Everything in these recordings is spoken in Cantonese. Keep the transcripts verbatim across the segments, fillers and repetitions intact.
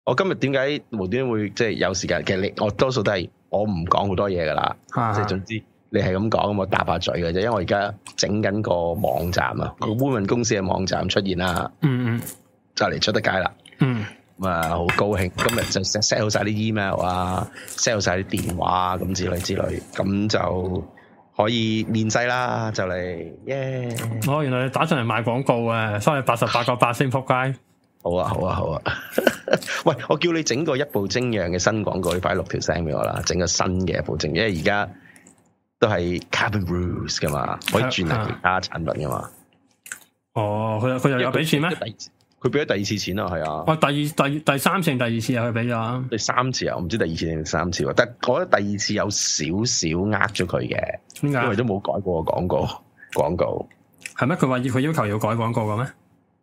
我今日點解無端會即係有時間？其實你我多數都係我唔講好多嘢噶啦，即係總之你係咁講，我搭下嘴嘅啫。因為我而家整緊個網站啊，個烏文公司嘅網站出現啦，嗯嗯，就嚟出得街啦，嗯，咁啊好高興，今日就 set set 好晒啲 email 啊 ，set 好晒啲電話啊，咁之類之類，咁就可以面世啦，就嚟耶！ 哦，原來你打上嚟賣廣告啊，收你八十八個八先仆街。 好啊，好啊，好啊！喂，我叫你整個一步精釀嘅新廣告，你快錄條聲俾我啦，整個新嘅一步精，因為而家都係 Carbon Brews 噶嘛，可以轉嚟其他產品噶嘛。哦，佢佢又有俾錢咩？佢俾咗第二次錢啊，係啊。哦，第二第第三次定第二次啊？佢俾咗第三次啊？我唔知第二次定第三次喎，但係我覺得第二次有少少呃咗佢嘅，點解？因為都冇改過個廣告廣告。係咩？佢話要佢要求要改廣告嘅咩？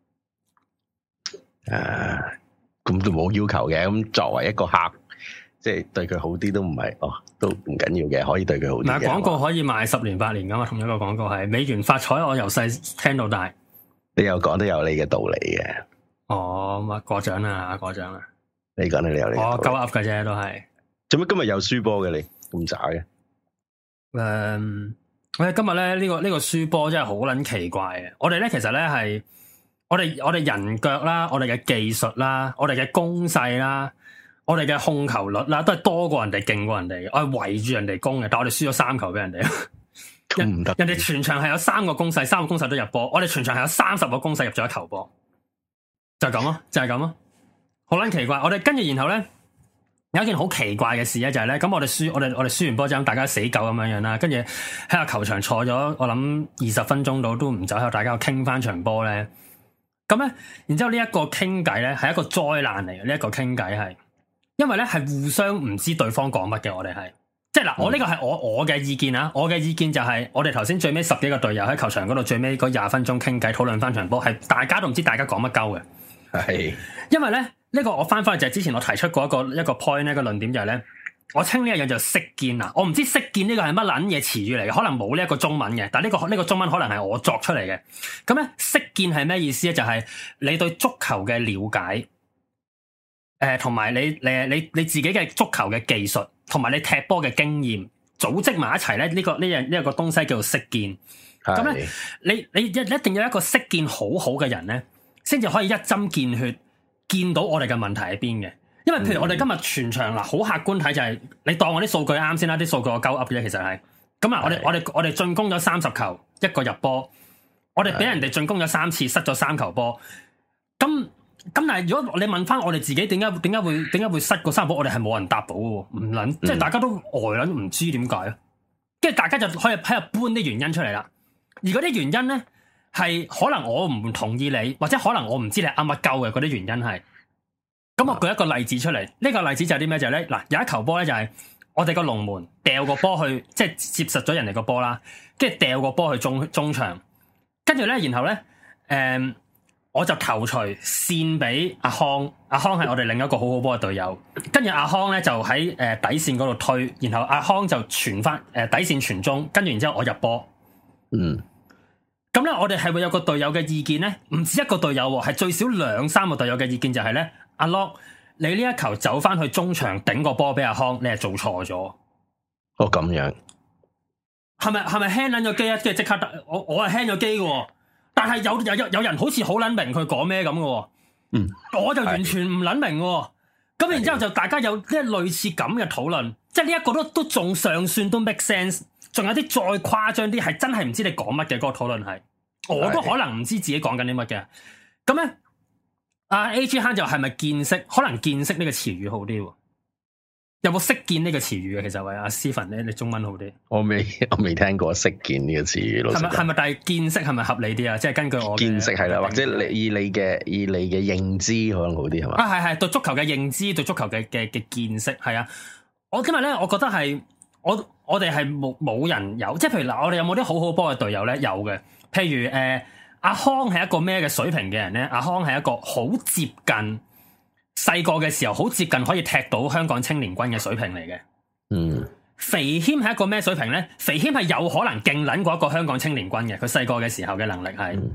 誒，咁都冇要求嘅。咁作為一個客，即係對佢好啲都唔係哦，都唔緊要嘅，可以對佢好啲。嗱，廣告可以賣十年八年噶嘛，同一個廣告係美元發財，我由細聽到大。你又講得有你嘅道理嘅。哦，咁啊過獎啦，過獎啦。你講你有你。我鳩噏嘅啫，都係。做乜今日有輸波嘅你咁渣嘅？誒，我哋今日咧呢個呢個輸波真係好撚奇怪嘅。我哋咧其實咧係。我哋我哋人腳啦，我哋嘅技術啦，我哋嘅攻勢啦，我哋嘅控球率啦，都係多過人哋，勁過人哋。我係圍住人哋攻嘅，但係我哋輸咗三球俾人哋。咁唔得。人哋全場係有三個攻勢，三個攻勢都入波。我哋全場係有三十個攻勢入咗一球波，就咁咯，就係咁咯。好撚奇怪！我哋跟住然後咧，有一件好奇怪嘅事咧，就係咧，咁我哋輸，我哋我哋輸完波之後，大家死狗咁樣樣啦。跟住喺個球場坐咗，我諗二十分鐘到都唔走，喺度大家傾翻場波咧。咁咧，然之後呢一個傾偈咧係一個災難嚟嘅，呢一個傾偈係，因為咧係互相唔知對方講乜嘅，我哋係，即係嗱，我呢個係我我嘅意見啊，我嘅意見就係，我哋頭先最尾十幾個隊友喺球場嗰度最尾嗰廿分鐘傾偈討論翻場波，係大家都唔知大家講乜鳩嘅，係，因為咧呢個我翻翻去就係之前我提出過一個一個 point 呢個論點就係咧。我稱呢一樣就識見啊！我唔知識見呢個係乜撚嘢詞語嚟嘅，可能冇呢一個中文嘅，但係、呢、呢個呢、呢個中文可能係我作出嚟嘅。咁咧，識見係咩意思咧？就係、是、你對足球嘅了解，誒、呃，同埋你誒你你自己嘅足球嘅技術，同埋你踢波嘅經驗，組織埋一齊咧，呢、呢個呢樣呢一個東西叫做識見。咁咧，你你一一定要有一個識見好好嘅人咧，先至可以一針見血見到我哋嘅問題喺邊嘅。因為譬如我哋今日全場嗱，好客觀睇就係、是、你當我啲數據啱先啦，啲數據我鳩噏嘅啫，其實係咁啊！我哋我哋我哋進攻咗三十球，一個入波，我哋俾人哋進攻咗三次，失咗三球波。咁咁但係如果你問翻我哋自己點解點解會點解會失個三波，我哋係冇人答到嘅，唔捻、嗯、即係大家都呆捻唔知點解啊！跟住大家就可以喺度搬啲原因出嚟啦。而嗰啲原因咧係可能我唔同意你，或者可能我唔知你啱乜鳩嘅嗰啲原因係。咁我舉一個例子出嚟，呢、這個例子就係啲咩？就係咧，嗱，有一球波咧，就係我哋個龍門掉個波去，即係接實咗人哋個波啦，跟住掉個波去中中場，跟住咧，然後咧，誒、嗯，我就頭錘線俾阿康，阿康係我哋另一個好好波嘅隊友，跟住阿康咧就喺誒底線嗰度推，然後阿康就傳翻誒底線傳中，跟住然之後我入波，嗯，咁咧我哋係會有個隊友嘅意見咧，唔止一個隊友，係最少兩三個隊友嘅意見就係咧。阿 Lock，你呢一球走翻去中場頂個波俾阿康，你係做錯咗。哦，咁樣係咪係咪 hang 撚咗機啊？即係即刻得我我係 hang 咗機嘅，但係有有有有人好似好撚明佢講咩咁嘅。嗯，我就完全唔撚明。咁然之後就大家有呢類似咁嘅討論，即係呢一個都都仲尚算都 make sense。仲有啲再誇張啲，係真係唔知你講乜嘅嗰個討論係，我都可能唔知自己講緊啲乜嘅。咁咧。阿 A G 慳就係咪見識？可能見識呢個詞語好啲，有冇識見呢個詞語啊？其實喂，阿 Stephen 咧，你中文好啲。我未，我未聽過識見呢個詞語。係咪係咪？但係見識係咪合理啲啊？即係根據我見識係啦，或者你以你嘅以你嘅認知可能好啲係嘛？啊係係對足球嘅認知，對足球嘅嘅嘅見識係啊！我今日咧，我覺得係我我哋係冇冇人有，即係譬如嗱，我哋有冇啲好好波嘅隊友咧？有嘅，譬如誒。呃阿康係一個咩嘅水平嘅人咧？阿康係一個好接近細個嘅時候，好接近可以踢到香港青年軍嘅水平嚟嘅。嗯，肥謙係一個咩水平咧？肥謙係有可能勁撚過一個香港青年軍嘅，佢細個嘅時候嘅能力係。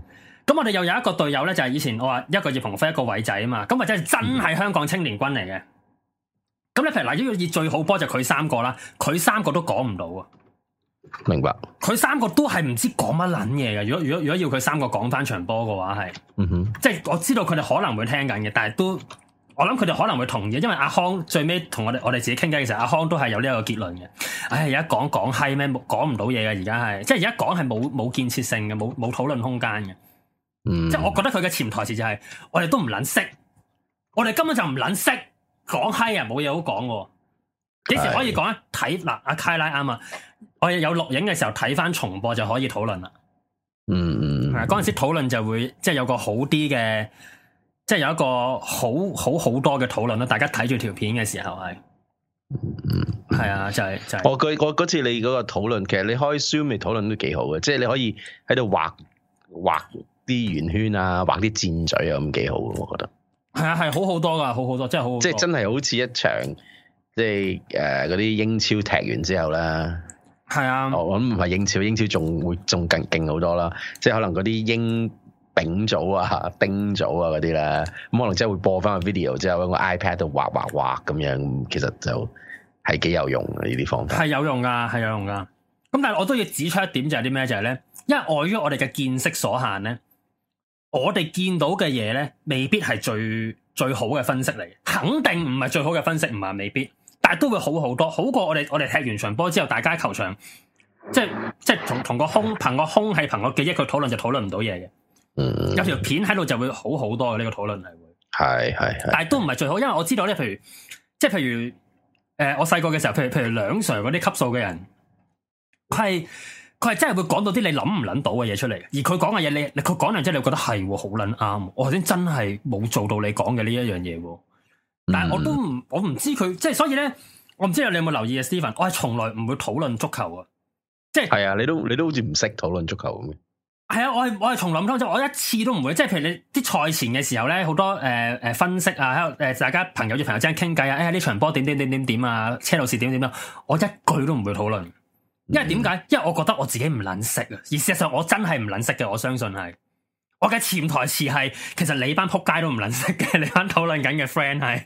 咁我哋又有一個隊友咧，就係、是、以前我話一個葉鴻飛一個偉仔啊嘛，咁或者係真係香港青年軍嚟嘅。咁你譬如嗱，呢個以最好波就佢三個啦，佢三個都講唔到啊。 明白。佢三個都係唔知講乜撚嘢嘅。如果如果如果要佢三個講翻場波嘅話，係，嗯哼，即係我知道佢哋可能會聽緊嘅，但係都我諗佢哋可能會同意，因為阿康最尾同我哋我哋自己傾偈嘅時候，阿康都係有呢一個結論嘅。唉，而家講講閪咩，講唔到嘢嘅，而家係，即係而家講係冇冇建設性嘅，冇冇討論空間嘅。嗯，即係我覺得佢嘅潛台詞就係、是，我哋都唔撚識，我哋根本就唔撚識講閪啊，冇嘢好講嘅。幾時可以講啊？睇嗱，阿凱拉啱啊！我哋有錄影嘅時候睇翻重播就可以討論啦。嗯嗯，係嗰陣時討論就會即係有個好啲嘅，即係有一個好好好多嘅討論啦。大家睇住條片嘅時候係，嗯，係啊，就係、是、就係、是。 我嗰嗰嗰次你嗰個討論，其實你開 Zoom 嚟討論都幾好嘅，即係你可以喺度畫畫啲圓圈啊，畫啲箭嘴啊，咁幾好，我覺得。 係啊，係好好多噶，好好多，真係好好多。 即係真係好似一場。即係誒嗰啲英超踢完之後咧， 係啊， 我諗唔係英超，英超仲會仲更勁好多啦。即係可能嗰啲英丙組啊、丁組啊嗰啲咧，咁可能真係會播翻個 video 之後喺個 iPad 度畫畫畫咁樣，其實就係幾有用嘅呢啲方法。係有用噶，係有用噶。咁但係我都要指出一點就係啲咩？就係咧，因為礙於我哋嘅見識所限咧，我哋見到嘅嘢咧，未必係最最好嘅分析嚟，肯定唔係最好嘅分析，唔係未必。但係都會好好多，好過我哋我哋踢完場波之後，大家球場即係即係同同個空憑個空係憑個記憶去討論就討論唔到嘢嘅。嗯，有條片喺度就會好好多嘅呢、這個討論係會。係係，但係都唔係最好，因為我知道咧，譬如即係譬如誒、呃，我細個嘅時候，譬如譬如梁 Sir 嗰啲級數嘅人，佢係佢係真係會講到啲你諗唔諗到嘅嘢出嚟，而佢講嘅嘢你你佢講完之後，你覺得係好撚啱，我頭先真係冇做到你講嘅呢一樣嘢。但係我都唔，我唔知佢即係，所以咧，我唔知你有冇留意啊，Steven，我係從來唔會討論足球啊，即係係啊，你都你都好似唔識討論足球咁嘅。 係啊，我係我係從來唔討，我一次都唔會，即係譬如你啲賽前嘅時候咧，好多誒誒、呃、分析啊，喺度誒大家朋友與朋友之間傾偈啊，哎呀呢場波點點點點點啊，車路士點點點，我一句都唔會討論，因為點解？嗯、因為我覺得我自己唔撚識啊，而事實上我真係唔撚識嘅，我相信係。我嘅潛台詞係，其實你班撲街都唔撚識嘅，你班討論緊嘅 friend 係，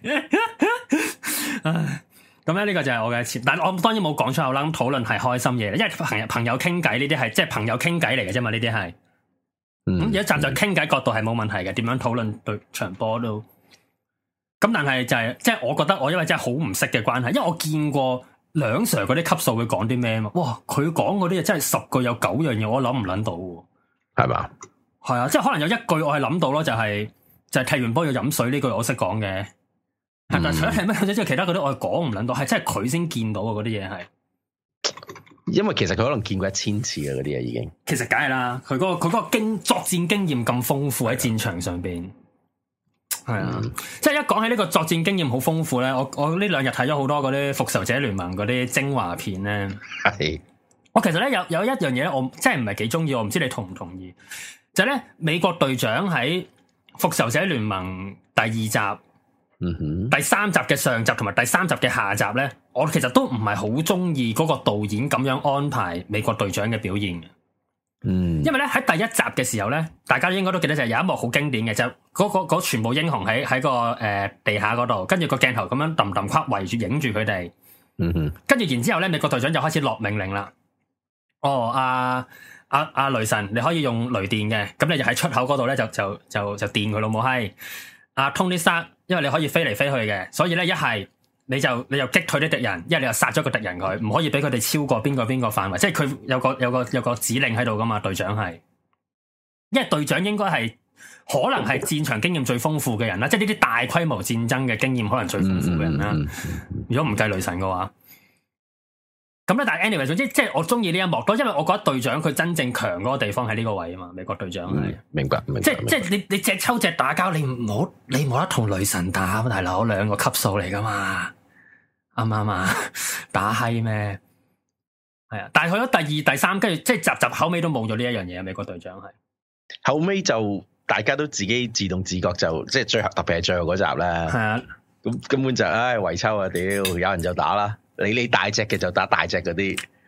咁咧呢個就係我嘅潛，但係我當然冇講出口啦。咁討論係開心嘢，因為朋友朋友傾偈呢啲係即係朋友傾偈嚟嘅啫嘛，呢啲係。咁而家站在傾偈角度係冇問題嘅，點樣討論對場波都。咁但係就係、是、即係我覺得我因為真係好唔識嘅關係，因為我見過梁 Sir 嗰啲級數會講啲咩嘛，哇！佢講嗰啲嘢真係十句有九樣嘢我諗唔諗到喎，係嘛？係啊，即係可能有一句我係諗到咯，就係、是、就係、是、踢完波要飲水呢句我識講嘅，係、嗯、但係除咗係咩即係其他嗰啲我係講唔諗到，係真係佢先見到啊嗰啲嘢係。 因為其實佢可能見過一千次啊嗰啲嘢已經。其實梗係啦，佢嗰、那個佢嗰個經作戰經驗咁豐富喺戰場上邊，係啊，嗯、即係一講起呢個作戰經驗好豐富咧，我我呢兩日睇咗好多嗰啲復仇者聯盟嗰啲精華片咧，係。我其實咧有有一樣嘢我真係唔係幾中意，我唔知你同唔同意？就係咧，美國隊長喺復仇者聯盟第二集、嗯、哼第三集嘅上集同埋第三集嘅下集咧，我其實都唔係好中意嗰個導演咁樣安排美國隊長嘅表現嘅。嗯，因為咧喺第一集嘅時候咧，大家應該都記得就係有一幕好經典嘅，就嗰、嗰個、嗰個全部英雄喺喺個誒、呃、地下嗰度，跟住個鏡頭咁樣揼揼框圍住影住佢哋。嗯哼，跟住然之後咧，美國隊長就開始落命令啦。哦，阿、啊。阿阿、啊、雷神，你可以用雷電嘅，咁你就喺出口嗰度咧，就就就就電佢老母閪。阿 Tony Stark，因為你可以飛嚟飛去嘅，所以咧一係你就你就擊退啲敵人，一係你就殺咗個敵人佢，唔可以俾佢哋超過邊個邊個範圍，即係佢有個有個有個指令喺度噶嘛。隊長係，因為隊長應該係可能係戰場經驗最豐富嘅人啦，即係呢啲大規模戰爭嘅經驗可能最豐富嘅人啦。嗯嗯嗯嗯、如果唔計雷神嘅話。咁咧，但係 anyway，總之即係我中意呢一幕多，因為我覺得隊長佢真正強嗰個地方喺呢個位啊嘛，美國隊長係、嗯、明白，明白，即係即係你你隻抽隻打交，你唔好你冇得同雷神打，大佬兩個級數嚟噶嘛，啱唔啱啊？打閪咩？係啊，但係去咗第二、第三，跟住即係集集後尾都冇咗呢一樣嘢啊！美國隊長係後尾就大家都自己自動自覺就即係最後特別係最後嗰集啦，係啊，咁根本就唉圍抽啊屌，有人就打啦。你你大隻嘅就打大隻嗰啲，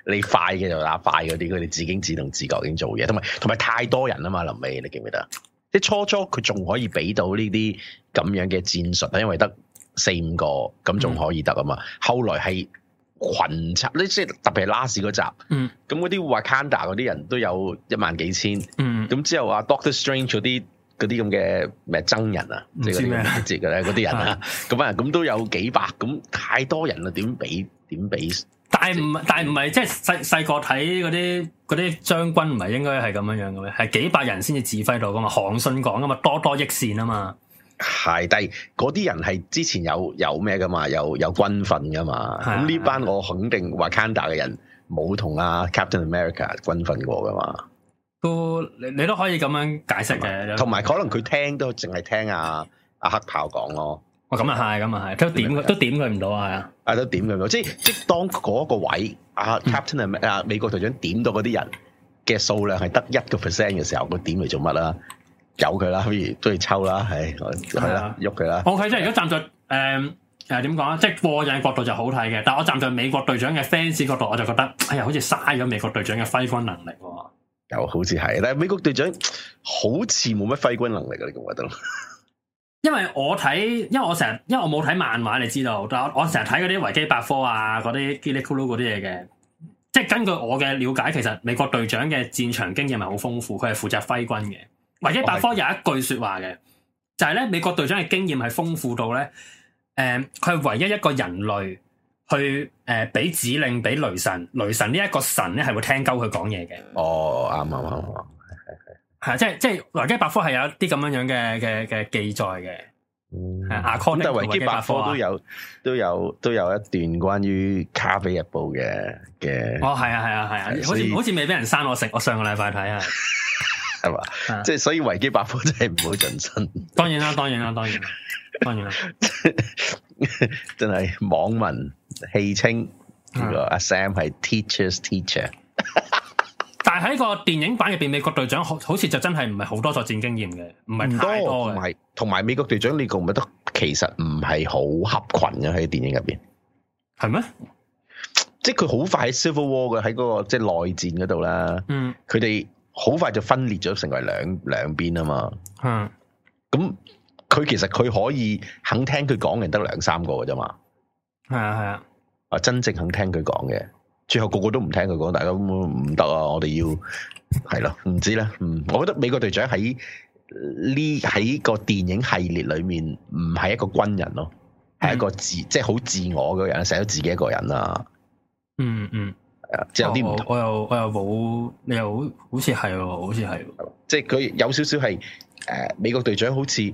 你快嘅就打快嗰啲，佢哋自己自動自覺已經做嘢，同埋同埋太多人啊嘛，臨尾你記唔記得？即係初初佢仲可以俾到呢啲咁樣嘅戰術，因為得四五個咁仲可以得啊嘛。嗯、後來係群策，你即係特別係拉士嗰集，咁嗰啲 Wakanda 嗰啲人都有一萬幾千，咁、嗯、之後啊 Doctor Strange 嗰啲嗰啲咁嘅咩僧人啊，即係嗰啲節嘅咧嗰啲人啊，咁啊咁都有幾百，咁太多人啦，點俾點俾？但係唔但係唔係即係細細個睇嗰啲嗰啲將軍唔係應該係咁樣樣嘅咩？係幾百人先至指揮到噶嘛？韓信講噶嘛，多多益善啊嘛。係，但係嗰啲人係之前有有咩噶嘛？有有軍訓噶嘛？咁呢班我肯定 Wakanda 嘅人冇同阿 Captain America 軍訓過噶嘛？都你你都可以咁樣解釋嘅。同埋可能佢聽都淨係聽阿阿黑豹講咯。哦，咁啊係，咁啊係，都點佢都點佢唔到啊，係啊，啊都點佢唔到，即係即係當嗰個位，阿、啊、Captain 啊美國隊長點到嗰啲人嘅數量係得一個 percent 嘅時候，佢點嚟做乜啦？由佢啦，不如都要抽啦，係係啦，喐佢啦。OK，即係如果站在誒誒點講啊，即係過癮角度就好睇嘅，但係我站在美國隊長嘅 fans 角度，我就覺得哎呀，好似嘥咗美國隊長嘅揮軍能力喎。又好似係，但係美國隊長好似冇乜揮軍能力啊，你覺唔覺得？因為我睇，因為我成日，因為我冇睇漫畫，你知道，但我我成日睇嗰啲維基百科啊，嗰啲嘰里咕嚕嗰啲嘢嘅，即係根據我嘅了解，其實美國隊長嘅戰場經驗係好豐富，佢係負責揮軍嘅。維基百科有一句說話嘅，就係咧美國隊長嘅經驗係豐富到咧，誒、呃，佢係唯一一個人類去誒俾、呃、指令俾雷神，雷神呢一個神咧係會聽鳩佢講嘢嘅。哦，啱啱啱啱。係，即係即係維基百科係有一啲咁樣樣嘅嘅嘅記載嘅。嗯，咁但係維基百科都有都有都有一段關於卡比日報嘅嘅。哦，係啊，係啊，係啊，好似好似未俾人刪我食，我上個禮拜睇啊，係嘛？即係所以維基百科真係唔好盡信。當然啦，當然啦，當然啦，當然啦，真係網民戲稱呢個阿 Sam 係 teacher's teacher。但係喺個電影版入邊，美國隊長好好似就真係唔係好多作戰經驗嘅，唔係太多嘅。同埋同埋美國隊長，你覺唔覺得其實唔係好合群嘅喺電影入邊？係咩？即係佢好快喺 Civil War 嘅喺嗰個即係內戰嗰度啦。嗯，佢哋好快就分裂咗成為兩兩邊啊嘛。嗯，咁佢其實佢可以肯聽佢講嘅人得兩三個嘅啫嘛。係啊係啊，啊真正肯聽佢講嘅。最後個個都唔聽佢講，大家唔得啊！我哋要係咯，唔知咧。嗯，我覺得美國隊長喺呢喺個電影系列裏面唔係一個軍人咯，係、嗯、一個自即係好自我嘅人，寫咗自己一個人啊。嗯嗯，係啊，即係有啲唔同。我又我又冇，你又好好似係喎，好似係。即係佢有少少係誒美國隊長好似誒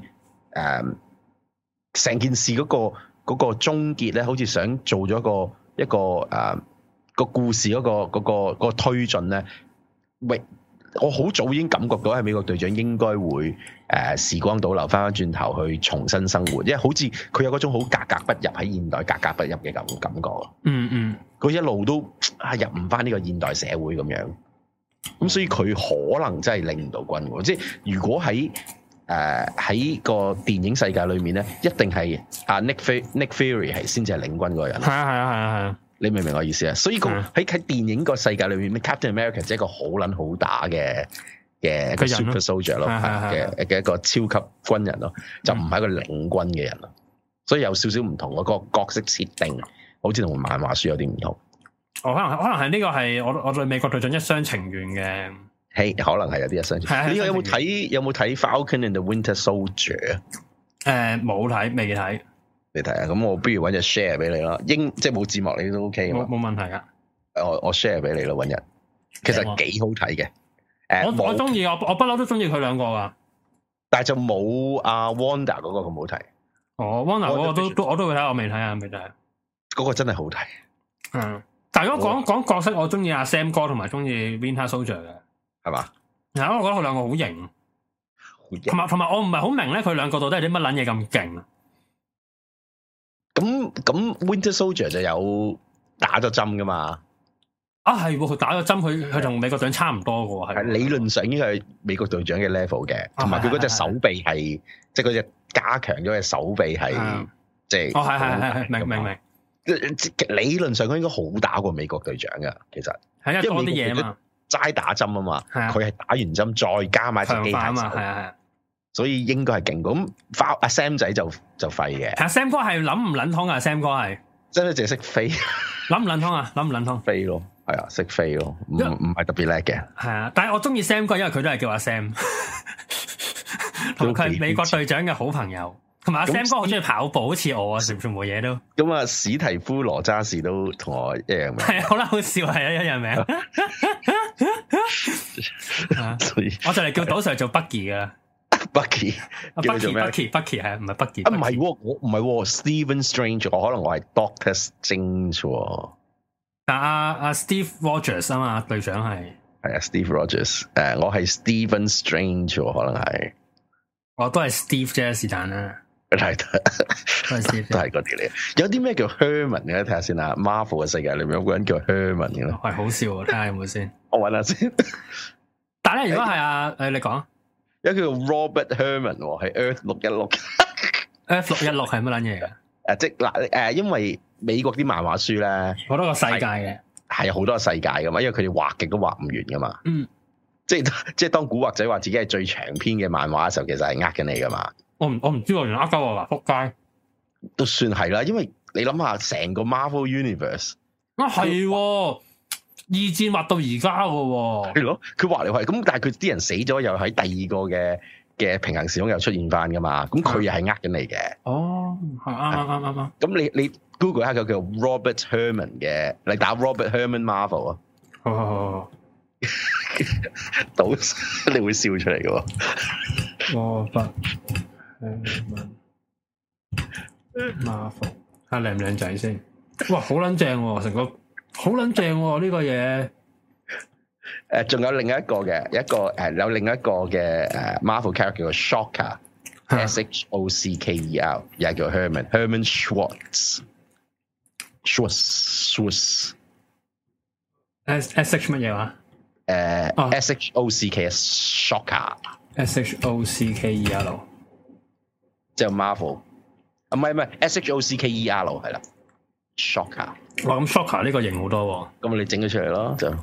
成件事嗰、嗰個嗰、嗰個終結咧，好似想做咗一個一個誒。呃個故事嗰、那個嗰、那個嗰、那個推進咧，喂，我好早已經感覺到係美國隊長應該會誒、呃、時光倒流翻翻轉頭去重新生活，因為好似佢有嗰種好格格不入喺現代格格不入嘅感感覺。嗯嗯，佢一路都係入唔翻呢個現代社會咁樣，咁所以佢可能真係領唔到軍喎。即係如果喺誒喺個電影世界裏面咧，一定係阿 Nick Nick Fury 係先至係領軍嗰個人。係啊係啊係啊係啊！你明唔明我意思啊？所以個喺喺電影個世界裏面，Captain America 即係一個好撚好打嘅嘅個 Super Soldier 咯，嘅嘅一個超級軍人咯，就唔係一個領軍嘅人咯。所以有少少唔同，嗰個角色設定好似同漫畫書有啲唔同。哦，可能可能係呢個係我我對美國隊長一廂情願嘅。係可能係有啲一廂情願。呢個有冇睇有冇睇 Falcon and the Winter Soldier？誒，冇睇，未睇。你睇下，咁我不如搵隻 share 俾你啦，英即係冇字幕你都 OK 嘛？冇冇問題噶。我我 share 俾你咯，搵日。其實幾好睇嘅。誒，我我中意，我我不嬲都中意佢兩個噶。但係就冇阿 Wanda 嗰個咁好睇。哦 Wanda 嗰個都都我都會睇，我未睇啊，未睇。嗰個真係好睇。嗯，但係如果講講角色，我中意阿 Sam 哥同埋中意 Winter Soldier 嘅，係嘛？嗱，我覺得佢兩個好型。同埋同埋，我唔係好明咧，佢兩個到底係啲乜撚嘢咁勁啊？咁咁 Winter Soldier 就有打咗針噶嘛？啊係，佢打咗針，佢佢同美國隊長差唔多噶喎，係理論上應該係美國隊長嘅 level 嘅，同埋佢嗰隻手臂係，即係嗰隻加強咗嘅手臂係，即係哦係係係係明明明， 理論上佢應該好打過美國隊長噶，其實係啊，多啲嘢嘛， 齋打針啊嘛，佢係打完針再加埋隻機械手，係啊係啊，所以應該係勁。咁阿 Sam 仔就就廢嘅。阿 Sam 哥係諗唔撚通啊 Sam 哥係真係淨係識飛， 諗唔撚通啊，諗唔撚通飛咯，係啊，識飛咯，唔唔係特別叻嘅。 係啊，但係我中意 Sam 哥，因為佢都係叫阿 Sam，同佢係美國隊長嘅好朋友。同埋阿 Sam 哥好中意跑步，好似我啊，全全部嘢都。咁啊，史提夫羅渣士都同我一樣名。 係啊，好啦，好笑係啊，一樣名。我就嚟叫賭 Sir 做 Bucky 噶啦。 Bucky， 阿 Bucky，Bucky，Bucky 係唔係 Bucky？ 啊，唔係，我唔係 Stephen Strange， 我可能我係 Doctor Strange。 但阿阿 Steve Rogers 啊嘛，隊長係。 係啊 ，Steve Rogers，誒，我係 Stephen Strange， 可能係。 我都係 Steve 啫，是但啦。 係都係 Steve， 都係嗰啲嚟。有啲咩叫 Herman 嘅？睇下先啦。Marvel 嘅世界裏面有個人叫 Herman 嘅咯。 係好笑啊！睇下有冇先。 我揾下先。 但係咧，如果係啊，誒，你講。 有一個叫 Robert Herman， 係 Earth 六一六。 Earth 六一六係乜撚嘢㗎？誒， 即嗱誒，因為美國啲漫畫書咧， 好多個世界嘅， 係好多個世界噶嘛，因為佢哋畫極都畫唔完噶嘛。 嗯。即係即係當古惑仔話自己係最長篇嘅漫畫嘅時候，其實係呃緊你噶嘛。 我唔我唔知喎，原來呃鳩我啦，仆街。 都算係啦，因為你諗下成個 Marvel Universe 啊係，二戰畫到而家嘅。 係咯，佢畫嚟畫去咁，但係佢啲人死咗，又喺第二個嘅嘅平行時空又出現翻噶嘛。咁佢又係呃緊你嘅。哦，係啱啱啱啱啱。咁你你 Google 一下個叫 Robert Herman 嘅，你打 Robert Herman Marvel 啊。好好好好。到你會笑出嚟嘅喎。 羅拔Marvel 睇靚唔靚仔先。哇，好撚正喎，成個好撚正喎呢個嘢。 誒，仲有另一個嘅，一個誒有另一個嘅誒 Marvel character 叫做 Shocker，S H O C K E R， 又係叫 Herman，Herman Schwartz，Schwartz，S S H 乜嘢話？ 誒、uh, oh. S H O C K Shocker，S H O C K E R， 即係 Marvel，啊唔係唔係 S H O C K E R 係啦 ，Shocker。 哇，咁 Shocker 呢個型好多喎， 咁你整咗出嚟咯，就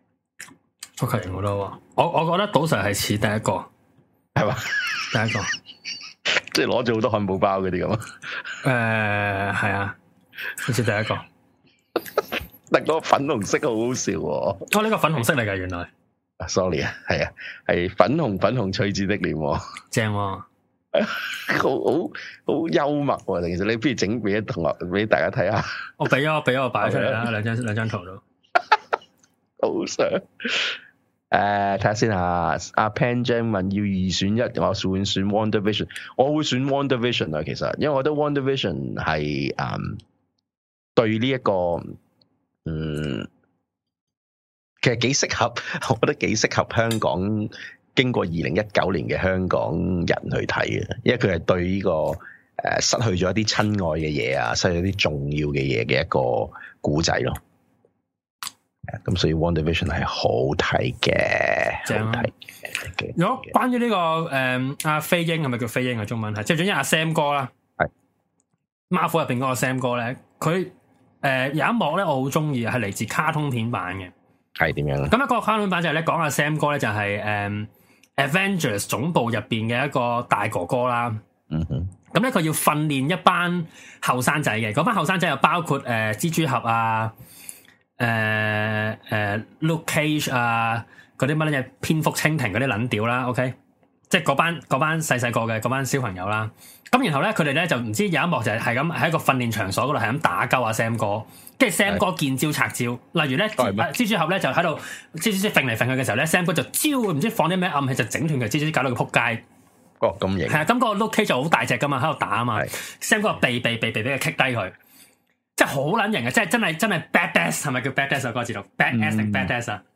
Shocker 型好多喎。我我覺得賭 Sir係似第一個， 係嘛？ 第一個， 即係攞咗好多漢堡包嗰啲咁啊。 誒，係啊，好似第一個。 但個粉紅色好好笑喎！哦， 呢、這個粉紅色嚟㗎，原來。 Sorry 啊，係啊，係粉紅粉紅翠子的臉， 正喎，啊， 好好好幽默喎！其實你不如整俾同學俾大家睇下。 我俾咗，我俾咗，我擺出嚟啦，兩張兩張圖都。 好想誒，睇下先吓。阿 Pan Jam 問要二選一，我選選 WandaVision， 我會選 WandaVision 啊。其實，因為我覺得 WandaVision 係誒對呢、這、一個。嗯，其實幾適合，我覺得幾適合香港經過二零一九年嘅香港人去睇嘅，因為佢係對呢、這個誒、呃、失去咗一啲親愛嘅嘢啊，失去咗啲重要嘅嘢嘅一個故仔咯。咁所以 WandaVision 係好睇嘅，正好睇嘅。 如果關於呢、這個誒阿飛鷹係咪叫飛鷹嘅中文係，即係總之阿 Sam 哥啦，係 Marvel 入邊嗰個 Sam 哥咧，佢。誒、呃，有一幕咧，我好中意，係嚟自卡通片版嘅。係點樣咧？咁一個卡通片版就係咧講阿 Sam 哥咧，就係、是、誒、嗯、Avengers 總部入邊嘅一個大哥哥啦。嗯哼。咁咧佢要訓練一班後生仔嘅，嗰班後生仔又包括誒、呃、蜘蛛俠啊，誒、呃、誒、呃、Luke Cage 啊，嗰啲乜嘢蝙蝠蜻蜓嗰啲撚屌啦。OK，即係嗰班嗰班細細個嘅嗰班小朋友啦。咁然後咧，佢哋咧就唔知有一幕就係係咁喺一個訓練場所嗰度係咁打鳩阿 Sam 哥，跟住 Sam 哥見招拆招。例如咧，蜘蛛俠咧就喺度蜘蛛絲揈嚟揈去嘅時候咧 ，Sam 哥就招唔知放啲咩暗器就整斷佢蜘蛛絲，搞到佢撲街。哦，咁型。係啊，咁個 Luke Cage 就好大隻噶嘛，喺度打啊嘛。Sam 哥避避避避俾佢棘低佢，即係好撚型啊！即係真係真係 badass 係咪叫 badass 啊？嗰個字讀 badass 定 badass 啊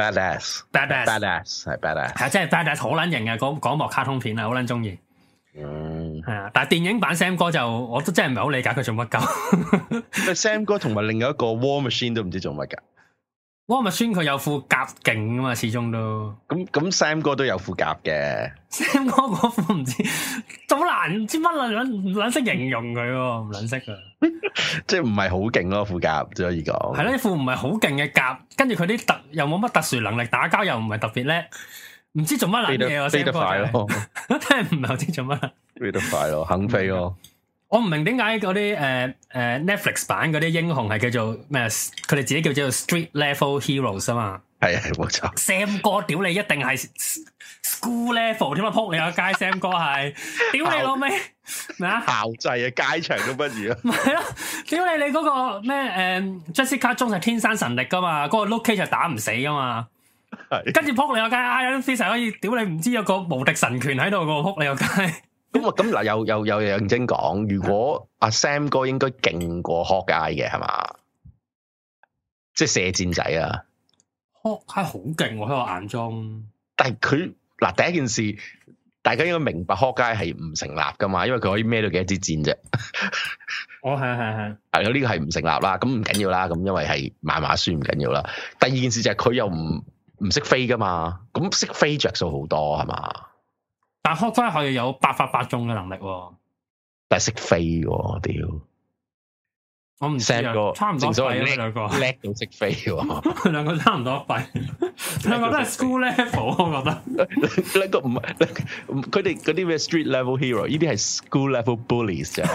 ？badass，badass，badass 係 badass，係真係 badass 好撚型啊！嗰嗰幕卡通片啊，好撚中意。嗯，係啊，但係電影版 Sam 哥就我都真係唔係好理解佢做乜鳩。Sam 哥同埋另外一個 War Machine 都唔知做乜噶。War Machine 佢有副甲勁啊嘛，始終都。咁咁 Sam 哥都有副甲嘅。Sam 哥嗰副唔知好難，唔知乜撚唔撚識形容佢，唔撚識啊。 即係唔係好勁咯副甲，只可以講。 係咯，副唔係好勁嘅甲，跟住佢啲特又冇乜特殊能力，打交又唔係特別叻，唔知做乜撚嘢啊！ 飛得快咯， 真係唔係好知做乜。 飛得快咯，肯飛咯。 我唔明點解嗰啲誒誒 Netflix 版嗰啲英雄係叫做咩？佢哋自己叫做 Street Level Heroes 啊嘛。 係係冇錯。 Sam 哥屌你一定係 School Level 點啊？撲你個街 Sam 哥係屌你老味咩啊？校際啊，街場都不如啊。 唔係咯，屌你你嗰個咩誒 Jessica Jones 係天生神力噶嘛？嗰、那個 Luke Cage 就打唔死噶嘛。係。跟住撲你個街 Iron Fist 可以屌你唔知有個無敵神拳喺度個撲你個街。 咁啊咁嗱，又又又認真講，如果阿 Sam 哥應該勁過 Hawkeye 嘅係嘛？即係射箭仔啊！ Hawkeye好勁喎喺我眼中。但係佢嗱第一件事，大家應該明白 Hawkeye 係唔成立噶嘛，因為佢可以孭到幾多支箭啫。 哦，係係係。 係咯，呢個係唔成立啦。咁唔緊要啦，咁因為係漫畫書唔緊要啦。第二件事就係佢又唔唔識飛噶嘛，咁識飛着數好多係嘛？ 但 Hawkeye 可以有百發百中嘅能力喎， 但係識飛喎，屌！ 我唔知啊，差唔多廢啊，兩個叻到識飛喎， 兩個差唔多廢，兩個都係 school level，我覺得兩個唔係，佢哋嗰啲咩 street level hero， 呢啲係 school level bullies 啫。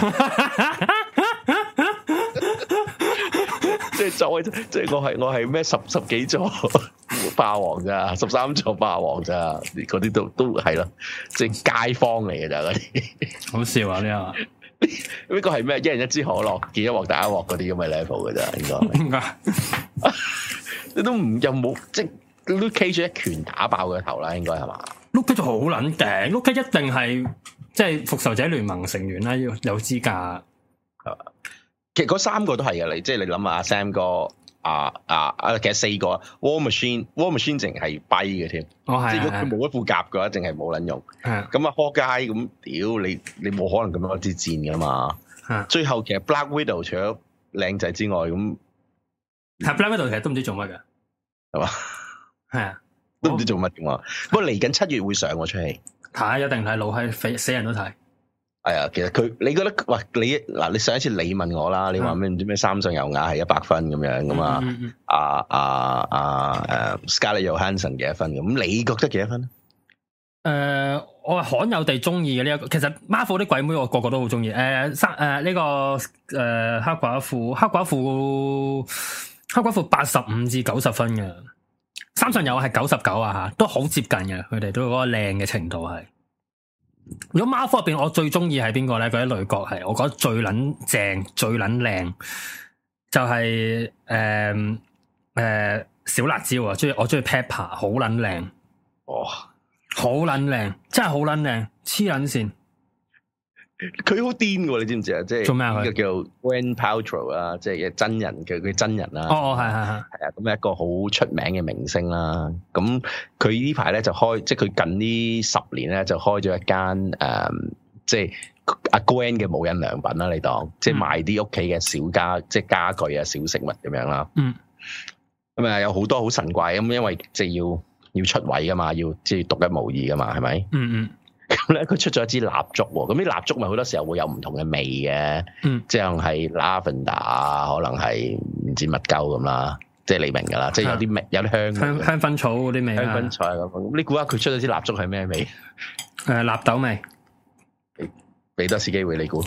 即係作為，即係我係我係咩十十幾座霸王咋，十三座霸王咋，嗰啲都都係咯，即係街坊嚟嘅咋嗰啲。好笑啊！呢個呢個係咩？一人一支可樂，見一鑊打一鑊嗰啲咁嘅 level 嘅咋，應該。應該。你都唔又冇即係 Luke Cage 一拳打爆佢頭啦，應該係嘛？Luke Cage 好撚勁，Luke Cage一定係即係復仇者聯盟成員啦，要有資格。係嘛？其實嗰三個都係嘅，你即係你諗下阿 Sam 哥，啊啊啊，其實四個 War Machine，War Machine 淨係跛嘅添，哦係，即係如果佢冇一副甲嘅話，淨係冇撚用。係咁啊，Hawkeye咁屌你，你冇可能咁樣一支箭噶嘛。係最後其實 Black Widow 除咗靚仔之外，咁係 Black Widow 其實都唔知做乜嘅，係嘛？係啊，都唔知做乜嘅嘛。不過嚟緊七月會上喎出戲，睇一定睇，老閪死人都睇。係啊，其實佢你覺得喂你嗱，你上一次你問我啦，你話咩唔知咩三上悠亞係一百分咁樣噶嘛？啊啊啊誒 Scarlett Johansson 幾多分咁？咁你覺得幾多分咧？誒、呃，我係罕有地中意嘅呢一個。其實 Marvel 啲鬼妹我個個都好中意。誒、呃，三誒呢個誒、呃、黑寡婦，黑寡婦黑寡婦八十五至九十分嘅，三上悠亞係九十九啊吓，都好接近嘅。佢哋都嗰個靚嘅程度係。如果 Marvel 入邊我最中意係邊個咧？嗰啲女角係我覺得最撚正、最撚靚，就係誒誒小辣椒啊！中意我中意 Pepper， 好撚靚，哇，好撚靚，真係好撚靚，黐撚線。佢好癲嘅，你知唔知啊？即係做咩啊？佢叫 Gwyneth Paltrow 啊，即係真人嘅佢真人啦。哦，係係係，係啊，咁一個好出名嘅明星啦。咁佢呢排咧就開，即係佢近呢十年咧就開咗一間誒、嗯，即係阿 Gwen 嘅無印良品啦。你當、嗯、即係賣啲屋企嘅小家，即係家具啊、小食物咁樣啦。嗯。咁啊，有好多好神怪咁，因為即係要要出位噶嘛，要即係獨一無二噶嘛，係咪？嗯嗯。咁咧，佢出咗一支蠟燭喎。咁啲蠟燭咪好多時候會有唔同嘅味嘅，嗯，即係係 lavender 啊，可能係唔知乜鳩咁啦，即係你明㗎啦，即係有啲味，有啲香香香薰草嗰啲味，香薰草咁。咁你估下佢出咗支蠟燭係咩味？誒，納豆味。俾多次機會你估。誒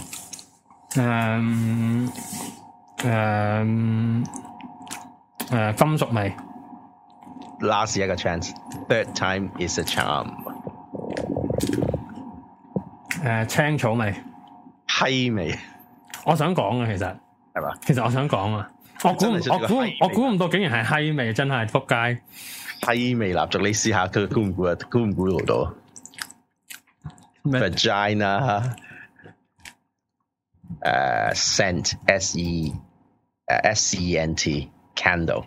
誒誒，金屬味。Last 一個 chance，third time is a charm。誒、呃，青草味，閪味。我想講啊，其實係嘛？其實我想講啊，我估我估我估唔到，竟然係閪味，真係仆街。閪味蠟燭，你試下佢估唔估啊？估唔估到？Vagina，誒 ，scent S E 誒 S E N T candle。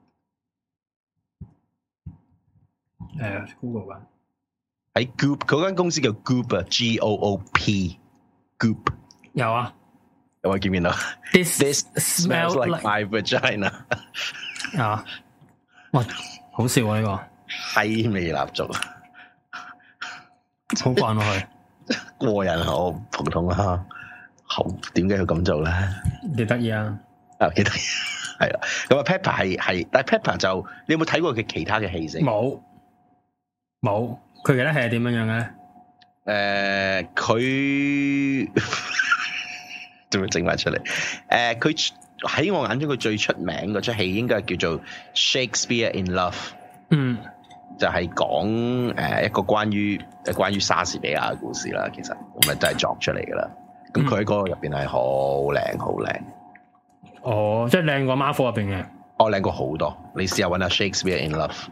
誒 ，Google 吧。喺 Goop 嗰間公司叫 Goop 啊 ，G O O P，Goop 有啊，有冇見唔見到 ？This This smells like, like my vagina 啊！哇，好笑啊呢、這個閪味蠟燭，好慣落去，過癮好普通啊， 好，點解要咁做咧？ 幾得意啊！ 啊，幾得意，係啦。咁啊，Pepper 係係，但係 Pepper 就你有冇睇過佢其他嘅戲先？ 冇，冇。佢其他戲係點樣樣嘅咧？ 誒、呃，佢仲要整埋出嚟。誒、呃，佢喺我眼中佢最出名嗰出戲應該係叫做 Shakespeare in Love。嗯，就係講誒一個關於誒關於莎士比亞嘅故事啦。其實咁咪真係作出嚟噶啦。咁佢喺嗰個入邊係好靚，好靚。 哦，即係靚過 Marvel 入邊嘅。 哦，靚過好多。你試下搵下 Shakespeare in Love。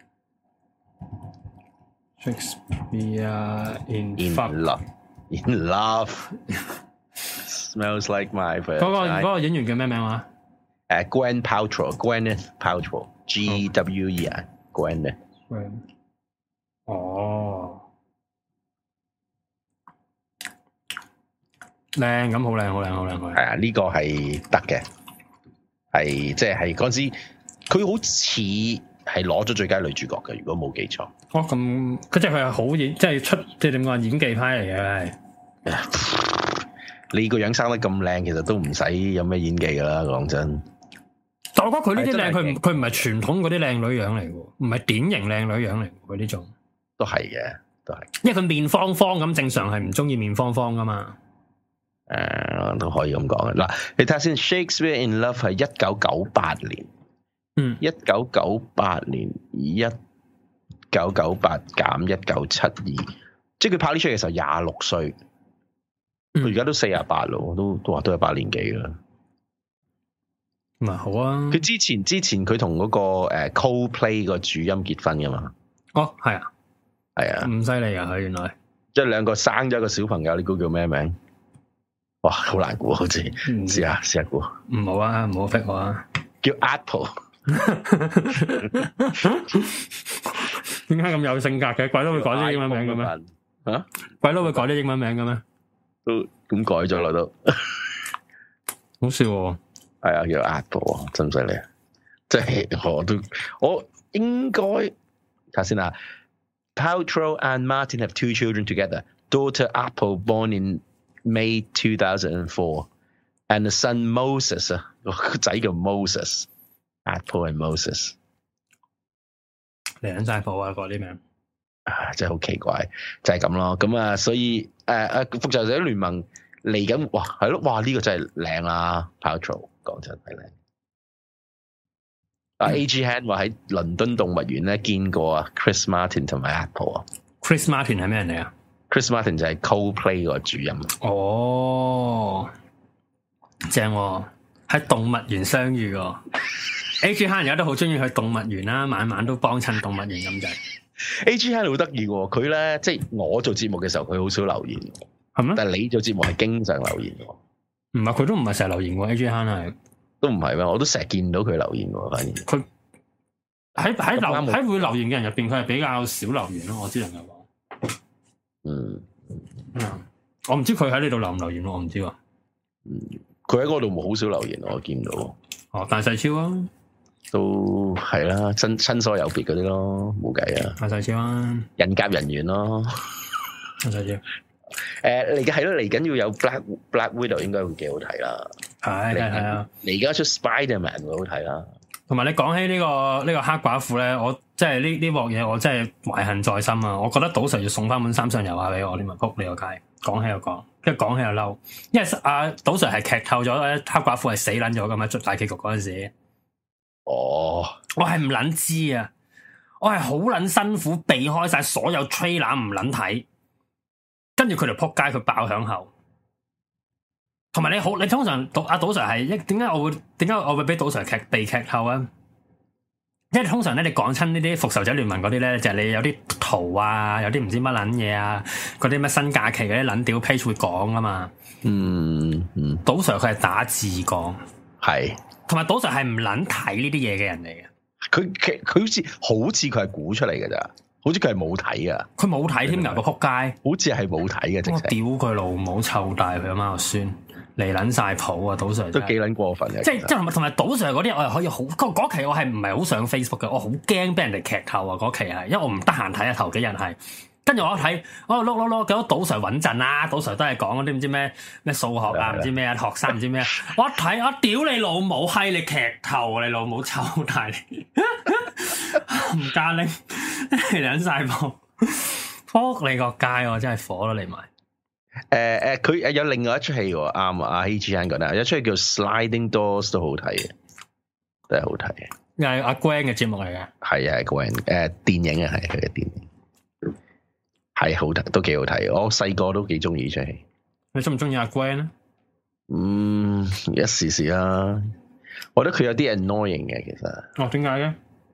Shakespeare in, in love, in love, smells like my first。嗰個嗰個演員叫咩名話？ 誒 ，Gwen Paltrow，Gwyneth Paltrow，G W E 啊 ，Gwyneth。 哦，靚咁好靚，好靚，好靚，好靚。 係啊，呢個係得嘅，係即係嗰陣時，佢好似係攞咗最佳女主角嘅，如果冇記錯。 哦，咁佢即係佢係好演，即係出即係點講演技派嚟嘅。 你個樣生得咁靚，其實都唔使有咩演技噶啦，講真。 但我覺得佢呢啲靚，佢唔佢唔係傳統嗰啲靚女樣嚟嘅，唔係典型靚女樣嚟，佢呢種。都係嘅，都係。因為佢面方方咁，正常係唔中意面方方噶嘛。 誒、呃，都可以咁講嘅。嗱，你睇下先 ，Shakespeare in Love 係一九九八年。嗯，一九九八年一九九八減一九七二，即係佢拍呢出嘅時候廿六歲，佢而家都四十八咯，都都話都係八年幾啦。 咁啊好啊！ 佢之前之前佢同嗰個誒 Coldplay 個主音結婚噶嘛？ 哦，係啊， 係啊， 咁犀利啊！佢原來即係兩個生咗一個小朋友，你估叫咩名？哇，好難估，好似試下試下估。 唔好啊，唔好逼我啊！ 叫 Apple。 點解咁有性格嘅？鬼佬會改啲英文名嘅咩？啊？鬼佬會改啲英文名嘅咩？ 都咁改咗啦都。 好笑喎！ 係啊，叫 Apple，真犀利啊！即係我都我應該睇下先啊。Paltrow and Martin have two children together. Daughter Apple born in May two thousand four, and the son Moses 啊，個仔叫 Moses。Apple and Moses， 嚟緊晒譜啊！嗰啲名啊，真係好奇怪，就係咁咯。咁啊，所以誒誒，復仇者聯盟嚟緊，哇，係咯，哇，呢、這個真係靚啦 Paltrow 講真係靚。啊、嗯、，A G Han 話喺倫敦動物園咧見過啊 ，Chris Martin 同埋 Apple 啊。 Chris Martin 係咩人嚟啊 ？Chris Martin 就係 Coldplay 個主音。 哦，正喎、哦，喺動物園相遇喎。A G 慳而家都好中意去動物園啦，晚晚都幫襯動物園咁滯。 A G 慳好得意喎，佢咧即係我做節目嘅時候，佢好少留言，係咩？但係你做節目係經常留言喎。唔係， 佢都唔係成日留言喎。A G 慳係都唔係咩？我都成日見到佢留言喎。反而佢喺喺留喺會留言嘅人入邊，佢係比較少留言咯。我只能夠講，嗯，嗯，我唔知佢喺呢度留唔留言咯，我唔知喎。 嗯，佢喺嗰度冇好少留言，我見到。 哦，大細超啊！ 都係啦，親親疏有別嗰啲咯，冇計啊！ 大細超啊， 人夾人緣咯， 大細超。誒嚟緊係咯，嚟緊要有 Black Black Widow 應該會幾好睇啦。 係係係啊！ 嚟緊出 Spider-Man 會好睇啦。同埋你講起呢、呢個呢、呢個黑寡婦咧，我即係呢呢鑊嘢，我真係懷恨在心啊！我覺得賭 Sir 要送翻碗三上油下俾我，你咪仆你個街。講起又講，跟住講起又嬲，因為阿賭 Sir 係劇透咗黑寡婦係死撚咗噶嘛，出大結局嗰陣時。哦，我係唔撚知啊！我係好撚辛苦避開晒所有 trailer 唔撚睇，跟住佢哋撲街佢爆響後，同埋你好，你通常阿賭 Sir 係一點解我會點解我會俾賭 Sir 劇被劇透啊？因為通常咧你講親呢啲復仇者聯盟嗰啲咧，就係、是、你有啲圖啊，有啲唔知乜撚嘢啊，嗰啲乜新假期嗰啲撚屌 page 會講啊嘛。嗯嗯，賭 Sir 佢係打字講，係。同埋賭 Sir 係唔撚睇呢啲嘢嘅人嚟嘅，佢佢佢好似好似佢係估出嚟嘅咋，好似佢係冇睇噶，佢冇睇添㗎個撲街，好似係冇睇嘅，直情。我屌佢老母臭大佢阿媽個孫嚟撚晒譜啊！賭 Sir 都幾撚過分嘅，即係即係同埋賭 Sir 嗰啲我係可以好嗰期我係唔係好上 Facebook 嘅，我好驚俾人哋劇透啊！嗰期係因為我唔得閒睇啊，頭幾日係跟住我一睇，我碌碌碌，見到賭 Sir 穩陣啦，賭 Sir 都係講嗰啲唔知咩咩數學啊，唔知咩啊，學生唔知咩啊，我一睇，我屌你老母，閪你劇透，你老母臭大你，唔加拎，兩晒鋪，撲你個街，我真係火咯你埋。 誒誒，佢、呃、有另外一出戲喎，啱啊，阿希志恩講得，有一出戲叫 Sliding Doors 都好睇嘅，都係好睇嘅。 係阿 Gwen 嘅節目嚟嘅， 係啊 Gwen 誒電影啊，係佢嘅電影。係好睇，都幾好睇。我細個都幾中意呢出戲。 你中唔中意阿 Gwen 咧？ 嗯，一時時啦。我覺得佢有啲 annoying 嘅，其實。 哦，點解嘅？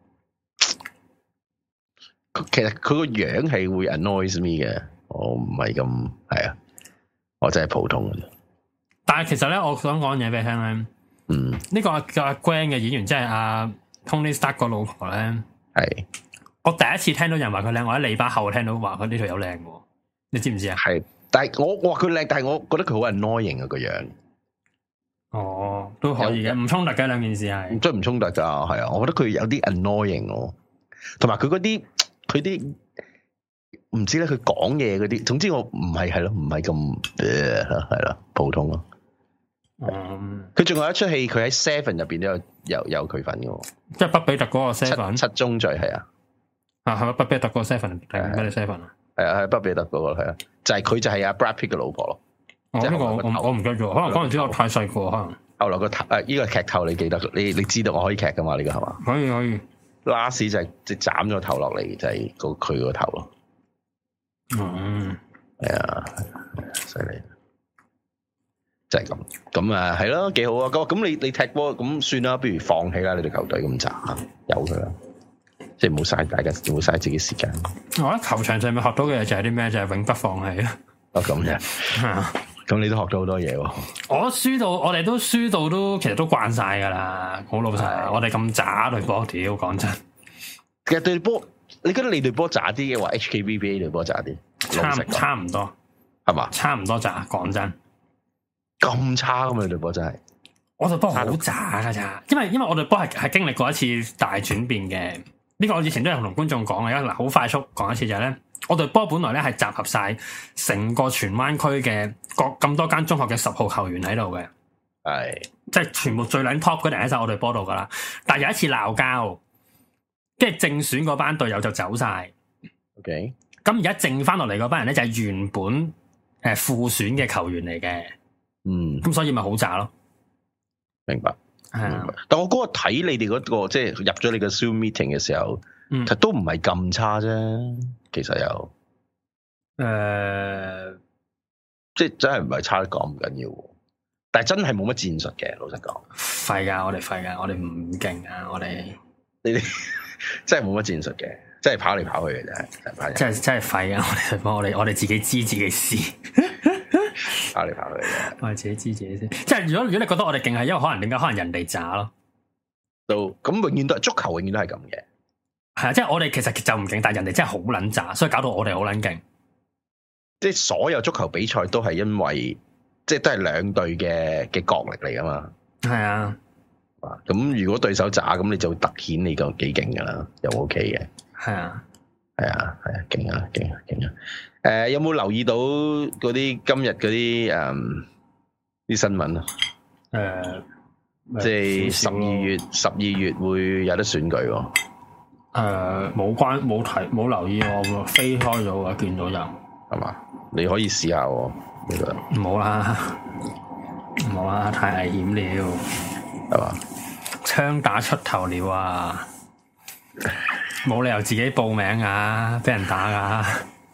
其實佢個樣係會 annoys me 嘅。我唔係咁係啊，我真係普通嘅。 但係其實咧，我想講嘢俾你聽咧。嗯。呢個叫阿 Gwen 嘅演員，即係阿 Tony Stark 個老婆咧。 係。我第一次聽到人話佢靚，我喺你把後聽到話佢呢條友靚嘅，你知唔知啊？ 係，但係我我話佢靚，但係我覺得佢好 annoying 啊個樣。 哦，都可以嘅，唔衝突嘅兩件事係， 真係唔衝突噶，係啊，我覺得佢有啲 annoying 咯，同埋佢嗰啲佢啲唔知咧，佢講嘢嗰啲，總之我唔係係咯，唔係咁係咯，普通咯。嗯，佢仲有一出戲，佢喺 Seven 入邊都有有有佢份嘅， 即係畢比特嗰個 Seven 七宗罪係啊。 啊，係咪畢比特個 seven 定咩 seven 啊？ 係啊，係畢比特嗰個係啊，就係佢就係阿 Brad Pitt 嘅老婆咯。 哦，呢個我我唔記得咗，可能嗰陣時我太細個，可能。 後來個頭誒，呢個劇透你記得，你你知道我可以劇噶嘛？呢個係嘛？ 可以可以。 last 就係即係斬咗頭落嚟，就係個佢個頭咯。 嗯， 係啊，犀利，就係咁。咁啊，係咯，幾好啊！咁咁你你踢波咁算啦，不如放棄啦，你隊球隊咁渣，由佢啦。即係冇嘥大家，冇嘥自己時間。 我喺球場上面學到嘅嘢就係啲咩？就係、是、永不放棄啊！ 哦，咁啫。咁你都學到好多嘢喎。我輸到，我哋都輸到都，其實都慣晒噶啦。好老實，的我哋咁渣對波，屌講真。 其實對波，你覺得你對波渣啲嘅話，H K V B A 對波渣啲？ 差差唔多， 係嘛？差唔多渣，講真。 咁差咁啊！你對波真係。 我對波好渣噶咋，因為因為我對波係係經歷過一次大轉變嘅。呢個我以前都有同觀眾講嘅，嗱好快速講一次就係咧，我隊波本來咧係集合晒成個荃灣區嘅各咁多間中學嘅十號球員喺度嘅，係是即係全部最撚 top 嗰啲人喺晒我隊波度噶啦。但係有一次鬧交，跟住正選嗰班隊友就走晒。OK，咁而家剩翻落嚟嗰班人咧就係原本誒副選嘅球員嚟嘅，嗯，咁所以咪好渣咯。 明白。係啊，但我嗰個睇你哋嗰、嗰個即係入咗你個 Zoom meeting 嘅時候，嗯、其實都唔係咁差啫。其實有，誒、呃，即係真係唔係差得講唔緊要，但係真係冇乜戰術嘅。老實講， 廢噶，我哋廢噶，我哋唔勁啊，我哋你哋真係冇乜戰術嘅，真係跑嚟跑去嘅啫， 真係真係廢噶，我哋幫我哋我哋自己知自己試。 跑嚟跑去嘅， 我係自己知自己先。即係如果如果你覺得我哋勁係，因為可能點解？可能人哋渣咯。 都咁永遠都係足球，永遠都係咁嘅。 係啊，即係我哋其實就唔勁，但係人哋真係好撚渣，所以搞到我哋好撚勁。 即係所有足球比賽都係因為，即係都係兩隊嘅嘅角力嚟噶嘛。係啊。咁如果對手渣，咁你就凸顯你個幾勁噶啦，又 OK 嘅。係啊。係啊，係啊，勁啊，勁啊，勁啊！誒、呃，有冇留意到嗰啲今日嗰啲誒啲新聞啊？誒、呃，即係十二月，十二月會有得選舉喎。誒、 呃，冇關冇睇冇留意我飛開咗啊！見到有係嘛？你可以試下喎，呢個唔好啦，唔好啦，太危險了，係嘛？槍打出頭鳥啊！冇理由自己報名啊，俾人打噶，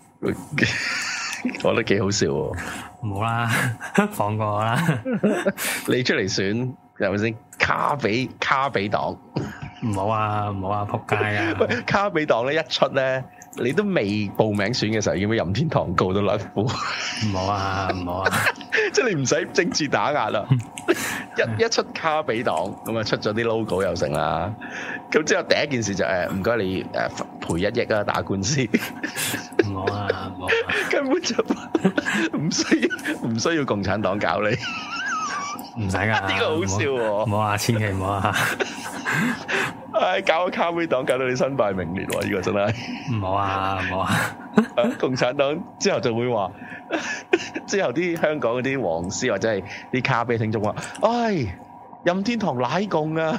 我覺得幾好笑喎。 唔好啦，放過我啦。 你出嚟選係咪先？卡比卡比黨， 唔好啊，唔好啊，仆街啊！ 喂，卡比黨咧一出咧，你都未報名選嘅時候，已經俾任天堂告到甩褲。 唔好啊，唔好啊！ 即係你唔使政治打壓啦，一一出卡比黨咁啊，出咗啲 logo 又成啦。咁之後第一件事就誒，唔該你誒賠一億啊，打官司。 唔好啊，唔好啊， 根本就唔需要唔需要共產黨搞你， 唔使噶。 呢個好笑喎， 唔好啊，千祈唔好啊。 唉，搞個卡比黨搞到你身敗名裂喎，呢個真係。 唔好啊，唔好啊。 共產黨之後就會話，之後啲香港嗰啲黃絲或者係啲卡比聽眾話，唉，任天堂奶共啊，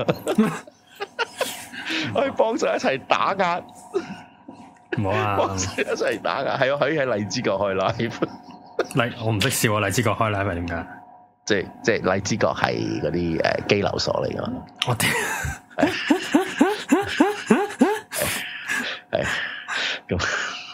可以幫手一齊打壓， 唔好啊， 幫手一齊打壓，係啊，可以喺荔枝角開 live。 荔我唔識笑啊，荔枝角開 live 係點解？ 即係即係荔枝角係嗰啲誒羈留所嚟噶嘛？我屌，係咁，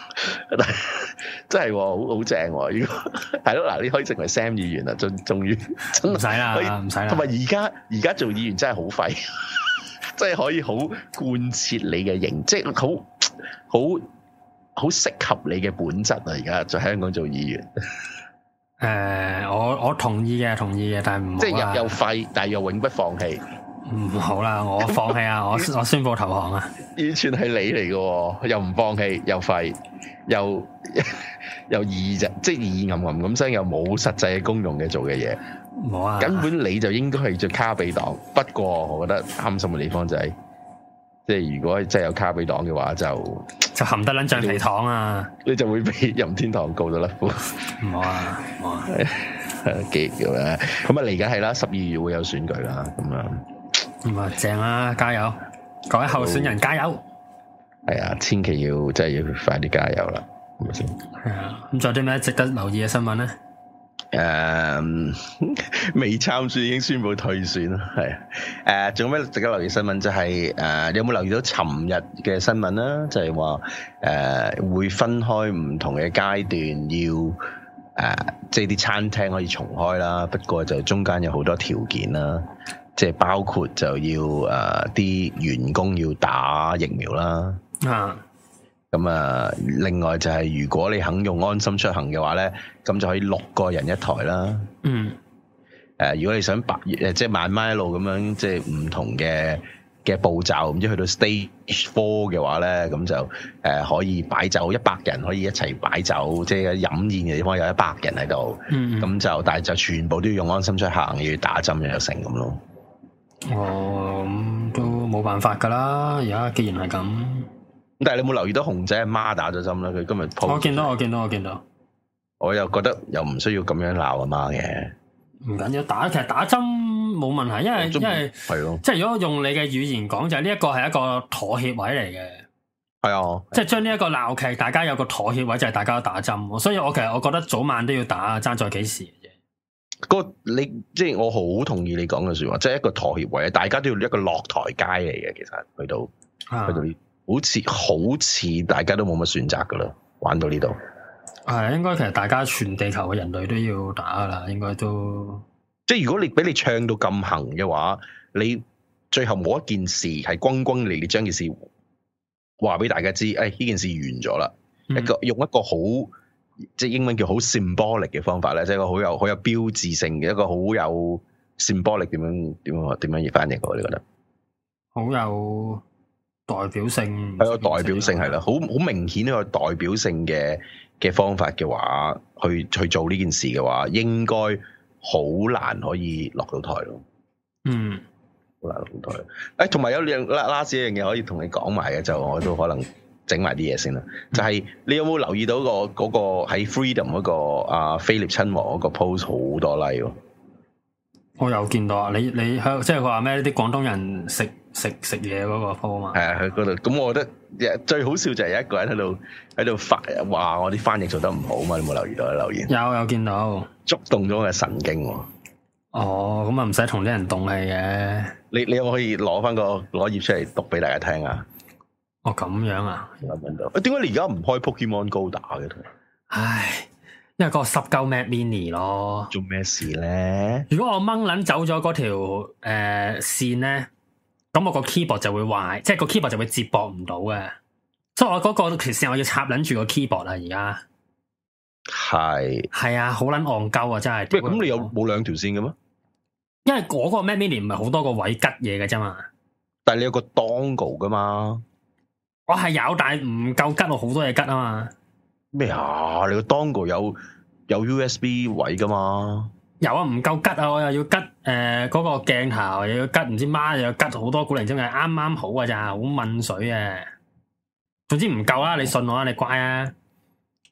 真係好好正。如果係咯，嗱，你可以成為 Sam 議員啦，終終於真係唔使啦，唔使啦。 同埋而家而家做議員真係好廢，真係可以好貫徹你嘅形，即係好好好適合你嘅本質啊！而家在香港做議員。 誒、呃，我我同意嘅，同意嘅，但係唔好即係又又廢，但係又永不放棄。 唔好啦，我放棄啊！我我宣布投降啊！ 完全係你嚟嘅，又唔放棄，又廢，又又意啫，即係意暗暗咁聲，又冇實際嘅功用嘅做嘅嘢。 冇啊！ 根本你就應該係做卡比黨。不過我覺得擔心嘅地方就係、是，即係如果真係有卡比黨嘅話就，就就含得撚橡皮糖啊！ 你就會俾任天堂告到甩褲。 唔好啊！唔好啊！ 幾咁咧？咁啊嚟緊係啦，十二月會有選舉啦，咁樣。 咁啊正啦，加油！各位候選人加油！ 係啊，千祈要真係要快啲加油啦，係咪先？ 係啊，咁仲有啲咩值得留意嘅新聞咧？ 誒，未參選已經宣布退選啦，係啊。誒，仲有咩值得留意新聞？就係、是、誒、呃，你有冇留意到尋日嘅新聞啦？就係話誒會分開唔同嘅階段要，要、呃、誒，即係啲餐廳可以重開啦。不過就中間有好多條件啦。即係包括就要誒啲、呃、員工要打疫苗啦，啊，咁啊，另外就係如果你肯用安心出行嘅話咧，咁就可以六個人一台啦，嗯，誒、呃，如果你想白誒即係慢慢一路咁樣即係唔同嘅嘅步驟，唔知去到 stage four 嘅話咧，咁就誒、呃、可以擺酒一百人可以一齊擺酒，即係飲宴嘅地方有一百人喺度，嗯，咁就但係就全部都要用安心出行，要打針又有成咁咯。 哦，咁都冇辦法噶啦，而家既然係咁。 但係你有冇留意到熊仔阿媽打咗針啦？佢今日 po 我見到，我見到，我見到。 我又覺得又唔需要咁樣鬧阿媽嘅。 唔緊要，打其實打針冇問題，因為因為係咯，即係如果用你嘅語言講，就係呢一個係一個妥協位嚟嘅。係啊，即係將呢一個鬧劇，大家有個妥協位，就係大家都打針。所以我其實我覺得早晚都要打，爭在幾時。 個你即係我好同意你講嘅說話，即係一個妥協位，大家都要一個落台階嚟嘅。其實去到、啊、去到好似好似大家都冇乜選擇噶啦，玩到呢度係應該其實大家全地球嘅人類都要打噶啦，應該都即係如果你俾你唱到咁行嘅話，你最後冇一件事係轟轟烈烈將件事話俾大家知，誒呢件事完咗啦、嗯，一個用一個好。即係英文叫好 symbolic 嘅方法咧，即係一個好有好有標誌性嘅一個好有 symbolic 點樣點樣點樣譯翻譯嘅，你覺得？ 好有代表性， 係個代表性係啦，好好明顯一個代表性嘅嘅方法嘅話，去去做呢件事嘅話，應該好難可以落到台咯。嗯，好難落到台。誒、欸，同埋有兩 last 一樣嘢可以同你講埋嘅，就我都可能。整埋啲嘢先啦，就係、是、你有冇留意到、嗰個嗰、嗰個喺 Freedom 嗰、嗰個阿菲臘親王嗰個 post 好多 like 喎？ 我有見到啊！你你喺即係佢話咩？啲廣東人食食食嘢嗰個 post 嘛？係啊，喺嗰度。咁我覺得最好笑就係有一個人喺度喺度發話我啲翻譯做得唔好嘛？你有冇留意到留言？有有見到，觸動咗我嘅神經喎。哦，咁啊唔使同啲人動氣嘅。你你有冇可以攞翻個攞頁出嚟讀俾大家聽啊？哦，咁樣啊？搵到？點解你而家唔開 Pokemon Go 打嘅？唉，因為嗰個濕鳩 Mac Mini 咯。做咩事咧？如果我掹捻走咗嗰條誒線咧，咁我個 keyboard 就會壞，即係個 keyboard 就會接駁唔到嘅。所以我嗰個條線我要插捻住個 keyboard 啊！而家係係啊，好捻戇鳩啊！真係。喂，咁你有冇兩條線嘅咩？因為嗰個 Mac Mini 唔係好多個位吉嘢嘅啫嘛。但係你有個 dongle 噶嘛？我係有，但係唔夠吉，我好多嘢吉啊嘛。咩啊？你個 dongle 有有 U S B 位噶嘛？有啊，唔夠吉啊！我又要吉誒嗰個鏡頭，又要吉唔知孖，又要吉好多古靈精怪，啱啱好啊咋，好濛水啊！總之唔夠啦，你信我啦，你乖啊！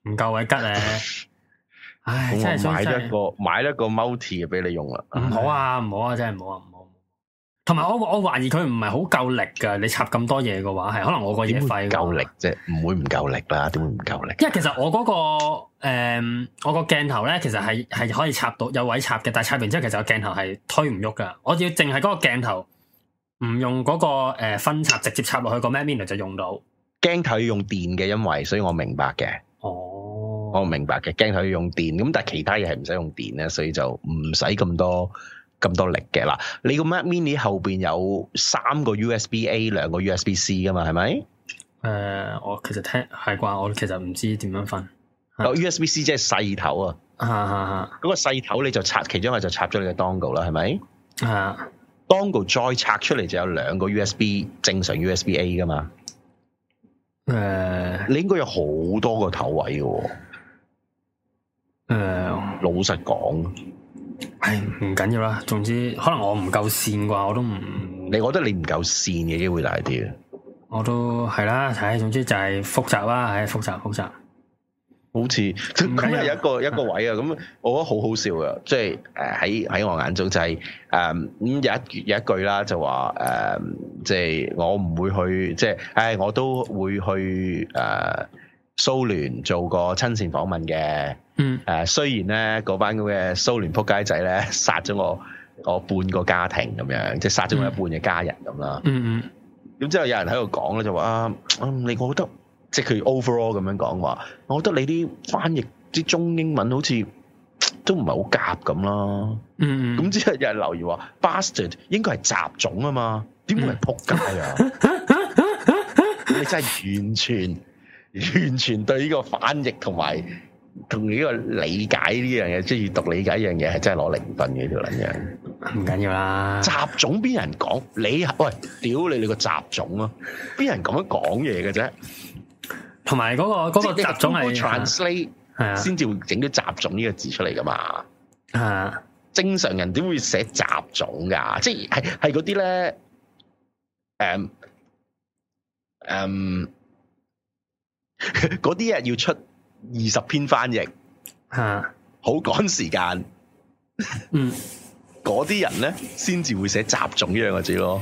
唔夠位吉咧。唉，真係買咗一個買咗一個 multi 俾你用啦。 唔好啊，唔好啊，真係唔好啊，唔好。同埋我我懷疑佢唔係好夠力噶，你插咁多嘢嘅話，係可能我個嘢廢。夠力啫，唔會唔夠力啦，點會唔夠力？ 因為其實我嗰、嗰個誒、嗯，我個鏡頭咧，其實係係可以插到有位插嘅，但係插完之後，其實個鏡頭係推唔喐噶。我要淨係嗰個鏡頭唔用嗰個誒分插，直接插落去個 Mac Mini 就用到。鏡頭要用電嘅，因為所以我明白嘅。 哦， 我明白嘅，鏡頭要用電，咁但係其他嘢係唔使用電咧，所以就唔使咁多。咁多力嘅啦，你個 Mac Mini 後邊有三個 U S B A， 兩個 U S B C 噶嘛，係咪？誒、 呃，我其實聽係啩，我其實唔知點樣分。 個 U S B C 即係細頭啊， 啊啊啊！ 嗰個細頭你就插，其中一個就插咗你嘅 Dongle 啦，係咪？ 啊 Dongle 再拆出嚟就有兩個 U S B 正常 U S B A 噶嘛。誒、呃，你應該有好多個頭位嘅。誒、呃，老實講。 係唔緊要啦，總之可能我唔夠線啩，我都唔。 你覺得你唔夠線嘅機會大啲啊？ 我都係啦，睇，總之就係複雜啦，係複雜複雜。 好似咁係一個一個位啊，咁我覺得好好笑噶，即係誒喺喺我眼中就係誒咁有一有一句啦，就話誒即係我唔會去，即係誒我都會去誒蘇聯做個親善訪問嘅。嗯，誒，雖然咧嗰班咁嘅蘇聯撲街仔咧殺咗我我半個家庭咁樣，即係殺咗我一半嘅家人咁啦。嗯嗯。咁之後有人喺度講咧，就話啊，你我覺得即係佢 overall 咁樣講話，我覺得你啲翻譯啲中英文好似都唔係好夾咁啦。嗯嗯。咁之後有人留言話 bastard 應該係雜種啊嘛，點會係撲街啊？你真係完全完全對呢個翻譯同埋。同呢個理解呢樣嘢，即係閱讀理解呢樣嘢，係真係攞零分嘅呢條撚樣。唔緊要啦。雜種邊人講？你喂，屌你你個雜種啊！邊人咁樣講嘢嘅啫？同埋嗰個嗰、嗰個雜種係 translate 係啊，先至會整啲雜種呢個字出嚟噶嘛。啊，正常人點會寫雜種噶？即係係係嗰啲咧，誒誒，嗰啲啊要出。二十篇翻譯，吓好趕時間，嗯，嗰啲人咧先至會寫雜種呢兩個字咯，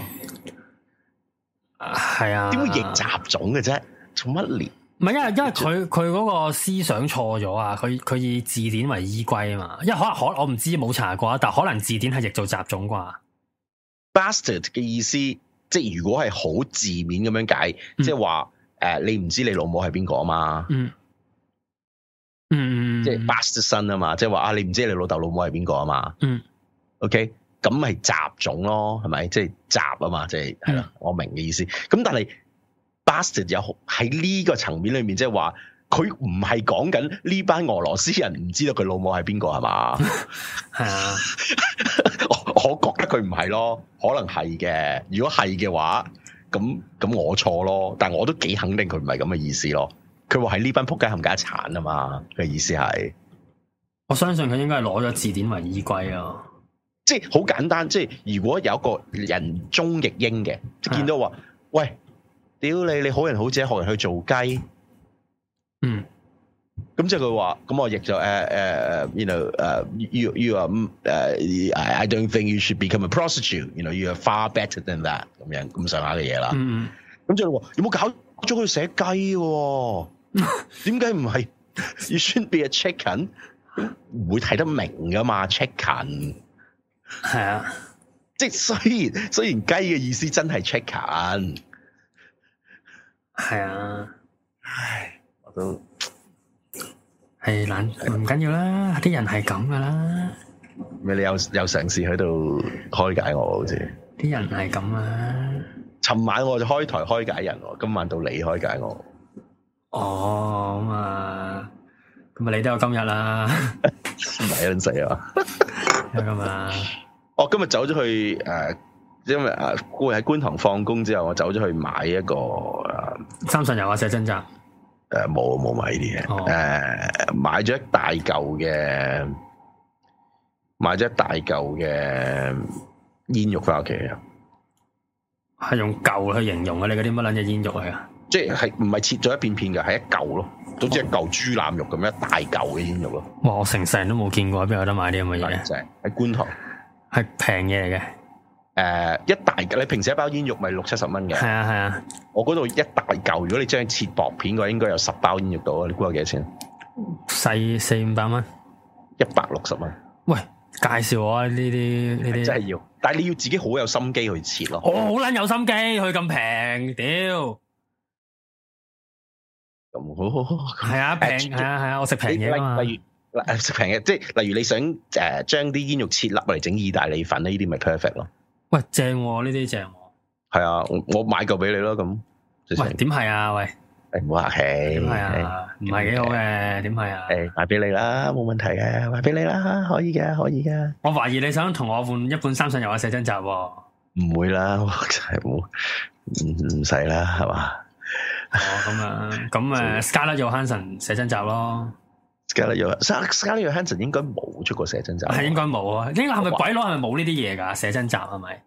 係啊，點會譯雜種嘅啫？做乜連？唔係因為因為佢佢嗰個思想錯咗啊！佢佢以字典為依歸啊嘛，因為可能可我唔知冇查過，但可能字典係譯做雜種啩。Bastard 嘅意思，即係如果係好字面咁樣解，嗯、即係話誒，你唔知你老母係邊個啊嘛？嗯。嗯，即係 bastard son 啊嘛，即係話啊，你唔知你老豆老母係邊個啊嘛？嗯，OK，咁咪雜種咯，係咪？即係雜啊嘛，即係係啦，我明嘅意思。咁但係 bastard 有喺呢個層面裏面，即係話佢唔係講緊呢班俄羅斯人唔知道佢老母係邊個係嘛？係啊，我我覺得佢唔係咯，可能係嘅。如果係嘅話，咁咁我錯咯，但我都幾肯定佢唔係咁嘅意思咯。佢話係呢班仆街冚家鏟啊嘛，嘅意思係，我相信佢應該係攞咗字典為依歸啊，即係好簡單。即係如果有一個人中譯英嘅，見到話，喂，屌你，你好人好姐學人去做雞，嗯，咁即係佢話，咁我譯就誒誒誒，you know，誒、uh,，you you are，誒、uh,，I don't think you should become a prostitute，you know，you are far better than that，咁樣咁上下嘅嘢啦，嗯，咁即係話有冇搞咗佢寫雞嘅？點解唔係 You shouldn't be a chicken？ 唔會睇得明噶嘛 ？Chicken 係啊，即係雖然雖然雞嘅意思真係 chicken， 係啊，唉，我都係懶，唔緊要啦，啲人係咁噶啦。咩？你有有嘗試喺度開解我？好似啲人係咁啊！尋晚我就開台開解人，今晚到你開解我。哦，咁啊，咁啊，你都有今日啦，唔係撚死啊！有咁啊！我今日走咗去誒、呃，因為誒，我喺觀塘放工之後，我走咗去買一個誒、呃、三信油啊，寫真集。誒、呃，冇冇買呢啲嘢。誒、哦呃，買咗一大嚿嘅，買咗一大嚿嘅煙肉翻屋企啊！ 係用舊去形容啊！你嗰啲乜撚嘢煙肉嚟啊？ 即係唔係切咗一片片嘅，係一嚿咯，總之一嚿豬腩肉咁樣一大嚿嘅煙肉咯。 哇！我成世人都冇見過，邊有得買啲咁嘅嘢？ 正喺觀塘， 係平嘢嚟嘅。 誒、uh, 一大嚿，你平時一包煙肉咪六七十蚊嘅？係啊係啊， 我嗰度一大嚿，如果你將佢切薄片嘅話，應該有十包煙肉到啊！你估下幾多錢？ 細四五百蚊，一百六十蚊。喂， 介紹我啊！呢啲呢啲真係要，但係你要自己好有心機去切咯。 我好撚有心機，佢咁平，屌！ 咁好好好，係啊平，係啊係啊，我食平嘢嘛。 例如嗱食平嘅，即係例如你想誒將啲煙肉切粒嚟整意大利粉咧，呢啲咪 perfect 咯。 喂，正喎，呢啲正喎。 係啊，我我買嚿俾你咯，咁。 喂，點係啊？喂， 誒唔好客氣。 點係啊？唔係幾好嘅，點係啊？ 誒，買俾你啦，冇問題嘅，買俾你啦，可以嘅，可以嘅。 我懷疑你想同我換一本三上悠亞寫真集喎。 唔會啦，我真係冇，唔唔使啦，係嘛？ 哦，咁啊，咁誒，Scarlett Johansson 寫真集咯。 Scarlett Johansson，Scarlett Johansson 應該冇出過寫真集。 係應該冇啊？呢個係咪鬼佬？係咪冇呢啲嘢噶？寫真集係咪？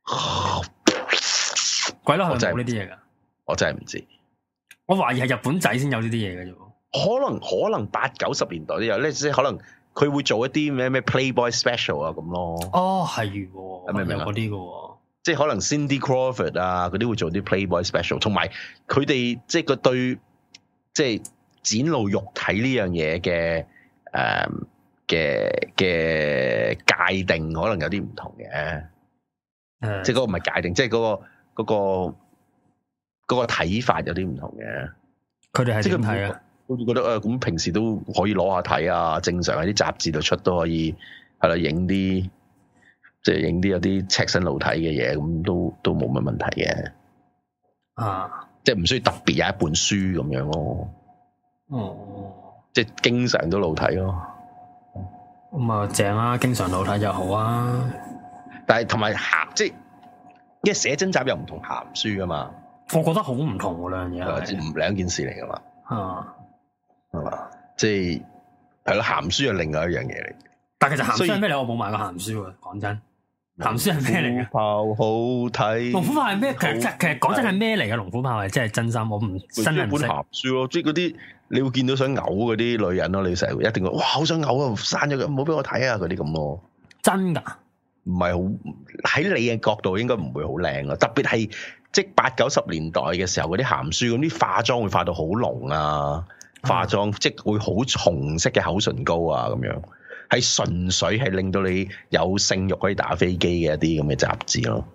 鬼佬係咪冇呢啲嘢噶？ 我真係唔知。 我懷疑係日本仔先有呢啲嘢嘅啫。 可能可能八九十年代都有咧，即係可能佢會做一啲咩咩 Playboy Special 啊咁咯。 哦，係喎， 明唔明嗰啲嘅？ 即係可能 Cindy Crawford 啊，嗰啲會做啲 Playboy Special， 同埋佢哋即係個對即係展露肉體呢樣嘢嘅誒嘅嘅界定，可能有啲唔同嘅。嗯、即係嗰個唔係界定，即係嗰、嗰個嗰、嗰個嗰、嗰個睇法有啲唔同嘅。佢哋係點睇啊？好似覺得誒，咁、呃、平時都可以攞下睇啊，正常喺啲雜誌度出都可以係啦，影啲。即係影啲有啲赤身露體嘅嘢，咁都都冇乜問題嘅。啊，即係唔需要特別有一本書咁樣咯。哦，即係經常都露體咯。 咁啊正啊，經常露體就好啊。 但係同埋鹹，即係因為寫真集又唔同鹹書噶嘛。 我覺得好唔同喎，兩樣嘢， 唔兩件事嚟噶嘛。 啊， 係嘛？即係係咯，鹹書係另外一樣嘢嚟。 但係其實鹹書係咩嚟？我冇買過鹹書喎，講真。鹹書係咩嚟嘅？ 炮好睇。龍虎豹係咩？其實其實講真係咩嚟嘅？龍虎豹係真係真心，我唔真係唔識。本鹹書咯，即係嗰啲你會見到想嘔嗰啲女人咯，你成日一定會哇好想嘔啊，刪咗佢，唔好俾我睇啊，嗰啲咁咯。 真噶？ 唔係好喺你嘅角度應該唔會好靚咯，特別係即係八九十年代嘅時候嗰啲鹹書咁，啲化妝會化到好濃啊，化妝、嗯、即係會好重色嘅口唇膏啊咁樣。係純粹係令到你有性慾可以打飛機嘅一啲咁嘅雜誌咯。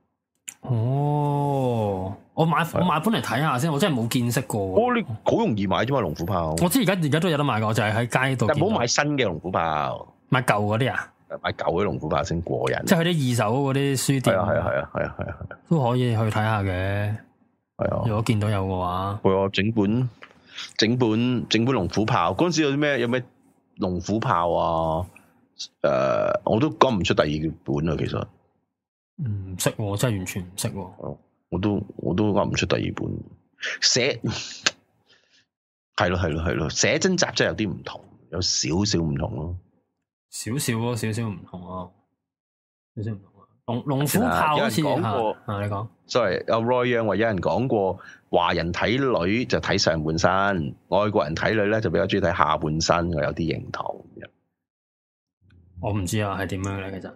哦，我買我買本嚟睇下先，我真係冇見識過。 哦，你好容易買啫嘛，龍虎豹。 我知而家而家都有得買噶，我就係喺街度。 但唔好買新嘅龍虎豹， 買舊嗰啲啊？ 買舊嘅龍虎豹先過癮。 即係去啲二手嗰啲書店。係啊係啊係啊係啊係啊，都可以去睇下嘅。係啊，如果見到有嘅話， 係啊，整本整本整本龍虎豹嗰陣時有啲咩有咩？龍虎豹啊，誒、呃，我都講唔出第二本啊，其實唔識、嗯，真係完全唔識、啊。 我都我都講唔出第二本。寫係咯係咯係咯，寫真集真係有啲唔同，有少少唔同咯， 少少咯，少少唔同咯，少少唔同啊。龍龍虎豹好似講過， 啊，你講 ，sorry，阿 Roy Young 話有人講過，華人睇女就睇上半身，外國人睇女咧就比較中意睇下半身，我有啲認同。 我唔知啊，係點樣咧？其實，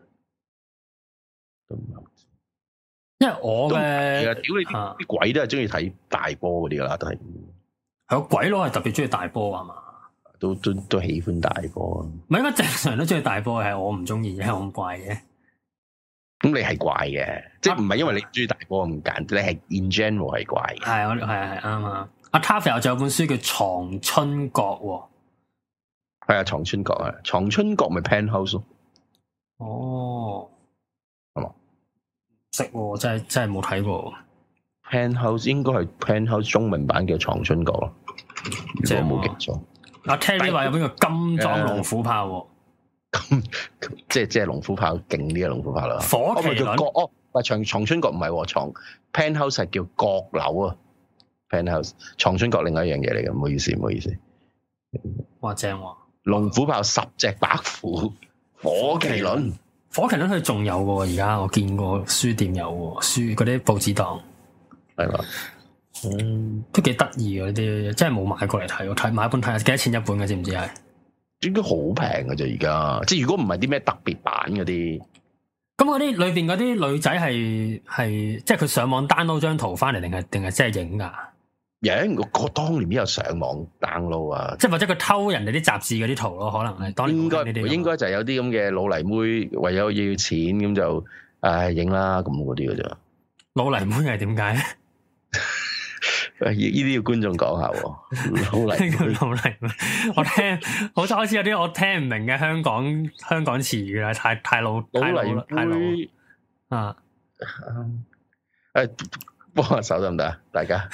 因為我嘅， 其實屌你啲啲鬼都係中意睇大波嗰啲噶啦，都係。 係個鬼佬係特別中意大波啊嘛， 都都都喜歡大波。 唔係應該正常人都中意大波，係我唔中意，係我咁怪嘅。 咁你係怪嘅，即係唔係因為你中意大波咁簡單，你係 in general 係怪嘅。 係我係係啱啊！阿 Taffy 仲有本書叫《藏春閣》喎。 係啊，藏春閣啊，藏春閣咪 Penthouse 咯。 哦， 係嘛？ 識喎，真係真係冇睇過。 Penthouse 應該係 Penthouse 中文版嘅藏春閣咯，如果冇記錯。 阿 Terry 話有邊個金裝龍虎豹喎？ 咁即係即係龍虎豹勁啲嘅龍虎豹啦。 火麒麟哦，唔係長長春閣唔係藏 Penthouse 係叫閣樓啊 Penthouse 藏春閣另外一樣嘢嚟嘅，唔好意思唔好意思。 哇正喎！ 龍虎豹十隻白虎，火麒麟火麒麟佢仲有嘅，而家我見過書店有書嗰啲報紙檔， 係嘛？嗯， 都幾得意嘅啲，真係冇買過嚟睇，我睇買一本睇下幾多錢一本嘅，知唔知係？應該好平嘅啫，而家即係如果唔係啲咩特別版嗰啲， 咁嗰啲裏邊嗰啲女仔係係即係佢上網 download 張圖翻嚟，定係定係真係影噶？ 影我我當年邊有上網 download 啊？ 即係或者佢偷人哋啲雜誌嗰啲圖咯，可能係當年應該應該就係有啲咁嘅老泥妹為咗要錢咁就誒影啦咁嗰啲嘅啫。 老泥妹係點解咧？ 呢啲要觀眾講下喎，老泥妹老泥妹，我聽好似開始有啲我聽唔明嘅香港香港詞語啦，太太老太老太老啊！ 誒，幫下手得唔得啊？大家，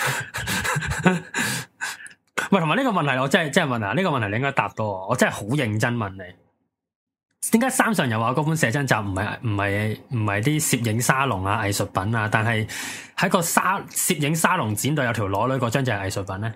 喂，同埋呢個問題，我真係真係問啊！呢個問題你應該答到我，我真係好認真問你。點解三上悠亞嗰本寫真集唔係唔係唔係啲攝影沙龍啊藝術品啊？但係喺個沙攝影沙龍展度有條裸女嗰張就係藝術品咧？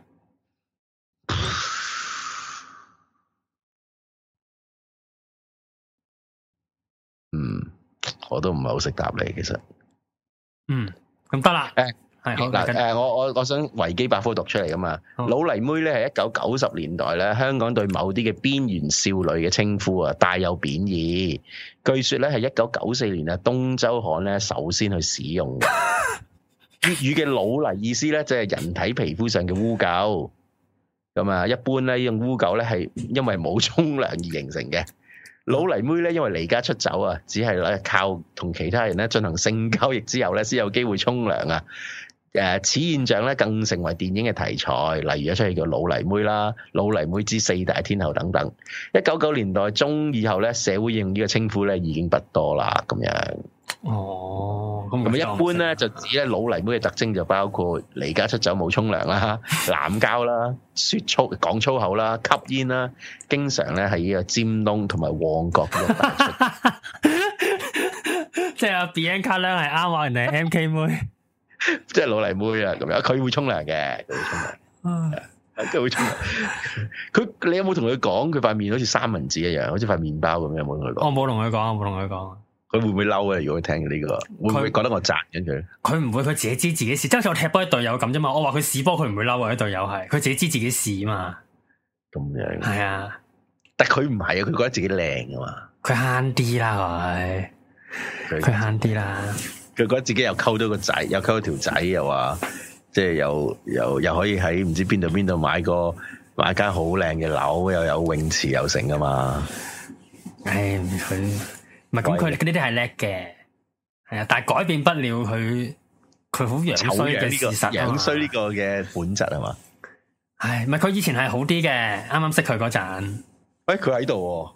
嗯，我都唔係好識答你，其實。 嗯，咁得啦。誒。係嗱， 誒，我我我想維基百科讀出嚟噶嘛？好老泥妹咧係一九九十年代咧，香港對某啲嘅邊緣少女嘅稱呼啊，帶有貶義。據說咧係一九九四年啊，東周刊咧首先去使用嘅粵語嘅老泥意思咧，就係人體皮膚上嘅污垢。咁啊，一般咧呢種污垢咧係因為冇沖涼而形成嘅。老泥妹咧因為離家出走啊，只係咧靠同其他人咧進行性交易之後咧，先有機會沖涼啊。誒，此現象咧更成為電影嘅題材，例如一出戲叫《老泥妹》啦，《老泥妹之四大天后》等等。一九九年代中以後咧，社會用呢個稱呼咧已經不多啦，咁樣。哦，咁咁一般咧就指咧老泥妹嘅特徵就包括離家出走冇沖涼啦、濫交啦、説粗講粗口啦、吸煙啦，經常咧喺呢個尖東同埋旺角嗰度帶出。 即係阿 Bianca 咧係啱話人哋 M K 妹。 即係老泥妹啊，咁樣佢會沖涼嘅，佢會沖涼，佢會沖涼。佢你有冇同佢講？佢塊面好似三文治一樣，好似塊麵包咁樣，有冇同佢講？ 我冇同佢講，我冇同佢講。 佢會唔會嬲啊？如果佢聽到呢個，會唔會覺得我讚緊佢？ 佢唔會，佢自己知自己事，即係好似我踢波啲隊友咁啫嘛。我話佢試波，佢唔會嬲啊！啲隊友係佢自己知自己事啊嘛。 咁樣係啊， 但係佢唔係啊，佢覺得自己靚啊嘛。 佢慳啲啦，佢佢慳啲啦。 佢覺得自己又溝到個仔，又溝到條仔，又話即係又又又可以喺唔知邊度邊度買個買間好靚嘅樓，又有泳池又成噶嘛。唉，佢唔係咁，佢呢啲係叻嘅，係啊，但係改變不了佢佢好樣衰嘅事實，樣衰呢個嘅本質係嘛？唉，唔係佢以前係好啲嘅，啱啱識佢嗰陣，喂，佢喺度。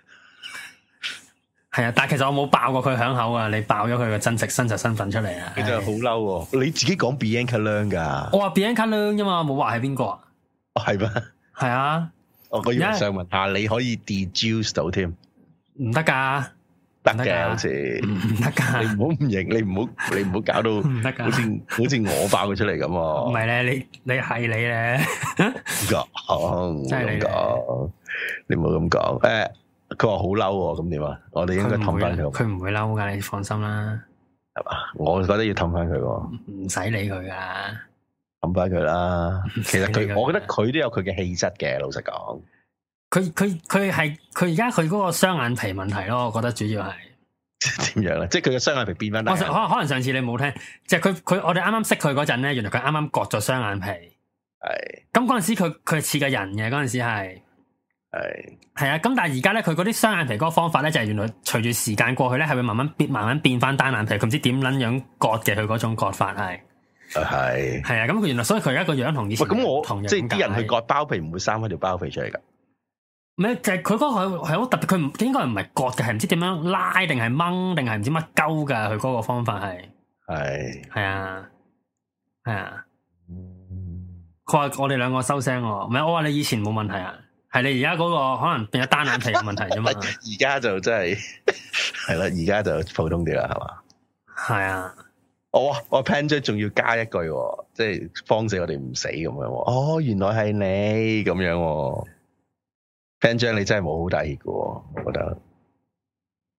係啊，但係其實我冇爆過佢響口啊！你爆咗佢個真實真實身份出嚟啊！你真係好嬲喎！你自己講 Bianca Leung 噶，我話 Bianca Leung 啫嘛，冇話係邊個啊？哦，係咩？係啊！我我要想問下，你可以 deduce 到添？唔得噶，得嘅好似唔得噶。你唔好唔認，你唔好你唔好搞到唔得噶，好似好似我爆佢出嚟咁。唔係咧，你你係你咧，講真係咁講，你唔好咁講誒。佢話好嬲喎，咁點啊？我哋應該氹翻佢。佢唔會嬲噶，你放心啦。係嘛？我覺得要氹翻佢喎。唔使理佢噶，氹翻佢啦。其實佢，我覺得佢都有佢嘅氣質嘅。老實講，佢佢佢係佢而家佢嗰個雙眼皮問題咯。我覺得主要係點樣咧？即係佢嘅雙眼皮變翻大。可能可能上次你冇聽，即係佢佢我哋啱啱識佢嗰陣咧，原來佢啱啱割咗雙眼皮。係。咁嗰陣時佢佢係似個人嘅，嗰陣時係。係係啊，咁但係而家咧，佢嗰啲雙眼皮嗰個方法咧，就係原來隨住時間過去咧，係會慢慢變，慢慢變翻單眼皮。佢唔知點捻樣割嘅，佢嗰種割法係係係啊。咁佢原來所以佢而家個樣同以前咁我同即係啲人去割包皮唔會生翻條包皮出嚟噶。唔係就係佢嗰個係係好特別，佢唔應該唔係割嘅，係唔知點樣拉定係掹定係唔知乜鳩噶。佢嗰個方法係係係啊係啊。佢話我哋兩個收聲，唔係我話你以前冇問題啊。係你而家嗰個可能變咗單眼皮嘅問題啫嘛，而家就真係係啦，而家就普通啲啦，係嘛？係啊，我我 Pan 姐仲要加一句，即係方死我哋唔死咁樣。哦，原來係你咁樣，Pan 姐你真係冇好大熱嘅，我覺得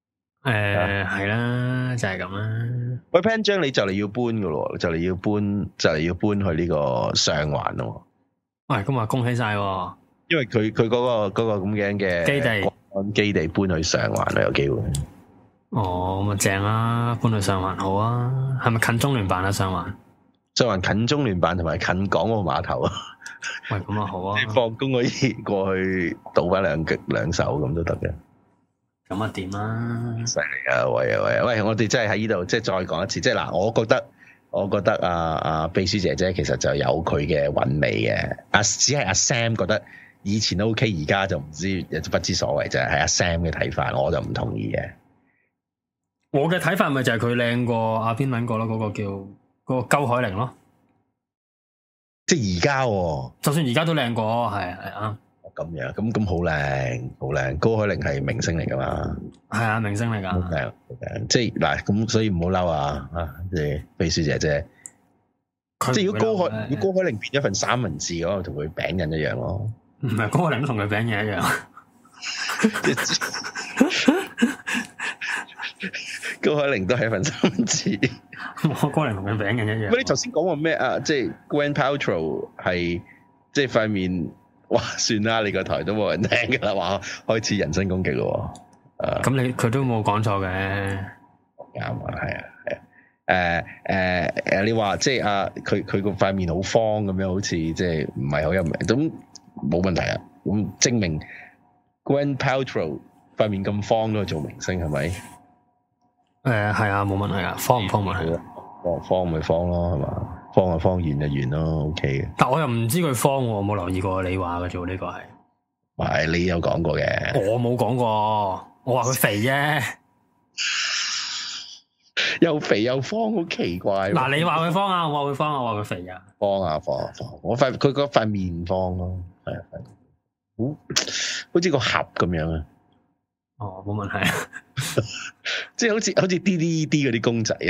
誒係啦，就係咁啦。 喂 Pan 張你就嚟要搬噶咯，就嚟要搬就嚟要搬去呢個上環咯。 喂，咁啊恭喜晒， 因為佢佢嗰個嗰、嗰個咁樣嘅基地基地搬去上環啦，有機會。 哦，咁啊正啦，搬去上環好啊。係咪近中聯辦啊？上環上環近中聯辦同埋近港澳碼頭啊。 喂，咁啊好啊！ 你放工可以過去倒翻兩極兩手咁都得嘅。 咁啊掂啦！ 犀利啊！喂啊喂啊喂！我哋真係喺呢度即係再講一次，即係嗱，我覺得我覺得啊啊秘書姐姐其實就有佢嘅韻味嘅。阿只係阿 Sam 覺得以前都 OK，而家就唔知不知所謂啫。係阿 Sam 嘅睇法，我就唔同意嘅。 我嘅睇法咪就係佢靚過阿邊撚個咯，嗰、嗰個叫嗰、嗰個鳩海寧咯。 即係而家， 就算而家都靚過，係係啊。 咁樣，咁咁好靚，好靚。高海寧係明星嚟噶嘛？ 係啊，明星嚟噶。好靚，好靚。即係嗱，咁所以唔好嬲啊！啊，即係秘書姐姐。即係如果高海，如果高海寧變咗份三文治，可能同佢餅印一樣咯。 唔係，高海寧都同佢餅印一樣。 高海寧都係一份三文治。 我高海寧同佢餅印一樣。 喂，你頭先講過咩啊？即係 Gwyneth Paltrow 係即係塊面。哇，算啦，你個台都冇人聽噶啦，話開始人身攻擊咯。誒， 咁你佢都冇講錯嘅。 啱啊，係啊，係啊。誒誒誒，你話即係啊，佢佢個塊面好方咁樣，好似即係唔係好有名，咁冇問題啊。咁證明 Gwyneth Paltrow 塊面咁方都係做明星係咪？ 誒係啊，冇問題啊，方唔方咪係。 方方咪方咯，係嘛？方就方，圓就圓咯 ，OK 嘅。 但我又唔知佢方，我冇留意過你話嘅做呢個係。 係你有講過嘅， 我冇講過，我話佢肥啫。 又肥又方，好奇怪。 嗱，你話佢方啊，我話佢方啊，我話佢肥啊。 方啊方啊方，我塊佢嗰塊面方咯，係啊係，好好似個盒咁樣啊。 哦，冇問題啊。 即係好似好似 D D E D 嗰啲公仔啊。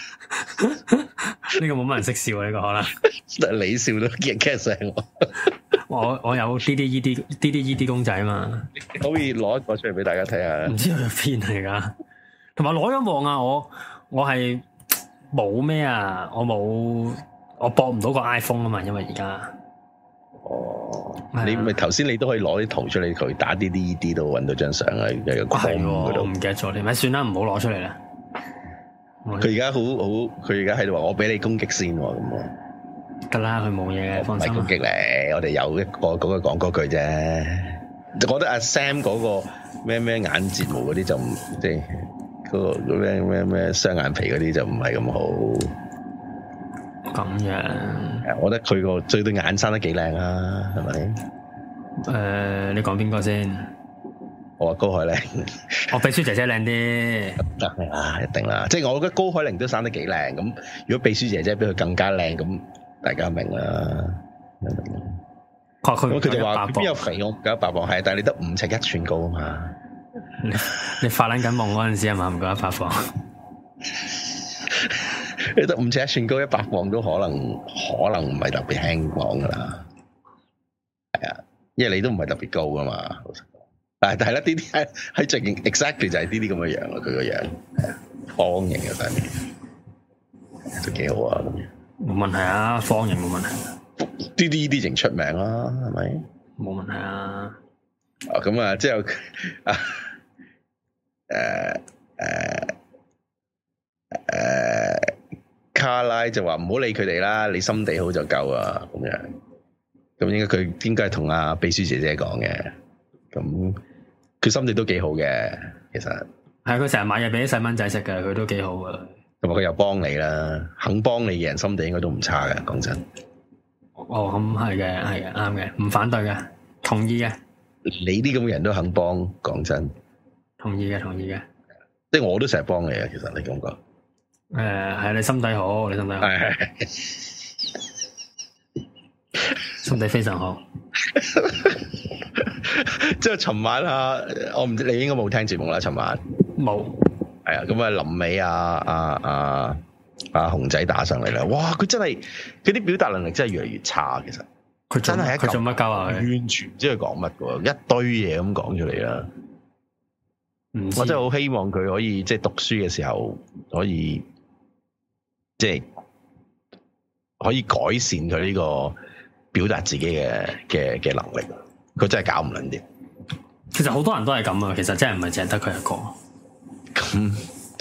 呢個冇乜人識笑啊！呢、這個可能你笑都驚驚醒我。 我我有 D D E D D D E D 公仔啊嘛， 可以攞一個出嚟俾大家睇下。 唔知佢邊嚟噶？同埋攞咗望啊！我我係冇咩啊！我冇我駁唔到個 iPhone 啊嘛，因為而家哦，啊、你咪頭先你都可以攞啲圖出嚟，佢打 D D E D 度搵到張相啊！有個框嗰度， 我唔記得咗添，咪算啦，唔好攞出嚟啦。 佢而家好好，佢而家喺度話我俾你攻擊先咁啊！ 得啦，佢冇嘢嘅，放心。唔係攻擊你，我哋有一個嗰個講嗰句啫。我覺得阿 Sam 嗰個咩咩眼睫毛嗰啲就唔即係嗰個咩咩咩雙眼皮嗰啲就唔係咁好。 咁樣， 我覺得佢個最對眼生得幾靚啊，係咪？ 誒、呃，你講邊個先？ 我話高海寧， 我秘書姐姐靚啲， 得啦，一定啦。即係我覺得高海寧都生得幾靚，咁如果秘書姐姐比佢更加靚，咁大家明啦。 佢佢佢就話邊有肥我唔夠一百磅，係，但係你得五尺一寸高啊嘛。 你你發撚緊夢嗰陣時係嘛？唔夠一百磅， 你得五尺一寸高，一百磅都可能可能唔係特別輕磅噶啦。係啊，因為你都唔係特別高噶嘛。但係但係咧，呢啲係係最勁 exactly 就係呢啲咁嘅樣咯，佢個樣方形嘅塊面都幾好啊，咁樣冇問題啊，方形冇問題。 呢啲呢啲型出名啦，係咪？ 冇問題啊。 啊咁啊，之後啊誒誒誒卡拉就話唔好理佢哋啦，你心地好就夠啊，咁樣。咁應該佢應該係同阿秘書姐姐講嘅，咁。佢心地都幾好嘅，其實係佢成日買嘢俾啲細蚊仔食嘅，佢都幾好嘅。 同埋佢又幫你啦，肯幫你嘅人心地應該都唔差嘅，講真。 哦，咁係嘅，係嘅，啱嘅，唔反對嘅，同意嘅。 你啲咁嘅人都肯幫，講真。 同意嘅，同意嘅。 即係我都成日幫你啊，其實你感覺。誒、 呃，係你心底好，你心底好。係係。心地非常好。 即係尋晚啊，我唔知你應該冇聽節目啦。尋晚冇， 係啊，咁啊臨尾啊啊啊啊熊仔打上嚟啦！哇，佢真係佢啲表達能力真係越嚟越差。其實佢真係佢做乜鳩啊？ 完全唔知佢講乜嘅，一堆嘢咁講出嚟啦。 我真係好希望佢可以即係讀書嘅時候可以即係可以改善佢呢個表達自己嘅嘅嘅能力。佢真係搞唔撚掂。 其實好多人都係咁啊，其實真係唔係淨係得佢一個。咁、嗯、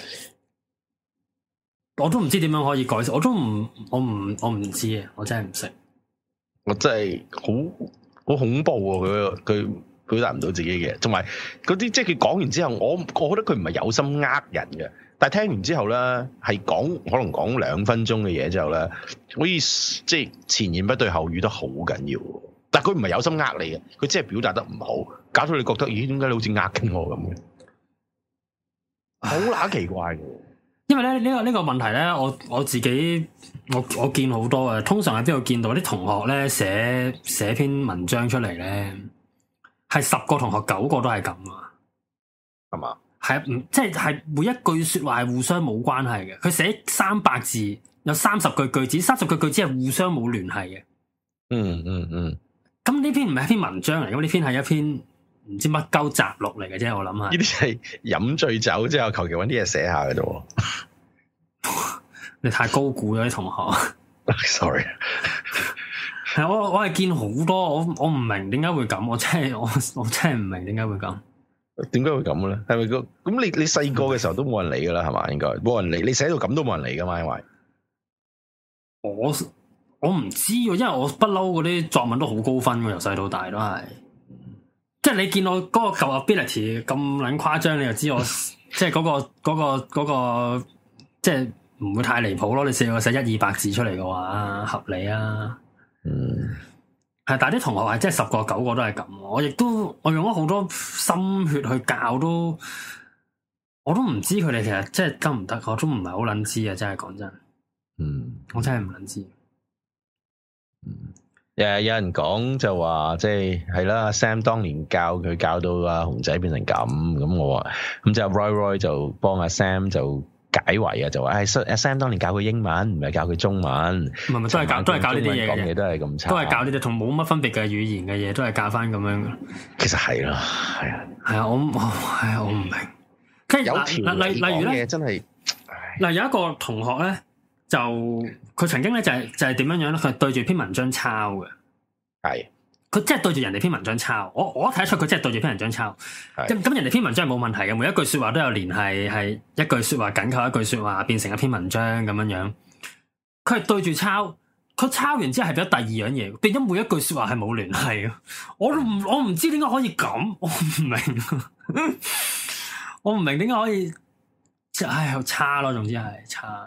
我都唔知點樣可以改善，我都唔我唔我唔知啊，我真係唔識。 我真係好好恐怖啊！佢佢。表達唔到自己嘅，同埋嗰啲即係佢講完之後，我我覺得佢唔係有心呃人嘅，但係聽完之後咧，係講可能講兩分鐘嘅嘢之後咧，可以即係前言不對後語得好緊要。但係佢唔係有心呃你嘅，佢只係表達得唔好，搞到你覺得咦，點解你好似呃緊我咁嘅？好乸奇怪嘅。 因為咧呢、這個呢、這個問題咧，我我自己我我見好多嘅，通常喺邊度見到啲同學咧寫寫篇文章出嚟咧。係十個同學九個都係咁啊， 係嘛？ 係唔即係係每一句說話係互相冇關係嘅。佢寫三百字，有三十句句子，三十句句子係互相冇聯繫嘅。 嗯嗯嗯。 咁呢篇唔係一篇文章嚟，咁呢篇係一篇唔知乜鳩雜錄嚟嘅啫。我諗下， 呢啲係飲醉酒之後求其揾啲嘢寫下嘅啫。 你太高估咗啲同學。 Sorry。 係我我係見好多，我我唔明點解會咁，我真係我我真係唔明點解會咁。 點解會咁咧？係咪個咁你你細個嘅時候都冇人理噶啦，係嘛？應該冇人理，你寫到咁都冇人理噶嘛？因為我我唔知，因為我不嬲嗰啲作文都好高分嘅，由細到大都係。即係你見我嗰個舊 ability 咁撚誇張，你就知我即係嗰個嗰個嗰個即係唔會太離譜咯。你試過寫一二百字出嚟嘅話，合理啊。 嗯， 係，但係啲同學係即係十個九個都係咁，我亦都我用咗好多心血去教，都我都唔知佢哋其實即係得唔得，我都唔係好捻知啊！真係講真， 嗯， 我真係唔捻知。 嗯，誒，有人講就話即係係啦 ，Sam 當年教佢教到阿熊仔變成咁，咁我話咁就 Roy Roy 就幫阿 Sam 就。解圍啊，就話誒，阿 Sam 當年教佢英文，唔係教佢中文，唔係唔係都係教都係教呢啲嘢嘅，講嘢都係咁差， 都係教呢啲同冇乜分別嘅語言嘅嘢，都係教翻咁樣。 其實係咯，係啊， 係啊，我我係啊，我唔明。即係有條例例如咧， 真係嗱，有一個同學咧，就佢曾經咧就係就係點樣樣咧，佢對住篇文章抄嘅， 係。 佢真係對住人哋篇文章抄，我我睇得出佢真係對住篇文章抄。咁咁人哋篇文章係冇問題嘅，每一句說話都有聯繫，係一句說話緊扣一句說話，變成一篇文章咁樣樣。佢係對住抄，佢抄完之後係變咗第二樣嘢，變咗每一句說話係冇聯繫嘅。我都唔我唔知點解可以咁，我唔明，我唔明點解可以，唉，好差咯，總之係差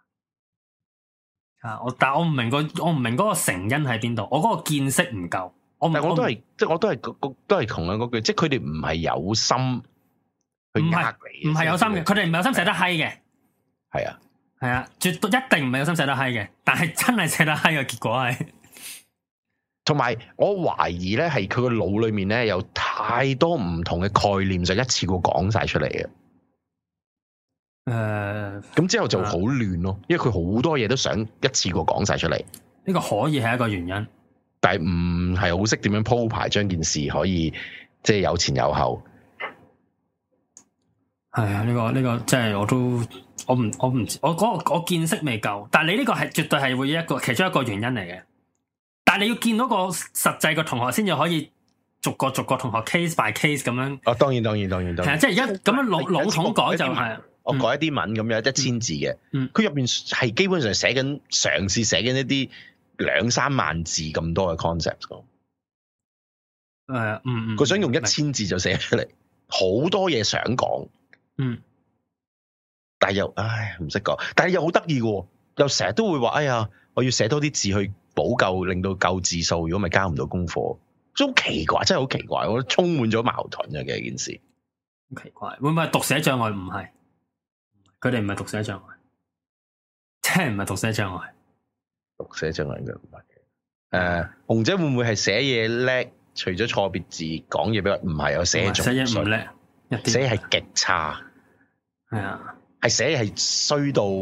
差差。我但係我唔明個，我唔明嗰個成因喺邊度，我嗰個見識唔夠。我唔，我都係，即係我都係，都係同樣嗰句，即係佢哋唔係有心去呃你，唔係有心嘅，佢哋唔係有心寫得閪嘅，係啊，係啊，絕對一定唔係有心寫得閪嘅，但係真係寫得閪嘅結果係。同埋我懷疑咧，係佢個腦裏面咧有太多唔同嘅概念，就一次過講晒出嚟嘅。誒、呃，咁之後就好亂咯，因為佢好多嘢都想一次過講晒出嚟。呢個可以係一個原因。但係唔係好識點樣鋪排，將件事可以即係有前有後。係啊，呢個呢個即係我都我唔我唔我嗰個我見識未夠，但係你呢個係絕對係會一個其中一個原因嚟嘅。但係你要見到個實際個同學先至可以逐個逐個同學 case by case 咁樣。哦，當然當然當然當然。係啊，即係而家咁樣老老統改就係。我改一啲文咁樣一千字嘅，佢入邊係基本上寫緊嘗試寫緊一啲。兩三萬字咁多嘅 concept 咯，誒、uh, 嗯，嗯嗯，佢想用一千字就寫出嚟，好多嘢想講，嗯，但係又唉唔識講，但係又好得意嘅，又成日都會話，哎呀，我要寫多啲字去補救，令到夠字數，如果咪交唔到功課，真係好奇怪，真係好奇怪，我覺得充滿咗矛盾嘅嘅件事，好奇怪，會唔會係讀寫障礙？唔係，佢哋唔係讀寫障礙，真係唔係讀寫障礙。讀寫障礙嘅唔係嘅，誒，紅姐會唔會係寫嘢叻？除咗錯別字，講嘢比較唔係有寫作，寫嘢唔叻，寫係極差，係啊，係寫係衰到，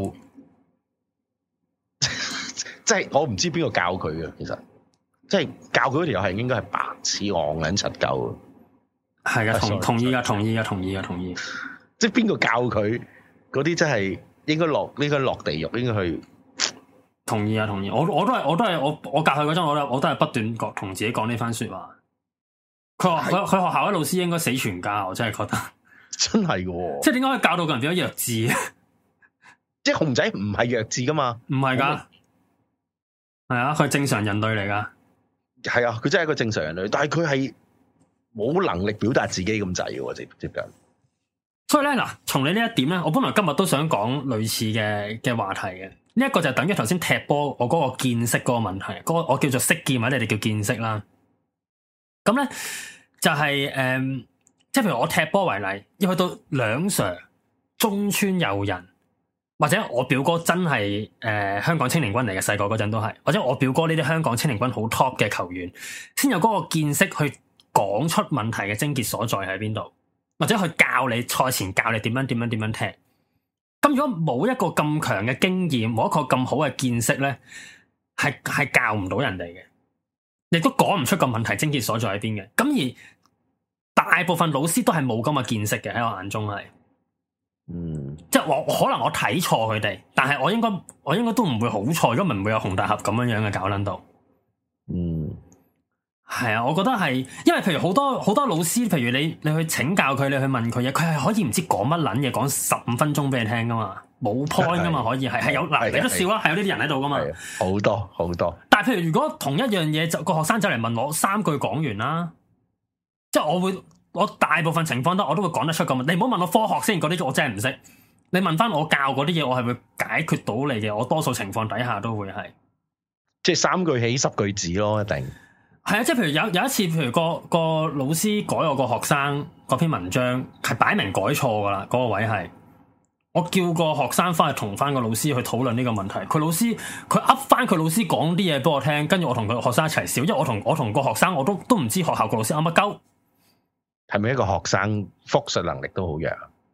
即係我唔知邊個教佢嘅，其實，即係教佢嗰條友係應該係白痴戇撚柒鳩， 係啊，同同意啊，同意啊，同意啊，同意。 即係邊個教佢嗰啲真係應該落應該落地獄，應該去。 同意啊，同意。我我都係我都係我我教佢嗰陣，我都我都係不斷講同自己講呢番說話。佢話佢佢學校嘅老師應該死全家，我真係覺得真係嘅、哦。 即係點解可以教到個人變咗弱智？ 即係熊仔唔係弱智噶嘛？唔係噶，係啊，佢係正常人類嚟噶。 係啊，佢真係一個正常人類，但係佢係冇能力表達自己咁滯嘅，接接近。 所以咧，嗱，從你呢一點咧，我本來今日都想講類似嘅嘅話題嘅。呢一個就等於頭先踢波我嗰個見識嗰個問題，嗰、嗰個我叫做識見或者你哋叫見識啦。咁咧就係、是、誒、嗯，即係譬如我踢波為例，要去到兩 Sir 中村佑人，或者我表哥真係誒、呃、香港青年軍嚟嘅，細個嗰陣都係，或者我表哥呢啲香港青年軍好 top 嘅球員，先有嗰個見識去講出問題嘅症結所在喺邊度，或者去教你賽前教你點樣點樣點樣踢。咁如果冇一個咁強嘅經驗，冇一個咁好嘅見識咧，係係教唔到人哋嘅，亦都講唔出個問題症結所在喺邊嘅。咁而大部分老師都係冇咁嘅見識嘅，喺我眼中係，嗯，即係我可能我睇錯佢哋，但係我應該我應該都唔會好錯，如果唔會有洪大俠咁樣樣嘅搞捻到，嗯。係啊，我覺得係，因為譬如好多好多老師，譬如你你去請教佢，你去問佢嘢，佢係可以唔知講乜捻嘢，講十五分鐘俾你聽噶嘛，冇 point 噶嘛，可以係係有嗱，你都笑啦，係有呢啲人喺度噶嘛， 好多好多。但係譬如如果同一樣嘢，就個學生走嚟問我三句講完啦，即係我會我大部分情況都我都會講得出咁。你唔好問我科學先，嗰啲我真係唔識。你問翻我教嗰啲嘢，我係會解決到你嘅。我多數情況底下都會係，即係三句起十句止咯，一定。 係啊，即係譬如有有一次，譬如個個老師改我個學生嗰篇文章，係擺明改錯噶啦，嗰、嗰個位係我叫個學生翻去同翻個老師去討論呢個問題。佢老師佢噏翻佢老師講啲嘢俾我聽，跟住我同佢學生一齊笑，因為我同我同個學生我都都唔知學校個老師噏乜鳩。 係咪一個學生複述能力都好弱？誒、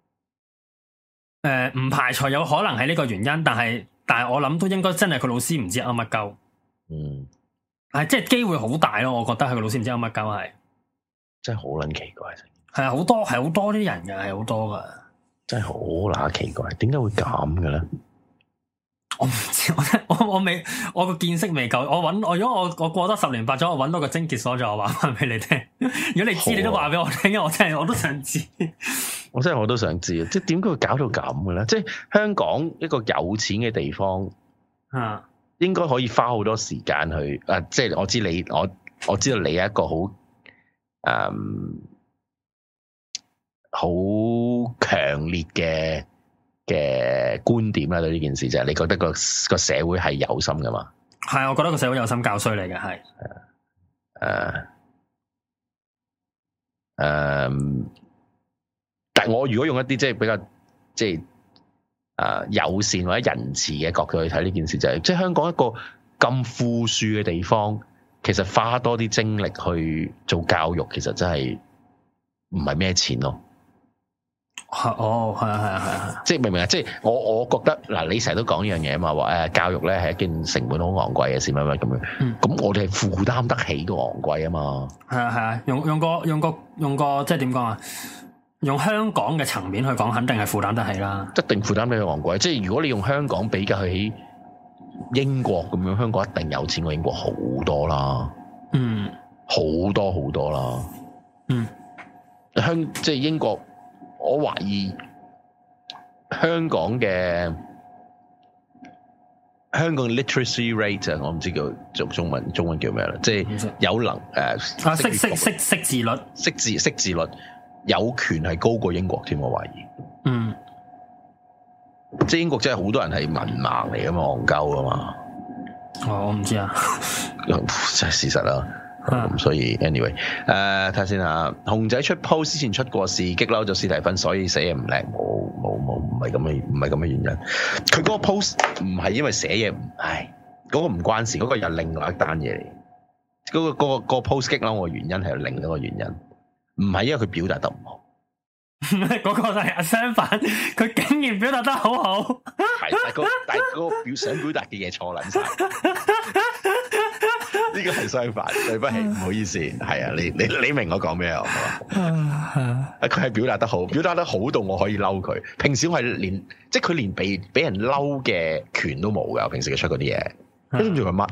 呃，唔排除有可能係呢個原因，但係但係我諗都應該真係佢老師唔知噏乜鳩。嗯。係，即係機會好大咯，我覺得係個老師唔知有乜鳩係， 真係好撚奇怪。 係啊，好多係好多啲人嘅，係好多噶， 真係好乸奇怪，點解會咁嘅咧？ 我唔知，我我我未，我個見識未夠。我搵我如果我我過多十年八載，我搵到個症結所在，我話翻俾你聽。如果你知，啊、你都話俾我聽，因為我真係我都想知。 我真係我都想知啊！即係點解會搞到咁嘅咧？即係香港一個有錢嘅地方啊。應該可以花好多時間去，誒、啊，即係我知你，我我知道你係一個好，誒、嗯，好強烈嘅嘅觀點啦，對呢件事就係、是、你覺得個個社會係有心噶嘛？ 係，我覺得個社會有心教衰你嘅，係， 誒，誒，但係我如果用一啲即係比較即係。誒、呃，友善或者仁慈嘅角度去睇呢件事，就係、是、即係香港一個咁富庶嘅地方，其實花多啲精力去做教育，其實真係唔係咩錢咯。 哦，係啊，係啊，係啊， 即係明唔明啊？即係我我覺得嗱，你成日都講呢樣嘢啊嘛，話誒教育咧係一件成本好昂貴嘅事，乜乜咁樣。咁、嗯、我哋係負擔得起個昂貴啊嘛。係啊，係啊，用用個用個用個即係點講啊？用香港嘅層面去講，肯定係負擔得起啦。一定負擔得起昂貴。即係如果你用香港比較起英國咁樣，香港一定有錢過英國好多啦。嗯，好多好多啦。嗯，香即係英國，我懷疑香港嘅香港 literacy rate 啊，我唔知叫做中文中文叫咩啦，即係有能誒啊識識識識字率，識字識字率。有權係高過英國添，我懷疑。嗯，即係英國真係好多人係文盲嚟噶嘛，戇鳩噶嘛。哦，我唔知啊，真係事實啦。咁、啊、所以 anyway，誒睇下先嚇。熊仔出 post 之前出過事，激嬲咗史提芬，所以寫嘢唔靚。冇冇冇，唔係咁嘅，唔係咁嘅原因。佢嗰個 post 唔係因為寫嘢唔，唉，嗰、嗰個唔關事，嗰、嗰個又另外一單嘢嚟。嗰、嗰個、嗰個、嗰個 post 激嬲我嘅原因係有另一個原因。唔係因為佢表達得唔好，嗰個就係相反，佢竟然表達得好好，係但係個但係個表想表達嘅嘢錯撚晒， 呢個係相反，對不起，唔好意思，係啊，你你你明我講咩啊？佢係表達得好，表達得好到我可以嬲佢。平時我係連，即係佢連俾俾人嬲嘅權都冇噶。平時佢出嗰啲嘢，都唔知佢乜。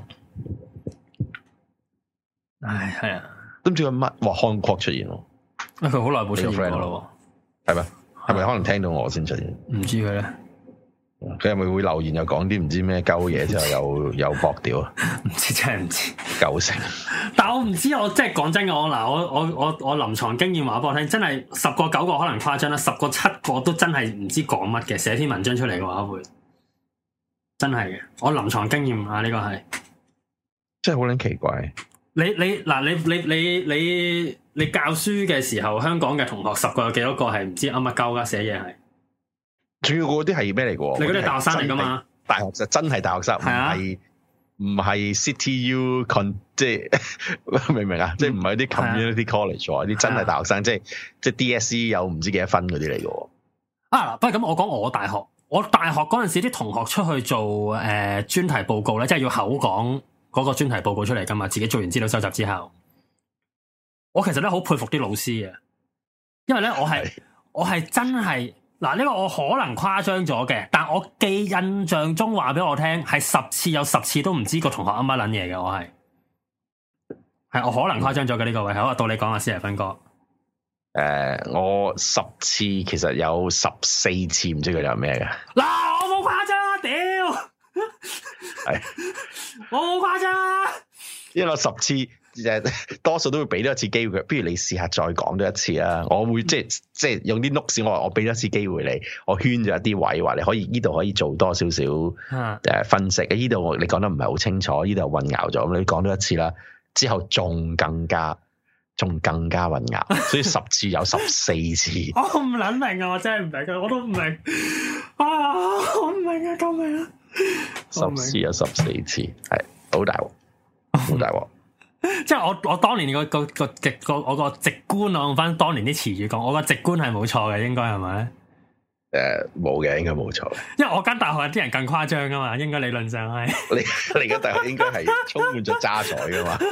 唉，係啊， 都唔知佢乜。哇，Hong Kong出現咯， 佢好耐冇出現過咯， 係咪？係咪可能聽到我先出現？ 唔知佢咧。 佢係咪會留言又講啲唔知咩鳩嘢之後又又駁屌啊？ 唔知真係唔知九成。 但係我唔知，我即係講真嘅，我嗱我我我我臨床經驗話俾我聽，真係十個九個可能誇張啦，十個七個都真係唔知講乜嘅，寫篇文章出嚟嘅話會真係嘅。我臨床經驗啊，呢、這個係真係好撚奇怪。 你你嗱你你你你你教書嘅時候，香港嘅同學十個有幾多個係唔知啱乜鳩噶寫嘢係？ 主要嗰啲係咩嚟嘅？ 你嗰啲係大學生嚟噶嘛？ 大學就真係大學生，唔係唔係 City U Con， 即係明唔明啊？即係唔係啲 community college 喎？啲真係大學生，即係即係 D S C 有唔知幾多分嗰啲嚟嘅。 啊，不過咁我講我大學，我大學嗰陣時啲同學出去做誒專題報告咧，即係要口講嗰個專題報告出嚟噶嘛？自己做完資料收集之後，我其實咧好佩服啲老師嘅，因為咧我係我係真係。嗱，呢個我可能誇張咗嘅，但我記印象中話俾我聽，係十次有十次都唔知個同學啱乜撚嘢嘅，我係係我可能誇張咗嘅呢個位，好啊，到你講下先啊，芬哥。誒、 呃，我十次其實有十四次唔知佢有咩嘅。 嗱，我冇誇張啊，屌！係，我冇誇張啊， 因為我十次。多數都會俾多一次機會佢，不如你試下再講多一次啊！我會即係即係用啲 notes，我話我俾多一次機會你，我圈咗一啲位，話你可以呢度可以做多少少誒分析。呢度你講得唔係好清楚，呢度混淆咗，咁你講多一次啦。之後仲更加仲更加混淆，所以十次有十四次。 我唔撚明啊！我真係唔明，我都唔明啊！我唔明啊！救命啊！ 十次有十四次，係好大鑊，好大鑊。 即係我我當年個個個直個我個直觀，我用翻當年啲詞語講，我個直觀係冇錯嘅，應該係咪？誒，冇嘅，應該冇錯。因為我間大學有啲人更誇張噶嘛，應該理論上係。你你間大學應該係充滿咗渣滓噶嘛，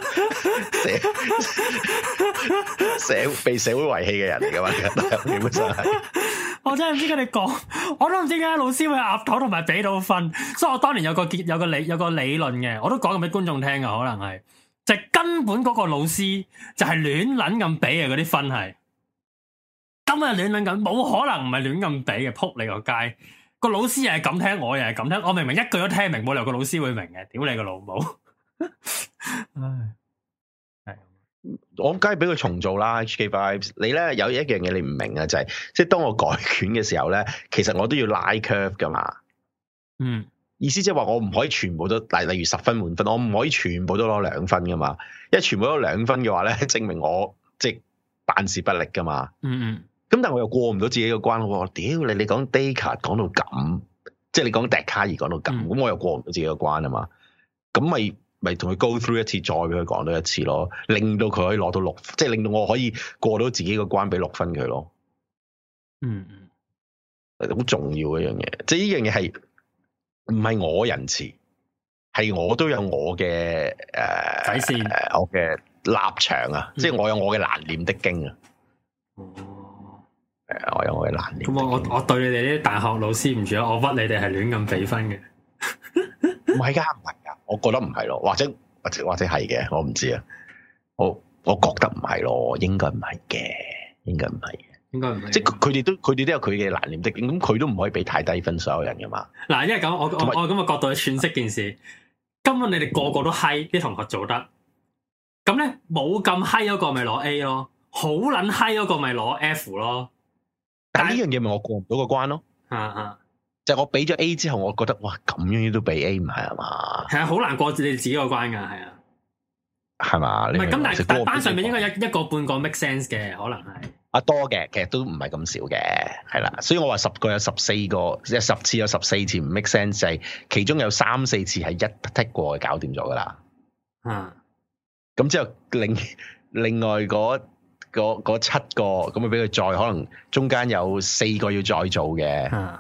社社被社會遺棄嘅人嚟噶嘛，基本上係。我真係唔知佢哋講，我都唔知點解老師會岌頭同埋俾到分，所以我當年有個結有個理有個理論嘅，我都講咁俾觀眾聽噶，可能係。就根本嗰個老師就係亂撚咁俾嘅嗰啲分係，根本係亂撚咁，冇可能唔係亂咁俾嘅，撲你個街！個老師又係咁聽，我又係咁聽，我明明一句都聽明，冇理由個老師會明嘅，屌你個老母！唉，係，我梗係俾佢重做啦。H K Vibes，你咧有一樣嘢你唔明啊，就係、是、即係當我改卷嘅時候咧，其實我都要拉 curve 噶嘛。嗯。意思即係話我唔可以全部都，例例如十分滿分，我唔可以全部都攞兩分噶嘛。因為全部都兩分嘅話咧，證明我即係辦事不力噶嘛。嗯嗯。咁但係我又過唔到自己個關，我屌你！你講 Descartes 講到咁，即係你講笛卡爾講到咁，咁、嗯、我又過唔到自己個關啊嘛。咁咪咪同佢 go through 一次，再俾佢講多一次咯，令到佢可以攞到六，即係令到我可以過到自己個關，俾六分佢咯。嗯嗯。好重要嘅一樣嘢，即係呢樣嘢係。唔係我仁慈，係我都有我嘅誒底線，誒我嘅立場啊，嗯、即係我有我嘅難念的經啊。哦，誒，我有我嘅難念。咁我我我對你哋啲大學老師唔住啊，我屈你哋係亂咁俾分嘅。唔係噶，唔係噶，我覺得唔係咯，或者或者或者係嘅，我唔知啊。我我覺得唔係咯，應該唔係嘅，應該唔係。應該唔係，即係佢哋都佢哋都有佢嘅難念的經，咁佢都唔可以俾太低分所有人噶嘛。嗱，因為咁，我我我咁嘅角度去詮釋件事，根本你哋個個都嗨，啲同學做得，咁咧冇咁嗨嗰個咪攞 A 咯，好撚嗨嗰個咪攞 F 咯。但係呢樣嘢咪我過唔到個關咯。啊啊，就係我俾咗 A 之後，我覺得哇咁樣都俾 A 唔係啊嘛。係啊，好難過你哋自己個關噶，係啊，係嘛？唔係咁，但係但班上面應該有一個半個 make sense 嘅，可能係。啊多嘅，其實都唔係咁少嘅，係啦，所以我話十個有十四個，即係十次有十四次唔 make sense，就係其中有三四次係一剔過搞掂咗噶啦。嗯，咁之後另另外嗰嗰七個，咁咪俾佢再可能中間有四個要再做嘅。嗯，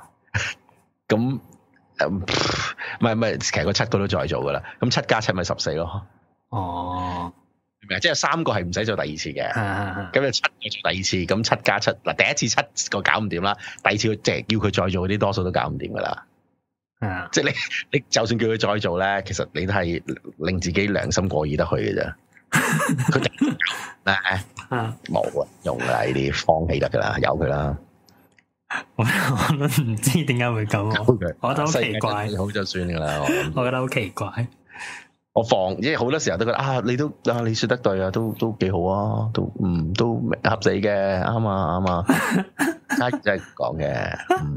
咁唔係唔係，其實嗰七個都再做噶啦，咁七加七咪十四咯。 哦， 明唔明？即係三個係唔使做第二次嘅，咁就、啊、七個做第二次，咁七加七嗱，第一次七個搞唔掂啦，第二次即係叫佢再做嗰啲，多數都搞唔掂噶啦。 啊、 即係你你就算叫佢再做咧，其實你都係令自己良心過意得去嘅啫。佢就誒冇啊，用啦呢啲放棄得噶啦，由佢啦。 我我都唔知點解會咁，我覺得好奇怪。 好就算噶啦，我我覺得好奇怪。 我放，因為好多時候都覺得啊，你都啊，你說得對啊，都都幾好啊，都嗯都合理嘅，啱啊啱啊，真係講嘅。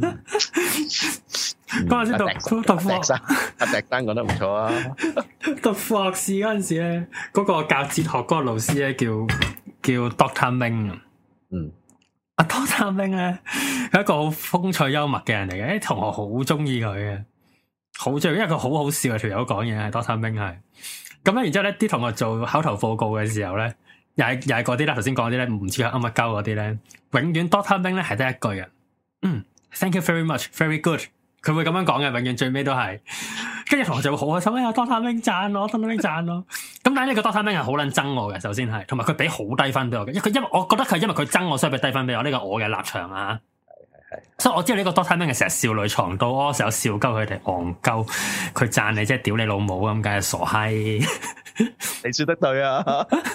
嗰陣時讀讀副學士，阿迪丹講得唔錯啊。 讀副學士嗰陣時咧，嗰個教哲學嗰個老師咧叫叫 Doctor Ming。嗯，阿 Doctor Ming 咧係一個好風趣幽默嘅人嚟嘅，啲同學好中意佢嘅。好中意，因為佢好好笑啊！條友講嘢係 Doctor Ming 係咁咧，然之後咧啲同學做口頭報告嘅時候咧，又係又係嗰啲啦，頭先講啲咧唔知佢噏乜鳩嗰啲咧，永遠 Doctor Ming 咧係得一句嘅，嗯 ，Thank you very much，very good， 佢會咁樣講嘅，永遠最尾都係，跟住同學就會好開心，哎呀 Doctor Ming 讚我 Doctor Ming 讚我，咁但係呢個 Doctor Ming 係好撚憎我嘅，首先係，同埋佢俾好低分俾我嘅，因為佢因為我覺得佢因為佢憎我，所以俾低分俾我，呢個我嘅立場啊。所以我知道呢個 Doctor Ming 係成日少女藏刀，我成日笑鳩佢哋戇鳩，佢讚你即係屌你老母咁，梗係傻閪。 你說得對啊！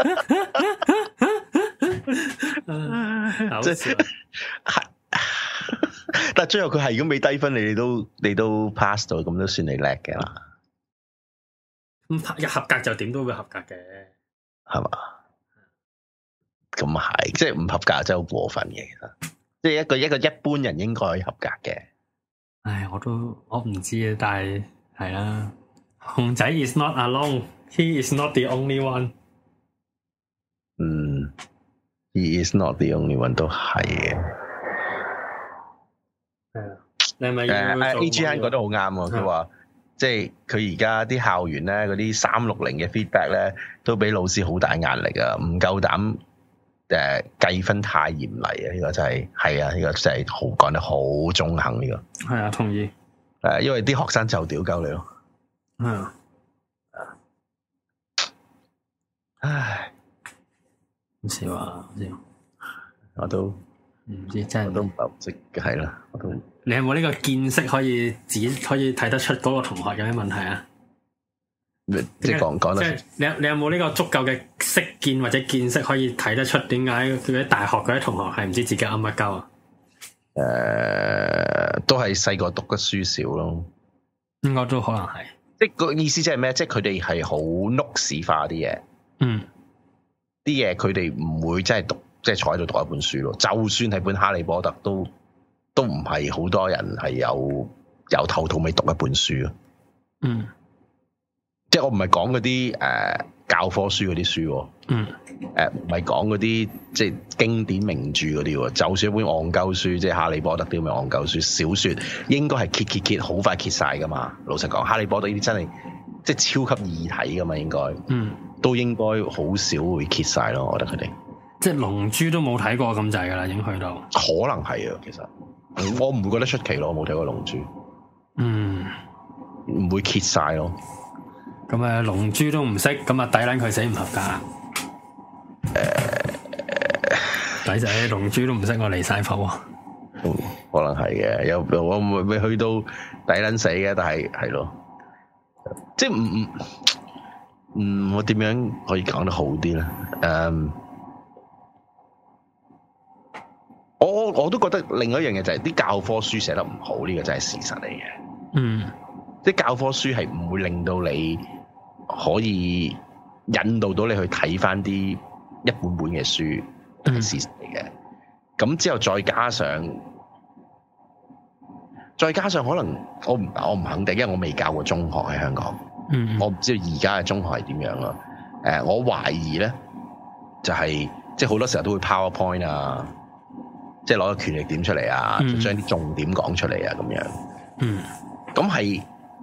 即係，但係最後佢係如果未低分，你哋都你都 pass 到，咁都算你叻嘅啦。 咁合格就點都會合格嘅， 係嘛？咁係，即係唔合格真係好過分嘅，其實。即係一個一個一般人應該可以合格嘅。 唉，我都我唔知啊，但係係啦。熊仔 is not alone, he is not the only one。 嗯 ，he is not the only one 都係嘅。 係啊，你係咪誒？A G N 覺得好啱喎，佢話即係佢而家啲校園咧，嗰啲三六零嘅 feedback 咧，都俾老師好大壓力啊，唔夠膽。誒，計分太嚴厲啊！呢個真係係啊，呢個真係好講得好中肯呢個。 係啊，同意。 誒，因為啲學生就屌鳩你咯。 係啊。 唉， 唔少啊，唔少。 我都唔知真係。 我都唔係好識，係啦，我都。 你有冇呢個見識可以自己可以睇得出嗰個同學有咩問題啊？ 即係講講得， 即係你有你有冇呢個足夠嘅識見或者見識可以睇得出點解佢啲大學嗰啲同學係唔知自己噏乜鳩啊？ 誒、呃，都係細個讀得書少咯， 應該都可能係。 即係個意思即係咩？即係佢哋係好碌屎化啲嘢，嗯，啲嘢佢哋唔會真係讀，即係坐喺度讀一本書咯。就算係本哈利波特，都都唔係好多人係有由頭到尾讀一本書咯，嗯。即係我唔係講嗰啲誒教科書嗰啲書，嗯，誒唔係講嗰啲即係經典名著嗰啲，就算一本戇鳩書，即係哈利波特啲咁嘅戇鳩書小說，應該係揭揭揭好快揭晒噶嘛。老實講，哈利波特呢啲真係即係超級易睇噶嘛，應該，嗯，都應該好少會揭晒咯。我覺得佢哋即係龍珠都冇睇過咁滯噶啦，已經去到可能係啊。其實我唔會覺得出奇咯，我冇睇過龍珠，嗯，唔會揭晒咯。 咁啊，龍珠都唔識，咁啊抵撚佢死唔合格。誒，抵仔龍珠都唔識，我離晒譜啊。 嗯，可能係嘅，有我未未去到抵撚死嘅，但係係咯，即係唔唔，嗯，我點樣可以講得好啲咧？誒、um,，我我都覺得另外一樣嘢就係啲教科書寫得唔好，呢、這個真係事實嚟嘅。嗯，即係教科書係唔會令到你。可以引導到你去睇翻啲一本本嘅書，係事實嚟嘅。咁、嗯、之後再加上，再加上可能我唔我唔肯定，因為我未教過中學喺香港。嗯，我唔知道而家嘅中學係點樣咯。誒，我懷疑咧，就係、是、即係好多時候都會 PowerPoint 啊，即係攞個權力點出嚟啊，嗯、將啲重點講出嚟啊，咁樣。嗯，咁係。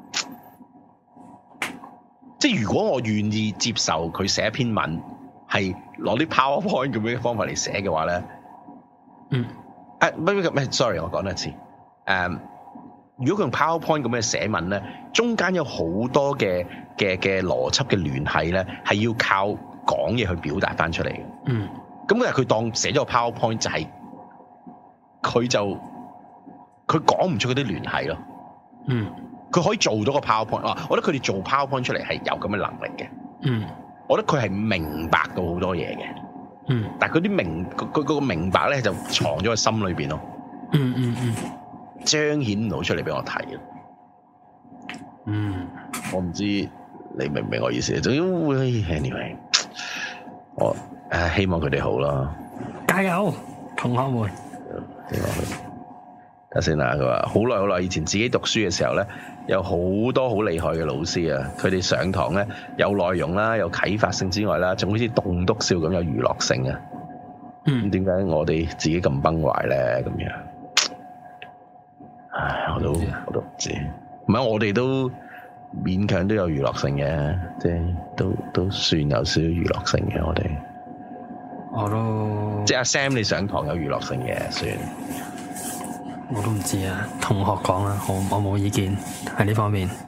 即係如果我願意接受佢寫一篇文係攞啲 PowerPoint 咁樣嘅方法嚟寫嘅話咧，嗯，誒、啊，唔唔唔，sorry，我講多一次，誒、um,， 如果佢用 PowerPoint 咁嘅寫文咧，中間有好多嘅嘅嘅邏輯嘅聯繫咧，係要靠講嘢去表達翻出嚟嘅。 嗯。 咁但係佢當寫咗個 PowerPoint 就係、是，佢就佢講唔出嗰啲聯繫咯。 嗯。佢可以做到個 PowerPoint 啊！我覺得佢哋做 PowerPoint 出嚟係有咁嘅能力嘅。 嗯。我覺得佢係明白到好多嘢嘅。 嗯。但係嗰啲明佢佢個明白咧就藏咗喺心裏邊咯。 嗯嗯嗯。 彰顯唔到出嚟俾我睇。 嗯。我唔知你明唔明我意思？總之會 anyway， 我誒希望佢哋好啦。 加油，同學們。 點講佢？睇下先啦。佢話好耐好耐以前自己讀書嘅時候咧，有好多好厲害嘅老師啊！佢哋上堂咧有內容啦，有啟發性之外啦，仲好似棟篤笑咁有娛樂性啊！ 嗯， 點解我哋自己咁崩壞咧？咁樣，唉，我都我都唔知。唔係我哋都勉強都有娛樂性嘅，即係都都算有少少娛樂性嘅。我哋我都即係阿 Sam 你上堂有娛樂性嘅，算。 我都唔知啊，同學講啦，我我冇意見喺呢方面。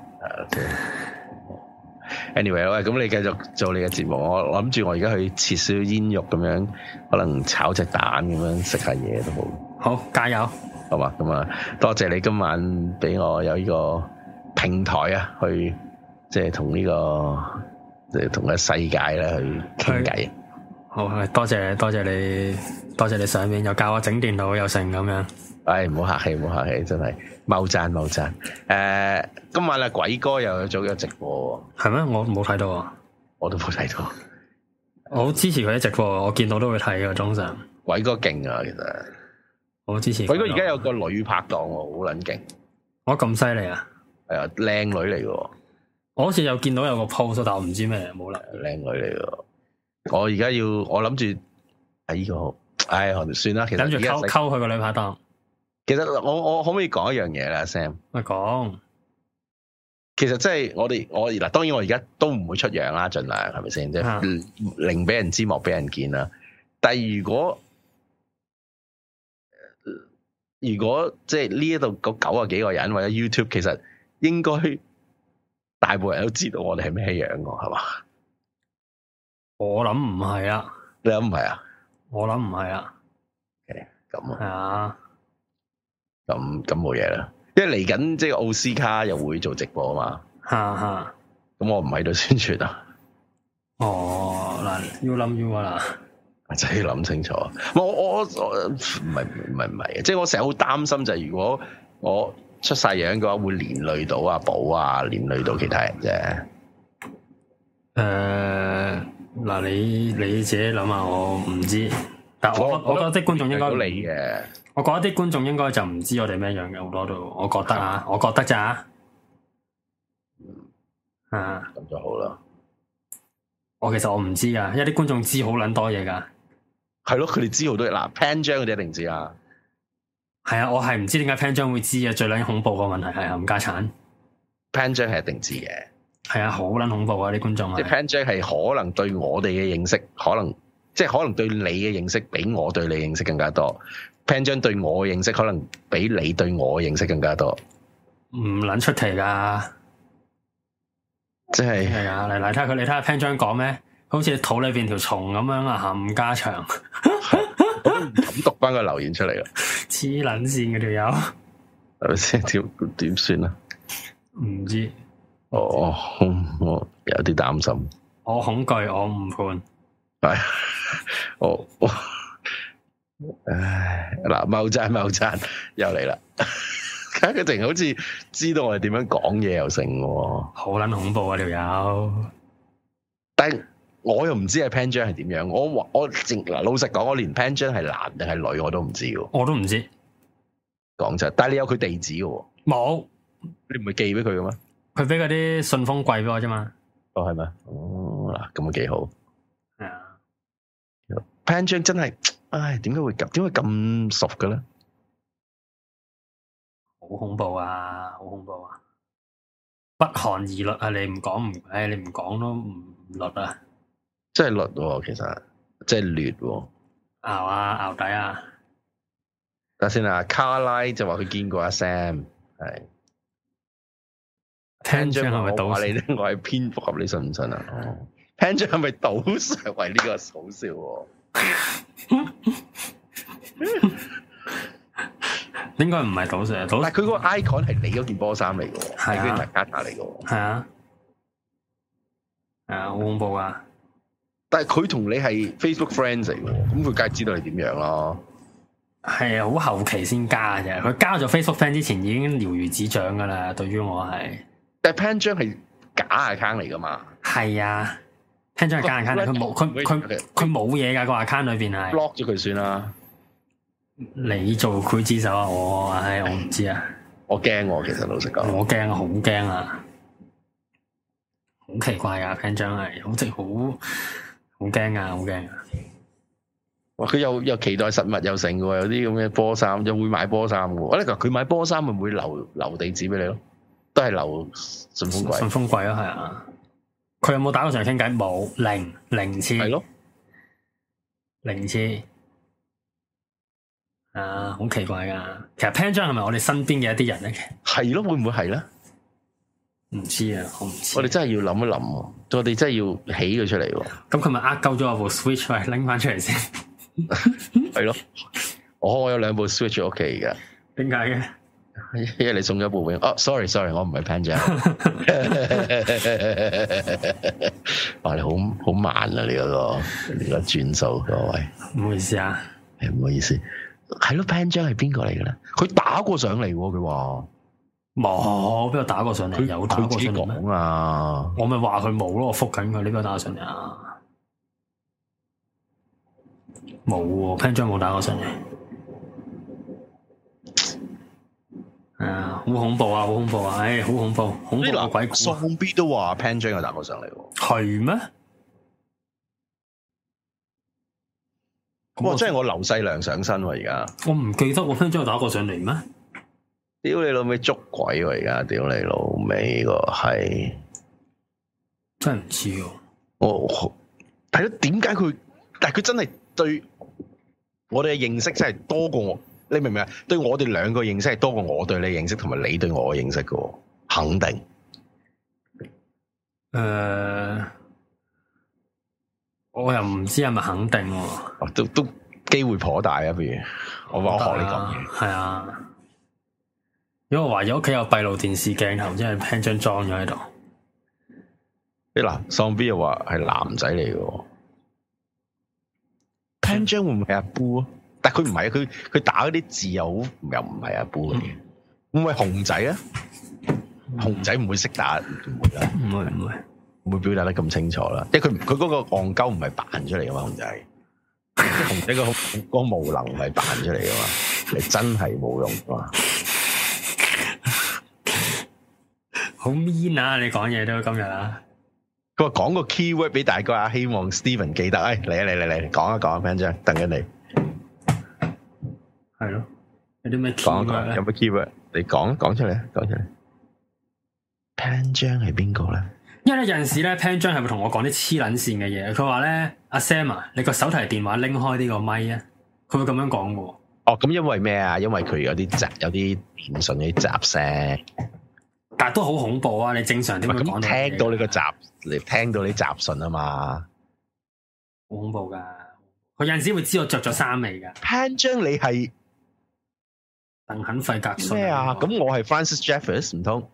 Anyway， 喂，咁你繼續做你嘅節目，我諗住我而家去切少少煙肉咁樣，可能炒隻蛋咁樣食下嘢都好。 好，加油， 好嘛？咁啊，多謝你今晚俾我有呢個平台啊，去即係同呢個即係同個世界咧去傾偈。 好，多謝多謝你，多謝你上面又教我整電腦又成咁樣。 唉，唔好客氣，唔好客氣，真係謬讚謬讚。誒、呃，今晚阿鬼哥又做咗直播喎。係咩？我冇睇到啊， 我都冇睇到。 我好支持佢啲直播，我見到都會睇嘅。早上鬼哥勁啊，其實我好支持。 鬼哥而家有個女拍檔喎，好撚勁。 我咁犀利啊？係啊，靚女嚟嘅。 我好似有見到有個 post，但我唔知咩，冇啦。 靚女嚟嘅。我而家要，我諗住喺呢個，唉，算啦。其實諗住溝溝佢個女拍檔。 其實我我可唔可以講一樣嘢咧 ，Sam？ 咪講， 其實即係我哋我嗱，當然我而家都唔會出樣啦，盡量係咪先？即係寧俾人知，莫俾人見啦。但係如果如果即係呢一度嗰九啊幾個人或者 YouTube， 其實應該大部分人都知道我哋係咩樣嘅，係嘛？ 我諗唔係啊， 你諗唔係啊？ 我諗唔係啊。 咁啊。 係啊。 咁咁冇嘢啦，因為嚟緊即係奧斯卡又會做直播啊嘛， 吓吓， 咁我唔喺度宣傳啊。 哦，嗱，要諗要啊啦， 真係要諗清楚。我我我唔係唔係唔係，即係我成日好擔心就係如果我出晒樣嘅話，會連累到阿寶啊，連累到其他人啫。 誒，嗱，你你自己諗下，我唔知，但我我，我覺得啲觀眾應該你嘅。 我覺得啲觀眾應該就唔知我哋咩樣嘅，好多都，我覺得啊，我覺得咋，啊， 咁就好啦。 我其實我唔知噶，因為啲觀眾知好撚多嘢噶。 係咯，佢哋知好多嘢。嗱，Pan 張嗰啲一定知啊。 係啊，我係唔知點解 Pan 張會知啊。最撚恐怖個問題係冚家鏟。 Pan 張係一定知嘅。係啊，好撚恐怖啊！啲觀眾啊。 即係 Pan 張係可能對我哋嘅認識，可能即係可能對你嘅認識比我對你認識更加多。Pan 張對我嘅認識可能比你對我嘅認識更加多， 唔撚出奇噶， 即係係啊！嚟嚟睇下佢，你睇下 Pan 張講咩？好似肚裏邊條蟲咁樣啊，冚家祥， 我都唔敢讀翻個留言出嚟啦， 黐撚線嘅條友， 係咪先？點點算啊？ 唔知， 我我我有啲擔心， 我恐懼，我唔判， 係我我。唉，嗱，謬讚謬讚又嚟啦！佢佢淨好似知道我哋點樣講嘢又成喎， 好撚恐怖啊條友！ 但係我又唔知係 Pan 張係點樣，我話我淨嗱老實講，我連 Pan 張係男定係女我都唔知嘅， 我都唔知。 講真，但係你有佢地址嘅，冇？你唔係寄俾佢嘅咩？ 佢俾嗰啲信封櫃俾我啫嘛。 哦，係咩？哦，嗱，咁啊幾好。 係啊 ，Pan 張真係。唉，點解會咁？點解咁熟嘅咧？ 好恐怖啊！好恐怖啊！不寒而栗啊！你唔講唔，唉，你唔講都唔栗啊！ 真係栗喎，其實真係劣喎。 熬啊，熬底啊！ 等下先啊，卡拉就話佢見過阿 Sam，係 Pan 張係咪賭你咧？我係蝙蝠俠，你信唔信啊？哦 Pan 張係咪賭 Sir？喂，呢個好笑喎。 應該唔係賭 Sir，但係佢嗰個 icon 係你嗰件波衫嚟嘅，係佢 Nagata 嚟嘅。 係啊，係啊，好恐怖啊！ 但係佢同你係 Facebook friends 嚟嘅，咁佢梗係知道你點樣咯。係啊，好後期先加嘅啫。佢加咗 Facebook friend 之前已經了如指掌噶啦。對於我係， 但係 Pan 張係假 account 嚟噶嘛？ 係啊。Pan 張係假 account，佢冇佢佢佢冇嘢噶個 account 裏邊係 block 咗佢算啦。 你做劊子手啊？我唉，我唔知啊。 我驚喎，其實老實講， 我驚啊，好驚啊，好奇怪啊 Pan 張係好似好好驚啊，好驚啊！ 哇，佢又又期待實物又成嘅，有啲咁嘅波衫，又會買波衫嘅。我咧佢買波衫咪會留留地址俾你咯，都係留順豐櫃。順豐櫃咯，係啊。佢有冇打過上嚟傾偈？冇，零零次。係咯，零次。啊，好奇怪噶。其實 Pan 張係咪我哋身邊嘅一啲人咧？ 係咯，會唔會係咧？ 唔知啊，我唔知。 我哋真係要諗一諗，我哋真係要起佢出嚟。 咁佢咪呃鳩咗我部 Switch 喂，拎翻出嚟先。 係咯，我我有兩部 Switch 屋企噶。 點解嘅？ 因為你送咗部俾我。哦 ，sorry sorry，我唔係 Pan 張。哇，你好好慢啊！你嗰個你個轉數，各位。 唔好意思啊， 係唔好意思。係咯 ，Pan 張係邊個嚟嘅咧？佢打過上嚟，佢話冇，邊度打過上嚟？有打過上嚟咩？ 啊！ 我咪話佢冇咯，我覆緊佢，呢邊打過上嚟啊？冇喎 Pan 張冇打過上嚟。係啊，好恐怖啊，好恐怖啊，唉，好恐怖，恐怖個鬼故。 喪 B 都話 Pan 張有打過上嚟喎。 係咩？ 哇！真係我劉細良上身喎，而家我唔記得我 Pan 張有打過上嚟咩？ 屌你老味捉鬼喎！而家屌你老味個係真係唔知喎。 我係咯，點解佢？但係佢真係對我哋嘅認識真係多過我。你明唔明啊？對我哋兩個認識係多過我對你認識，同埋你對我嘅認識嘅，肯定。誒、 呃，我又唔知係咪肯定喎、 哦。都都機會頗大啊！不如我話我學你講嘢。 係啊，因為我懷疑屋企有閉路電視鏡頭，即係 Pan 張裝咗喺度。 啲嗱，喪 B 又話係男仔嚟嘅。Pan 張會唔會係阿 Boo 啊？但佢唔係啊，佢佢打嗰啲字又好，又唔係阿 Boo 嘅。會唔會熊仔啊？嗯、熊仔唔會識打，唔會啦， 唔會唔會， 唔會表達得咁清楚啦。因為佢佢嗰個戇鳩唔係扮出嚟噶嘛，熊仔。熊仔個個無能唔係扮出嚟噶嘛，係真係冇用噶嘛。 好 mean 啊！你講嘢都今日啊。 佢話講個 keyword 俾大家，希望 Steven 記得。誒，嚟啊嚟嚟嚟，講一講 Pan 張，等緊你。 係咯，有啲咩 keyword 咧？ 有咩 keyword？你講講出嚟，講出嚟。Pan 張係邊個咧？ 因為咧有陣時咧 Pan 張係會同我講啲黐撚線嘅嘢。佢話咧，阿 Sam 啊，你個手提電話拎開呢個咪啊，佢會咁樣講嘅。 哦，咁因為咩啊？因為佢有啲雜，有啲電信嗰啲雜聲。 但係都好恐怖啊！你正常點會講到？ 聽到你個雜，你聽到你雜訊啊嘛， 好恐怖噶！佢有陣時會知我着咗衫未噶。 Pan 張你係鄧肯費格遜咩啊？咁我係 Francis Jeffers 唔通？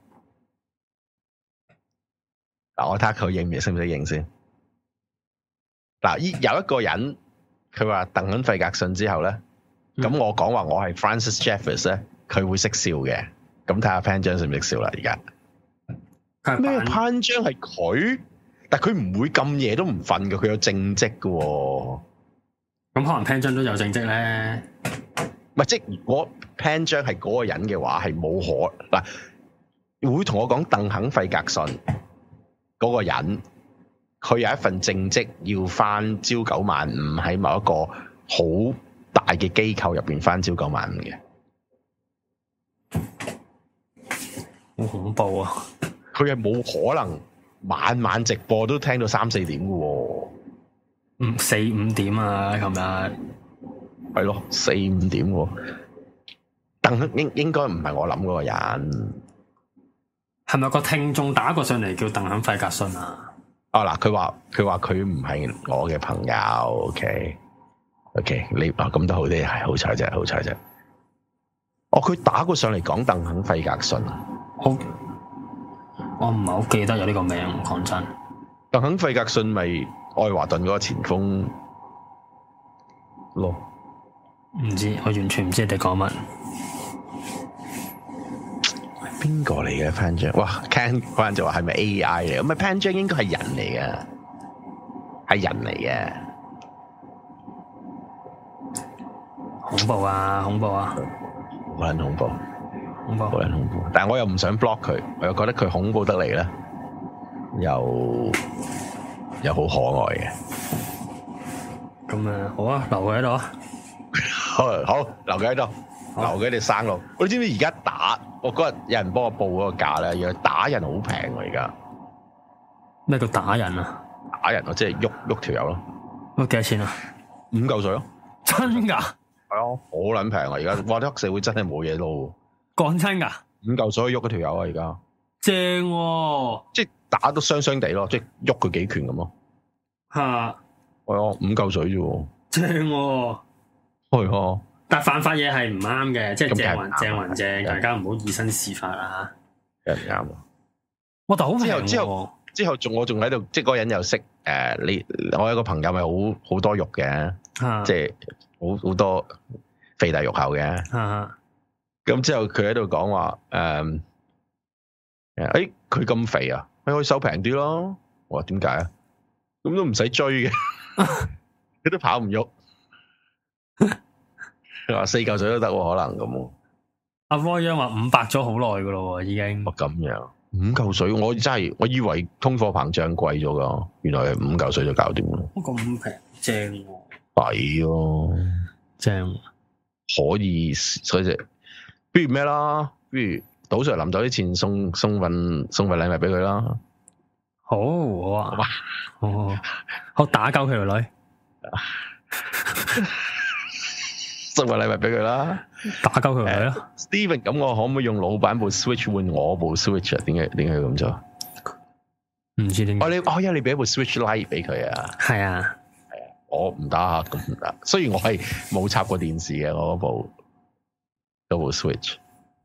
嗱，我睇下佢認唔認，識唔識認先。嗱，依有一個人佢話鄧肯費格遜之後咧，咁、嗯、我講話我係 Francis Jeffers 咧，佢會識笑嘅。咁睇下 Pan 張識唔識笑啦？而家咩 Pan 張係佢？但佢唔會咁夜都唔瞓嘅，佢有正職嘅、哦。 咁可能 Pan 張都有正職咧。 唔係，即係如果 Pan 張係嗰個人嘅話，係冇可嗱，會同我講鄧肯費格遜嗰個人，佢有一份正職要翻朝九晚五，喺某一個好大嘅機構入邊翻朝九晚五嘅。 好恐怖啊！ 佢係冇可能晚晚直播都聽到三四點嘅喎。 嗯，四五點啊，琴日係咯，四五點喎。鄧應應該唔係我諗嗰個人。 係咪個聽眾打過上嚟叫鄧肯費格遜啊？ 哦嗱，佢話佢話佢唔係我嘅朋友。OK OK， 你啊咁都好啲，係好彩啫，好彩啫。哦，佢打過上嚟講鄧肯費格遜。 好，我唔係好記得有呢個名，講真。 鄧肯費格遜咪愛華頓嗰個前鋒咯？ 唔知，我完全唔知你哋講乜。 邊個嚟嘅潘章？哇 Ken 嗰陣就話係咪 A I 嚟？咁咪潘章應該係人嚟嘅，係人嚟嘅。 恐怖啊！恐怖啊！ 好撚恐怖， 恐怖， 好撚恐怖。但係我又唔想 block 佢，我又覺得佢恐怖得嚟咧，又又好可愛嘅。 咁啊，好啊，留佢喺度啊。 好，好，留佢喺度，留佢喺度生路。你知唔知而家打？我嗰日有人幫我報嗰個價咧，原來打人好平喎而家。 咩叫打人啊？ 打人啊，即係喐喐條友咯。 喐幾多錢啊？五嚿水咯。 真噶？ 係啊，好撚平啊！而家哇，啲黑社會真係冇嘢撈。 講真噶？五嚿水喐嗰條友啊！而家正喎， 即係打都雙雙地咯，即係喐佢幾拳咁咯。 吓， 係啊，五嚿水啫。 正喎。係啊。但犯法嘢係唔啱嘅，即係正還正還正，大家唔好以身試法啦吓。 唔啱啊！ 我但好之後之後之後仲我仲喺度，即係嗰個人又識誒，你我有個朋友咪好好多肉嘅，即係好好多肥大肉厚嘅。咁之後佢喺度講話誒誒，佢咁肥啊，你可以收平啲咯。我話點解啊？咁都唔使追嘅，佢都跑唔喐。佢話四嚿水都得，可能咁。 阿 Roy 話五百咗好耐噶咯，已經。 哦，咁樣五嚿水，我真係我以為通貨膨脹貴咗噶，原來係五嚿水就搞掂咯。 咁平，正喎。 抵咯， 正。 可以，所以就不如咩啦？不如賭 Sir 臨走啲錢送送份送份禮物俾佢啦。 好，好啊。好好好，打鳩佢條女。 送個禮物俾佢啦， 打鳩佢咪咯。 Steven，咁我可唔可以用老闆部 Switch 換我部 Switch 啊？點解點解要咁做？ 唔知點解。 哦，你哦，因為你俾部 Switch Lite 俾佢啊。係啊，係啊，我唔得啊，咁唔得。雖然我係冇插過電視嘅，我嗰部嗰部 Switch。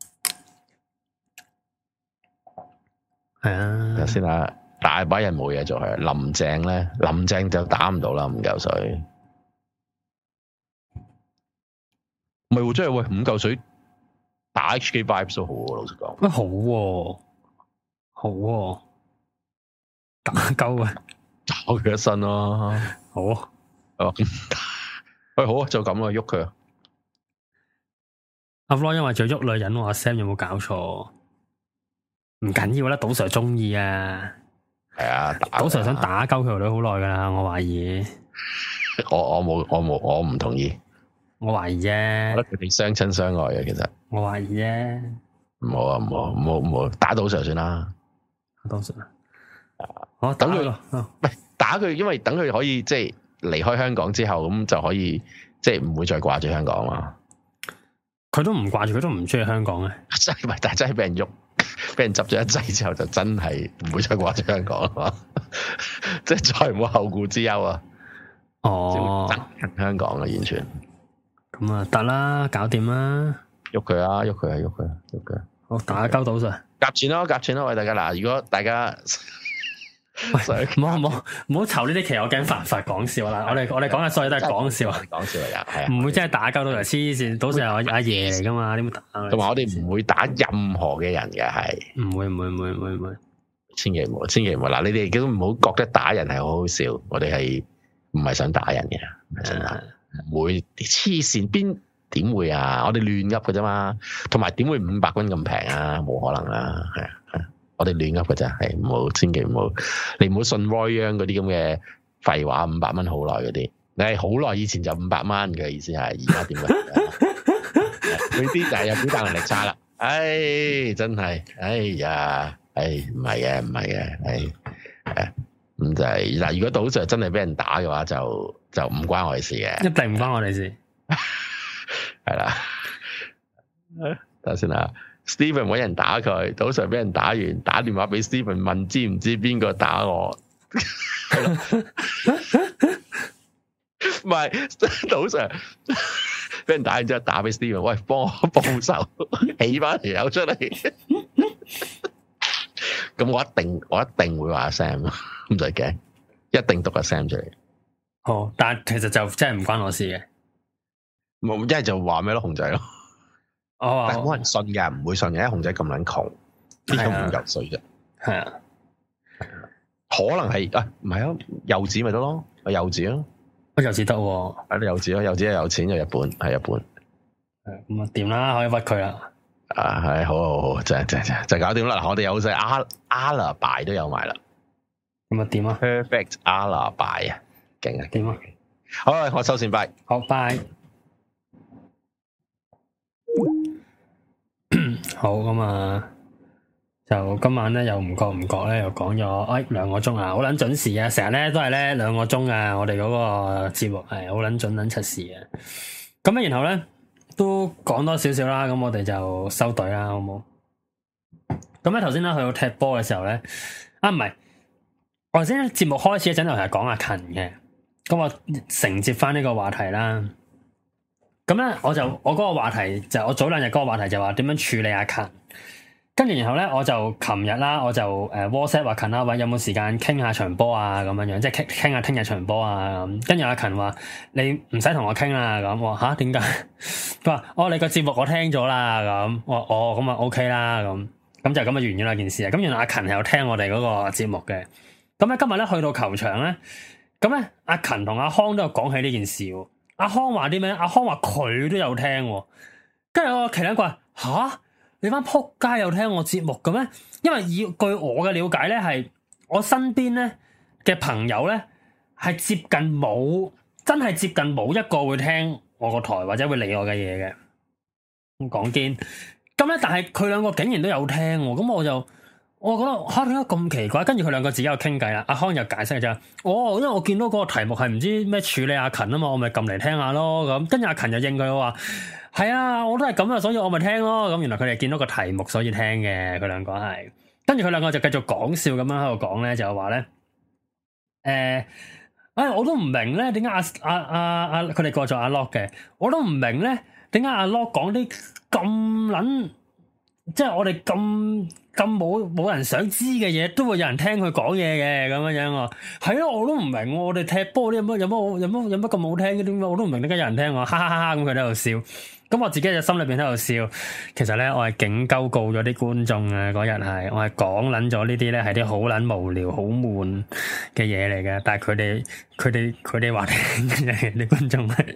係啊。 睇先啦，大把人冇嘢做係。林鄭咧，林鄭就打唔到啦，五嚿水。唔係喎，真係喂，五嚿水打 H K Vibes 都好喎，老實講。 乜好喎？好喎，打鳩啊！ 打佢一身咯。 好啊。 哦，喂，好啊，就咁啊，喐佢啊。 阿 Flo 因為仲喐女人，阿 Sam 有冇搞錯？唔緊要啦，賭 Sir 中意啊。 係啊， 賭 Sir 想打鳩佢條女好耐噶啦，我懷疑。 我我冇我冇我唔同意。 我懷疑啫， 我覺得佢哋相親相愛嘅，其實我懷疑啫。 唔好啊，唔好，唔好，唔好，打賭 Sir 算啦。 打賭 Sir，我等佢咯。 唔係打佢，因為等佢可以即係離開香港之後，咁就可以即係唔會再掛住香港嘛。 佢都唔掛住，佢都唔中意香港咧。 真係，但係真係俾人喐，俾人執咗一劑之後，就真係唔會再掛住香港啦嘛。即係再冇後顧之憂啊。 哦， 憎香港啊，完全。 咁啊，得啦，搞掂啦， 喐佢啊，喐佢啊，喐佢啊，喐佢。 好，打交賭 Sir， 夾錢咯，夾錢咯，喂大家嗱，如果大家， 喂，唔好唔好唔好籌呢啲期，我驚犯法講笑啦。我哋我哋講嘅所有都係講笑， 講笑嚟噶，係啊， 唔會真係打交賭 Sir，黐線，賭 Sir 係阿爺嚟噶嘛，點會打？ 同埋我哋唔會打任何嘅人嘅，係唔會唔會唔會唔會唔會，千祈唔好，千祈唔好。嗱，你哋亦都唔好覺得打人係好好笑，我哋係唔係想打人嘅，真係。唔會黐線，邊點會啊？我哋亂噏嘅啫嘛，同埋點會五百蚊咁平啊？冇可能啦，係啊，我哋亂噏嘅啫，係唔好，千祈唔好，你唔好信 Roy Young 嗰啲咁嘅廢話，五百蚊好耐嗰啲，你係好耐以前就五百蚊嘅意思係，而家點啊？佢啲就係有表達能力差啦，唉，真係，哎呀，唉，唔係嘅，唔係嘅，唉，誒。咁就係、是、嗱，如果賭 Sir 真係俾人打嘅話，就就唔關我哋事嘅， 一定唔關我哋事， 係啦。等下先啦 Steven 搵人打佢，賭 Sir 俾人打完，打電話俾 Steven 問知唔知邊個打我？唔係賭 Sir 俾人打完之後打俾 Steven， 喂，幫我報仇，起翻條友出嚟。咁我一定我一定會話 Sam， 唔使驚，一定讀個 Sam 出嚟。 好，但係其實就真係唔關我事嘅。 冇，一係就話咩咯，熊仔咯。 哦， 但係冇人信㗎，唔會信嘅，因為熊仔咁撚窮，呢個五嚿水啫。係啊，可能係啊，唔係啊，柚子咪得咯，柚子咯， 啊柚子得喎， 係柚子咯，柚子又有錢又日本，係日本。 係咁啊，掂啦，可以屈佢啦。 啊，係好好好，就就就就搞掂啦。我哋有隻阿阿拉拜都有埋啦。 咁啊，點啊 ？Perfect 阿拉拜啊，勁啊， 點啊？ 好，我收線拜。 好，拜。好咁啊，就今晚咧又唔覺唔覺咧又講咗哎兩個鐘啊，好捻準時啊！成日咧都係咧兩個鐘啊，我哋嗰個節目係好捻準捻出事啊。咁啊，然後咧。都講多少少啦，咁我哋就收隊啦，好冇？咁咧頭先咧去到踢波嘅時候咧，啊唔係，我頭先節目開始嗰陣就係講阿勤嘅，咁我承接翻呢個話題啦。咁咧我就我嗰個話題就我早兩日嗰個話題就話點樣處理阿勤，跟住然後咧我就琴日啦，我就誒 WhatsApp 阿勤啦，喂有冇時間傾下場波啊咁樣樣，即係傾傾下聽日場波啊咁。跟住阿勤話你唔使同我傾啦咁，我話吓點解？佢話哦你個節目我聽咗啦咁，我哦咁啊 OK 啦咁，咁就咁啊完咗啦件事啊。咁原來阿勤係有聽我哋嗰個節目嘅。咁咧今日咧去到球場咧，咁咧阿勤同阿康都有講起呢件事。阿康話啲咩？阿康話佢都有聽，跟住我奇撚怪吓。你班撲街有聽我節目嘅咩？因為以據我嘅了解咧，係我身邊咧嘅朋友咧係接近冇，真係接近冇一個會聽我個台或者會理我嘅嘢嘅。咁講堅，咁咧但係佢兩個竟然都有聽，咁我就我覺得吓點解咁奇怪？跟住佢兩個自己有傾偈啦。阿康又解釋就哦，因為我見到嗰個題目係唔知咩處理阿勤啊嘛，我咪撳嚟聽下咯。咁跟住阿勤就應佢話。係啊，我都係咁啊，所以我咪聽咯。咁原來佢哋見到個題目，所以聽嘅。佢兩個係，跟住佢兩個就繼續講笑咁樣喺度講咧，就話咧，誒、呃，哎，我都唔明咧，點解阿阿阿阿佢哋過咗阿 Lock 嘅，我都唔明咧，點解阿 Lock 講啲咁撚，即係我哋咁咁冇冇人想知嘅嘢，都會有人聽佢講嘢嘅咁樣樣啊。係啊，我都唔明，我哋踢波啲有乜有乜有乜有乜咁好聽嘅，點解我都唔明點解有人聽我，哈哈哈哈咁佢喺度笑。咁我自己就心裏邊喺度笑，其實咧我係警鳩告咗啲觀眾啊！嗰日係我係講捻咗呢啲咧係啲好捻無聊、好悶嘅嘢嚟嘅，但係佢哋佢哋佢哋話聽嘅啲觀眾係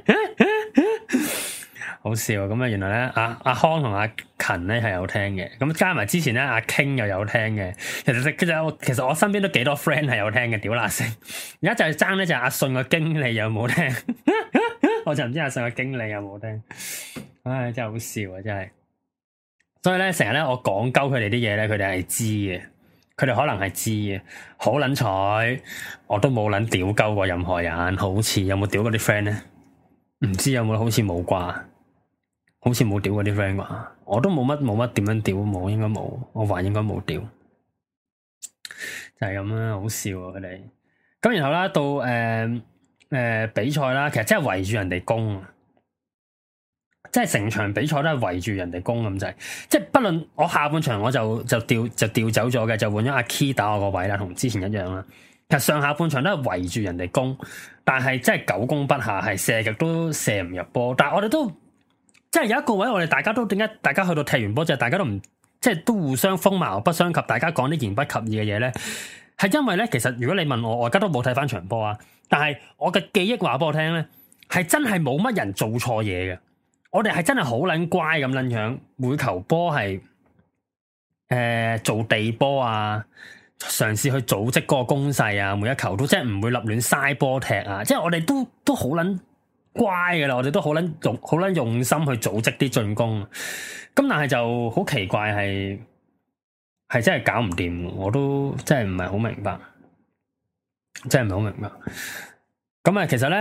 好笑咁啊！原來咧阿阿康同阿勤咧係有聽嘅，咁加埋之前咧阿 King 又有聽嘅，其實其實我其實我身邊都幾多 friend 係有聽嘅，屌乸聲！而家就係爭咧就係阿信個經理有冇聽。我就唔知阿信嘅經理有冇聽，唉，真係好笑啊！真係，所以咧成日咧我講鳩佢哋啲嘢咧，佢哋係知嘅，佢哋可能係知嘅，好撚彩，我都冇撚屌鳩過任何人，好似有冇屌過啲 friend 咧？唔知有冇，好似冇啩，好似冇屌過啲 friend 啩，我都冇乜冇乜點樣屌，冇應該冇，我話應該冇屌，就係咁啦，好笑啊佢哋。咁然後啦到誒。呃誒、呃，比賽啦，其實真係圍住人哋攻，即係成場比賽都係圍住人哋攻咁滯。即係不論我下半場我就就調就調走咗嘅，就換咗阿 Key 打我個位啦，同之前一樣啦。其實上下半場都係圍住人哋攻，但係真係久攻不下，係射極都射唔入波。但係我哋都即係有一個位，我哋大家都點解大家去到踢完波就係大家都唔即係都互相鋒矛不相及，大家講啲言不及義嘅嘢咧，係因為咧，其實如果你問我，我而家都冇睇翻場波啊。但係我嘅記憶話俾我聽咧，係真係冇乜人做錯嘢嘅。我哋係真係好撚乖咁撚樣，每球波係誒做地波啊，嘗試去組織嗰個攻勢啊，每一球都即係唔會立亂嘥波踢啊。即係我哋都都好撚乖嘅啦，我哋都好撚用好撚用心去組織啲進攻。咁但係就好奇怪係係真係搞唔掂，我都真係唔係好明白。真係唔係好明白。咁啊，其實咧，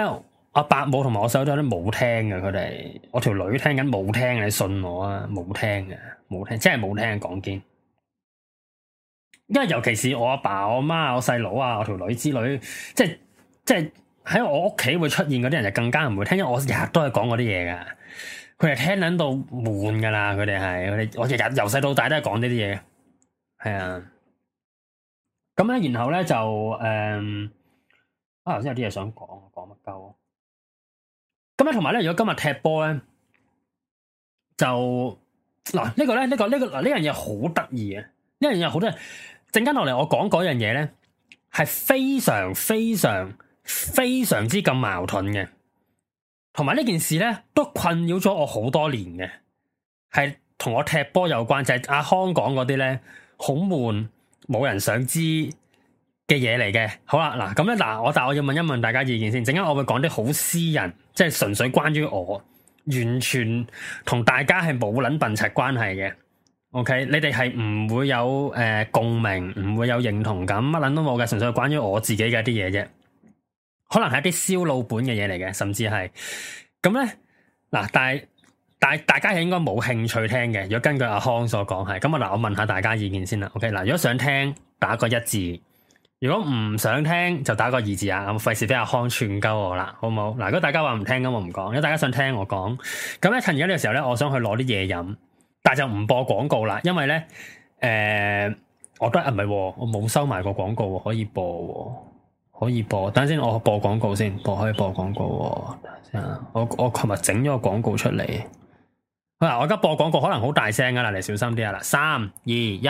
阿伯母同埋我細佬都有啲冇聽嘅，佢哋我條女聽緊冇聽，你信我啊，冇聽嘅，冇聽，真係冇聽講堅。因為尤其是我阿爸、我媽、我細佬啊、我條女之類，即係即係喺我屋企會出現嗰啲人就更加唔會聽，因為我日日都係講嗰啲嘢噶，佢哋聽撚到悶噶啦，佢哋係，佢哋我日日由細到大都係講呢啲嘢，係啊。咁咧，然後咧就誒、嗯，啊頭先有啲嘢想講，講乜鳩？咁咧，同埋咧，如果今日踢波咧，就嗱、呢個、呢個咧，呢、呢個呢、呢個嗱呢樣嘢好得意啊！呢樣嘢好多人陣間落嚟，我講嗰樣嘢咧，係非常非常非常之咁矛盾嘅，同埋呢件事咧都困擾咗我好多年嘅，係同我踢波有關，就係、是、阿康講嗰啲咧，好悶，冇人想知嘅嘢嚟嘅。好啦，嗱咁咧，嗱我但係我要問一問大家意見先，陣間我會講啲好私人，即係純粹關於我，完全同大家係冇撚笨柒關係嘅。OK，你哋係唔會有誒、呃、共鳴，唔會有認同感，乜撚都冇嘅，純粹係關於我自己嘅一啲嘢啫。可能係一啲燒腦本嘅嘢嚟嘅，甚至係咁咧。嗱，但係但係大家係應該冇興趣聽嘅。如果根據阿康所講係咁啊，嗱，我問下大家意見先啦。OK，嗱，如果想聽打個一字，如果唔想聽就打個二字啊。咁費事俾阿康串鳩我啦，好唔好？嗱，如果大家話唔聽咁我唔講，如果大家想聽我講，咁咧趁而家呢個時候咧，我想去攞啲嘢飲。但就唔播廣告啦，因為咧，誒、呃，我都啊唔係，我冇收埋個廣告，可以播，可以播。等陣先，我播廣告先，播可以播廣告。等陣先啊，我我琴日整咗個廣告出嚟。嗱，我而家播廣告可能好大聲噶啦，你小心啲啊！嗱，三二一。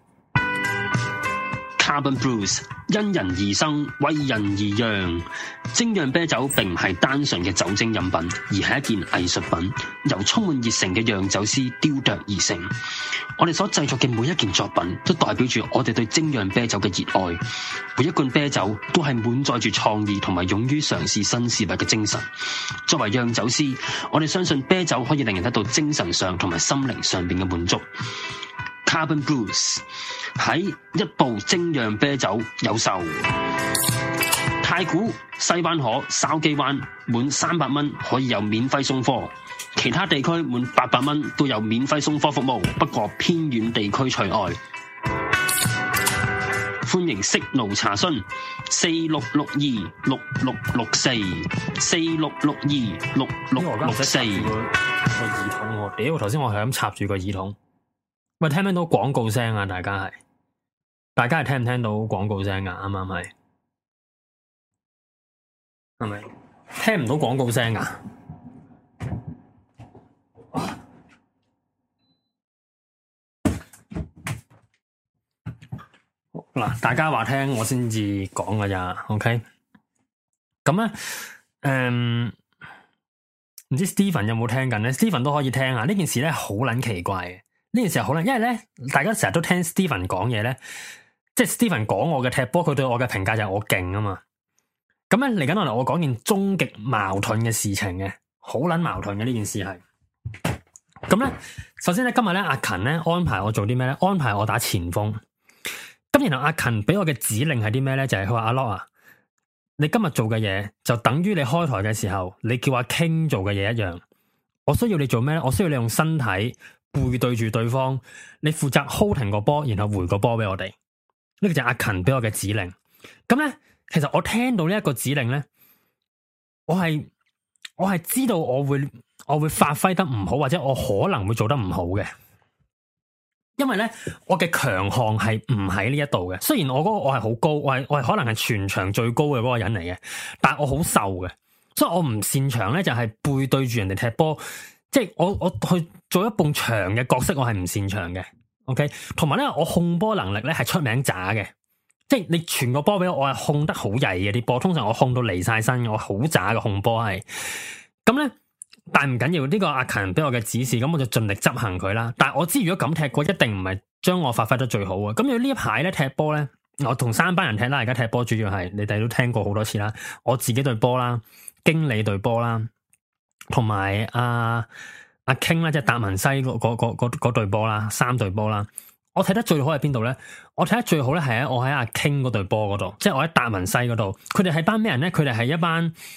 Carbon Brews 因人而生，為人而釀。精釀啤酒並唔係單純嘅酒精飲品，而係一件藝術品，由充滿熱誠嘅釀酒師雕琢而成。我哋所製作嘅每一件作品，都代表住我哋對精釀啤酒嘅熱愛。每一罐啤酒都係滿載住創意同埋勇於嘗試新事物嘅精神。作為釀酒師，我哋相信啤酒可以令人得到精神上同埋心靈上邊嘅滿足。Carbon Brews 喺一部精釀啤酒有售，太古、西灣河、筲箕灣滿三百蚊可以有免費送貨，其他地區滿八百蚊都有免費送貨服務，不過偏遠地區除外。歡迎息怒查詢四六六二六六六四四六六二六六六四。 個耳筒我屌，頭先我係咁插住個耳筒。喂，聽唔聽到廣告聲啊？大家係，大家係聽唔聽到廣告聲啊？啱唔啱係？係咪？聽唔到廣告聲啊？嗱，大家話聽我先至講噶咋 ？OK？咁咧，誒、嗯，唔知 Steven 有冇聽緊咧 ？Steven 都可以聽啊！呢件事咧好撚奇怪嘅。呢件事好啦，因為咧，大家成日都聽 Steven 講嘢咧，即係 Steven 講我嘅踢波，佢對我嘅評價就係我勁啊嘛。咁咧嚟緊落嚟，我講件終極矛盾嘅事情嘅，好撚矛盾嘅呢件事係。咁咧，首先咧今日咧阿勤咧安排我做啲咩咧？安排我打前鋒。咁然後阿勤俾我嘅指令係啲咩咧？就係佢話阿 Lock 啊，你今日做嘅嘢就等於你開台嘅時候，你叫阿 King 做嘅嘢一樣。我需要你做咩咧？我需要你用身體。背對住對方，你負責 hold 停個波，然後回個波俾我哋。呢個就係阿勤俾我嘅指令。咁咧，其實我聽到呢一個指令咧，我係我係知道我會我會發揮得唔好，或者我可能會做得唔好嘅。因為咧，我嘅強項係唔喺呢一度嘅。雖然我嗰個我係好高，我係我係可能係全場最高嘅嗰個人嚟嘅，但係我好瘦嘅，所以我唔擅長咧就係背對住人哋踢波。即係我我去做一埲牆嘅角色，我係唔擅長嘅。OK，同埋咧，我控波能力咧係出名渣嘅。即係你傳個波俾我，我係控得好曳嘅啲波。通常我控到離晒身，我好渣嘅控波係。咁咧，但係唔緊要，呢個阿勤俾我嘅指示，咁我就盡力執行佢啦。但係我知如果咁踢過，一定唔係將我發揮得最好啊。咁要呢一排咧踢波咧，我同三班人踢啦。而家踢波主要係你哋都聽過好多次啦。我自己對波啦，經理對波啦。同埋阿阿 King 啦，即係達文西嗰嗰嗰嗰嗰隊波啦，三隊波啦。我睇得最好係邊度咧？我睇得最好咧係喺我喺阿 King 嗰隊波嗰度，即係我喺達文西嗰度。佢哋係班咩人咧？佢哋係一班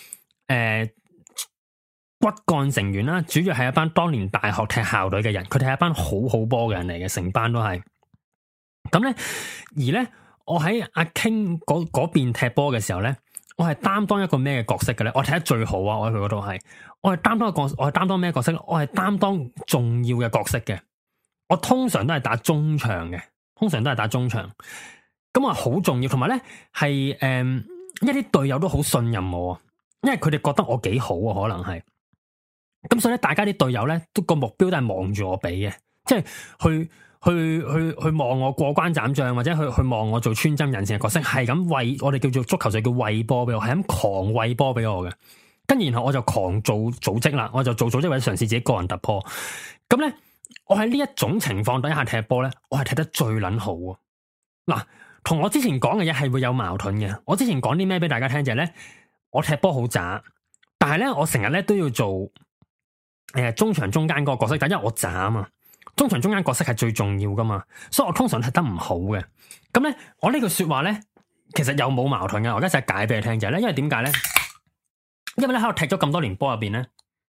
誒骨幹成員啦，主要係一班當年大學踢校隊嘅人，佢哋係一班好好波嘅人嚟嘅，成班都係。咁咧，而咧我喺阿 King 嗰嗰邊踢波嘅時候咧，我係擔當一個咩嘅角色嘅咧？我踢得最好啊！我喺佢嗰度係，我係擔當一個，我係擔當咩角色？我係擔當重要嘅角色嘅。我通常都係打中場嘅，通常都係打中場。咁啊，好重要，同埋咧係誒，一啲隊友都好信任我，因為佢哋覺得我幾好啊，可能係。咁所以咧，大家啲隊友咧都個目標都係望住我比嘅，即係去去去去望我過關斬將，或者去去望我做穿針引線嘅角色，係咁餵我哋叫做足球就叫餵波俾我，係咁狂餵波俾我嘅。跟住然後我就狂做組織啦，我就做組織或者嘗試自己個人突破。咁咧，我喺呢一種情況底下踢波咧，我係踢得最撚好啊！嗱，同我之前講嘅嘢係會有矛盾嘅。我之前講啲咩俾大家聽就係咧，我踢波好渣，但係咧我成日咧都要做。誒、呃，中場中間嗰個角色，但因為我渣啊嘛，中場中間角色係最重要噶嘛，所以我通常踢得唔好嘅。咁咧，我呢句說話咧，其實又冇矛盾嘅。我而家就係解俾你聽就係咧，因為點解咧？因為咧喺度踢咗咁多年波入邊咧，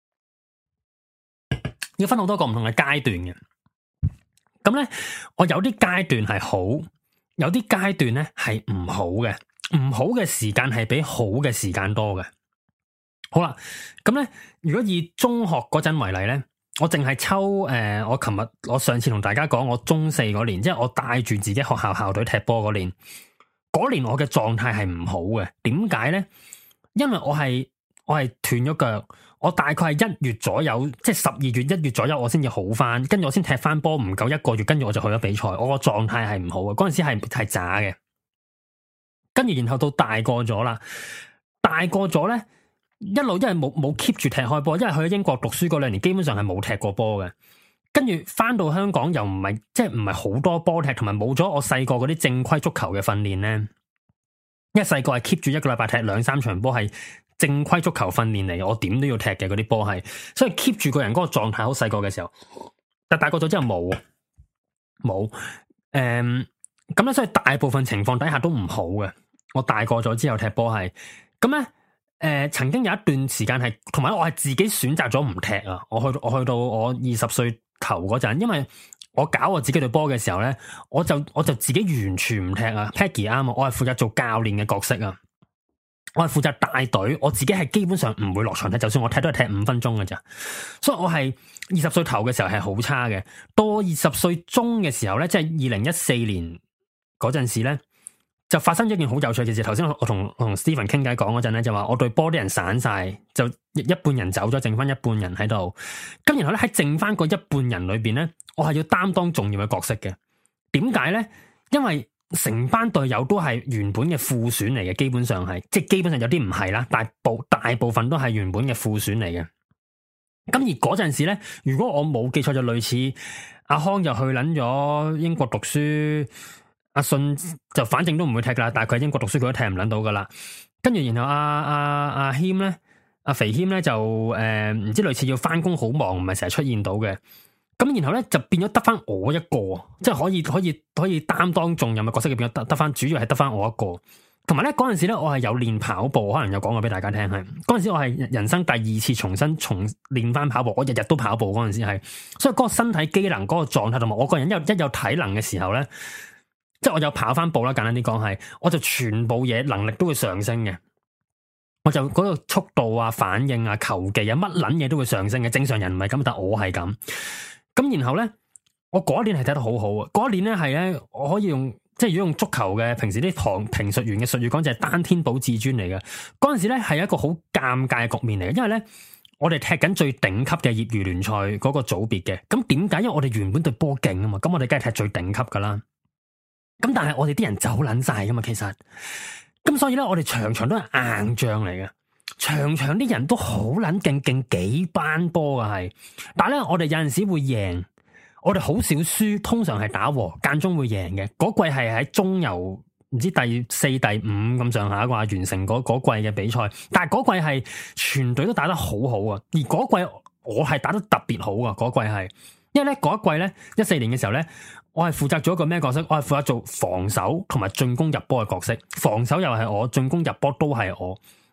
要分好多個唔同嘅階段嘅。咁咧，我有啲階段係好，有啲階段咧係唔好嘅。唔好嘅時間係比好嘅時間多嘅。好啦，咁咧，如果以中學嗰陣為例咧，我淨係抽誒、呃，我琴日我上次同大家講，我中四嗰年，即係我帶住自己學校校隊踢波嗰年，嗰年我嘅狀態係唔好嘅。點解咧？因為我係我係斷咗腳，我大概係一月左右，即係十二月一月左右，我先至好翻，跟住我先踢翻波，唔夠一個月，跟住我就去咗比賽，我個狀態係唔好嘅。嗰陣時係係渣嘅，跟住然後到大個咗啦，大個咗咧。一路因為冇冇 keep 住踢開波，因為去咗英國讀書嗰兩年，基本上係冇踢過波嘅。跟住翻到香港又唔係即係唔係好多波踢，同埋冇咗我細個嗰啲正規足球嘅訓練咧。因為細個係 keep 住一個禮拜踢兩三場波，係正規足球訓練嚟，我點都要踢嘅嗰啲波係，所以 keep 住個人嗰個狀態好細個嘅時候。但大個咗之後冇冇誒咁咧，所以大部分情況底下都唔好嘅。我大個咗之後踢波係咁咧。誒、呃，曾經有一段時間係，同埋我係自己選擇咗唔踢啊！我去我去到我二十歲頭嗰陣，因為我搞我自己隊波嘅時候咧，我就我就自己完全唔踢啊。Peggy 啱啊，我係負責做教練嘅角色啊，我係負責帶隊，我自己係基本上唔會落場踢，就算我踢都係踢五分鐘嘅咋。所以我係二十歲頭嘅時候係好差嘅，到二十歲中嘅時候咧，即係二零一四年嗰陣時咧。就發生咗一件好有趣嘅事。頭先我同我同 Stephen 傾偈講嗰陣咧，就話我隊波啲人散晒，就一半人走咗，剩翻一半人喺度。咁然後咧喺剩翻嗰一半人裏邊咧，我係要擔當重要嘅角色嘅。點解咧？因為成班隊友都係原本嘅副選嚟嘅，基本上係，即係基本上有啲唔係啦，大部大部分都係原本嘅副選嚟嘅。咁而嗰陣時咧，如果我冇記錯，就類似阿康就去捻咗英國讀書。阿信就反正都唔會踢噶啦，但係佢喺英國讀書佢都踢唔捻到噶啦。跟住然後阿阿阿謙咧，阿肥謙咧就誒唔、呃、知類似要翻工好忙，唔係成日出現到嘅。咁然後咧就變咗得翻我一個，即係可以可以可以擔當重任嘅角色，變咗得得翻，主要係得翻我一個。同埋咧嗰陣時咧，我係有練跑步，可能有講過俾大家聽係。嗰陣時我係人生第二次重新重練翻跑步，我日日都跑步嗰陣時係，所以嗰個身體機能、嗰個狀態同埋我個人一有一有體能嘅時候咧。即係我有跑翻步啦，簡單啲講係，我就全部嘢能力都會上升嘅。我就嗰個速度啊、反應啊、球技啊，乜撚嘢都會上升嘅。正常人唔係咁，但我係咁。咁然後咧，我嗰一年係睇得好好啊。嗰一年咧係咧，我可以用即係如果用足球嘅平時啲旁評述員嘅術語講，就係單天保至尊嚟嘅。嗰陣時咧係一個好尷尬嘅局面嚟嘅，因為咧我哋踢緊最頂級嘅業餘聯賽嗰個組別嘅。咁點解？因為我哋原本隊波勁啊嘛，咁我哋梗係踢最頂級噶啦。咁但係我哋啲人走撚晒噶嘛，其實咁所以咧，我哋場場都係硬仗嚟嘅，場場啲人都好撚勁，勁幾班波噶係。但係咧，我哋有陣時會贏，我哋好少輸，通常係打和，間中會贏嘅。嗰季係喺中游唔知第四、第五咁上下啩，完成嗰嗰季嘅比賽。但係嗰季係全隊都打得好好啊，而嗰季我係打得特別好啊，嗰季係。因為咧嗰一季咧一四年嘅時候咧，我係負責做一個咩角色？我係負責做防守同埋進攻入波嘅角色。防守又係我，進攻入波都係我。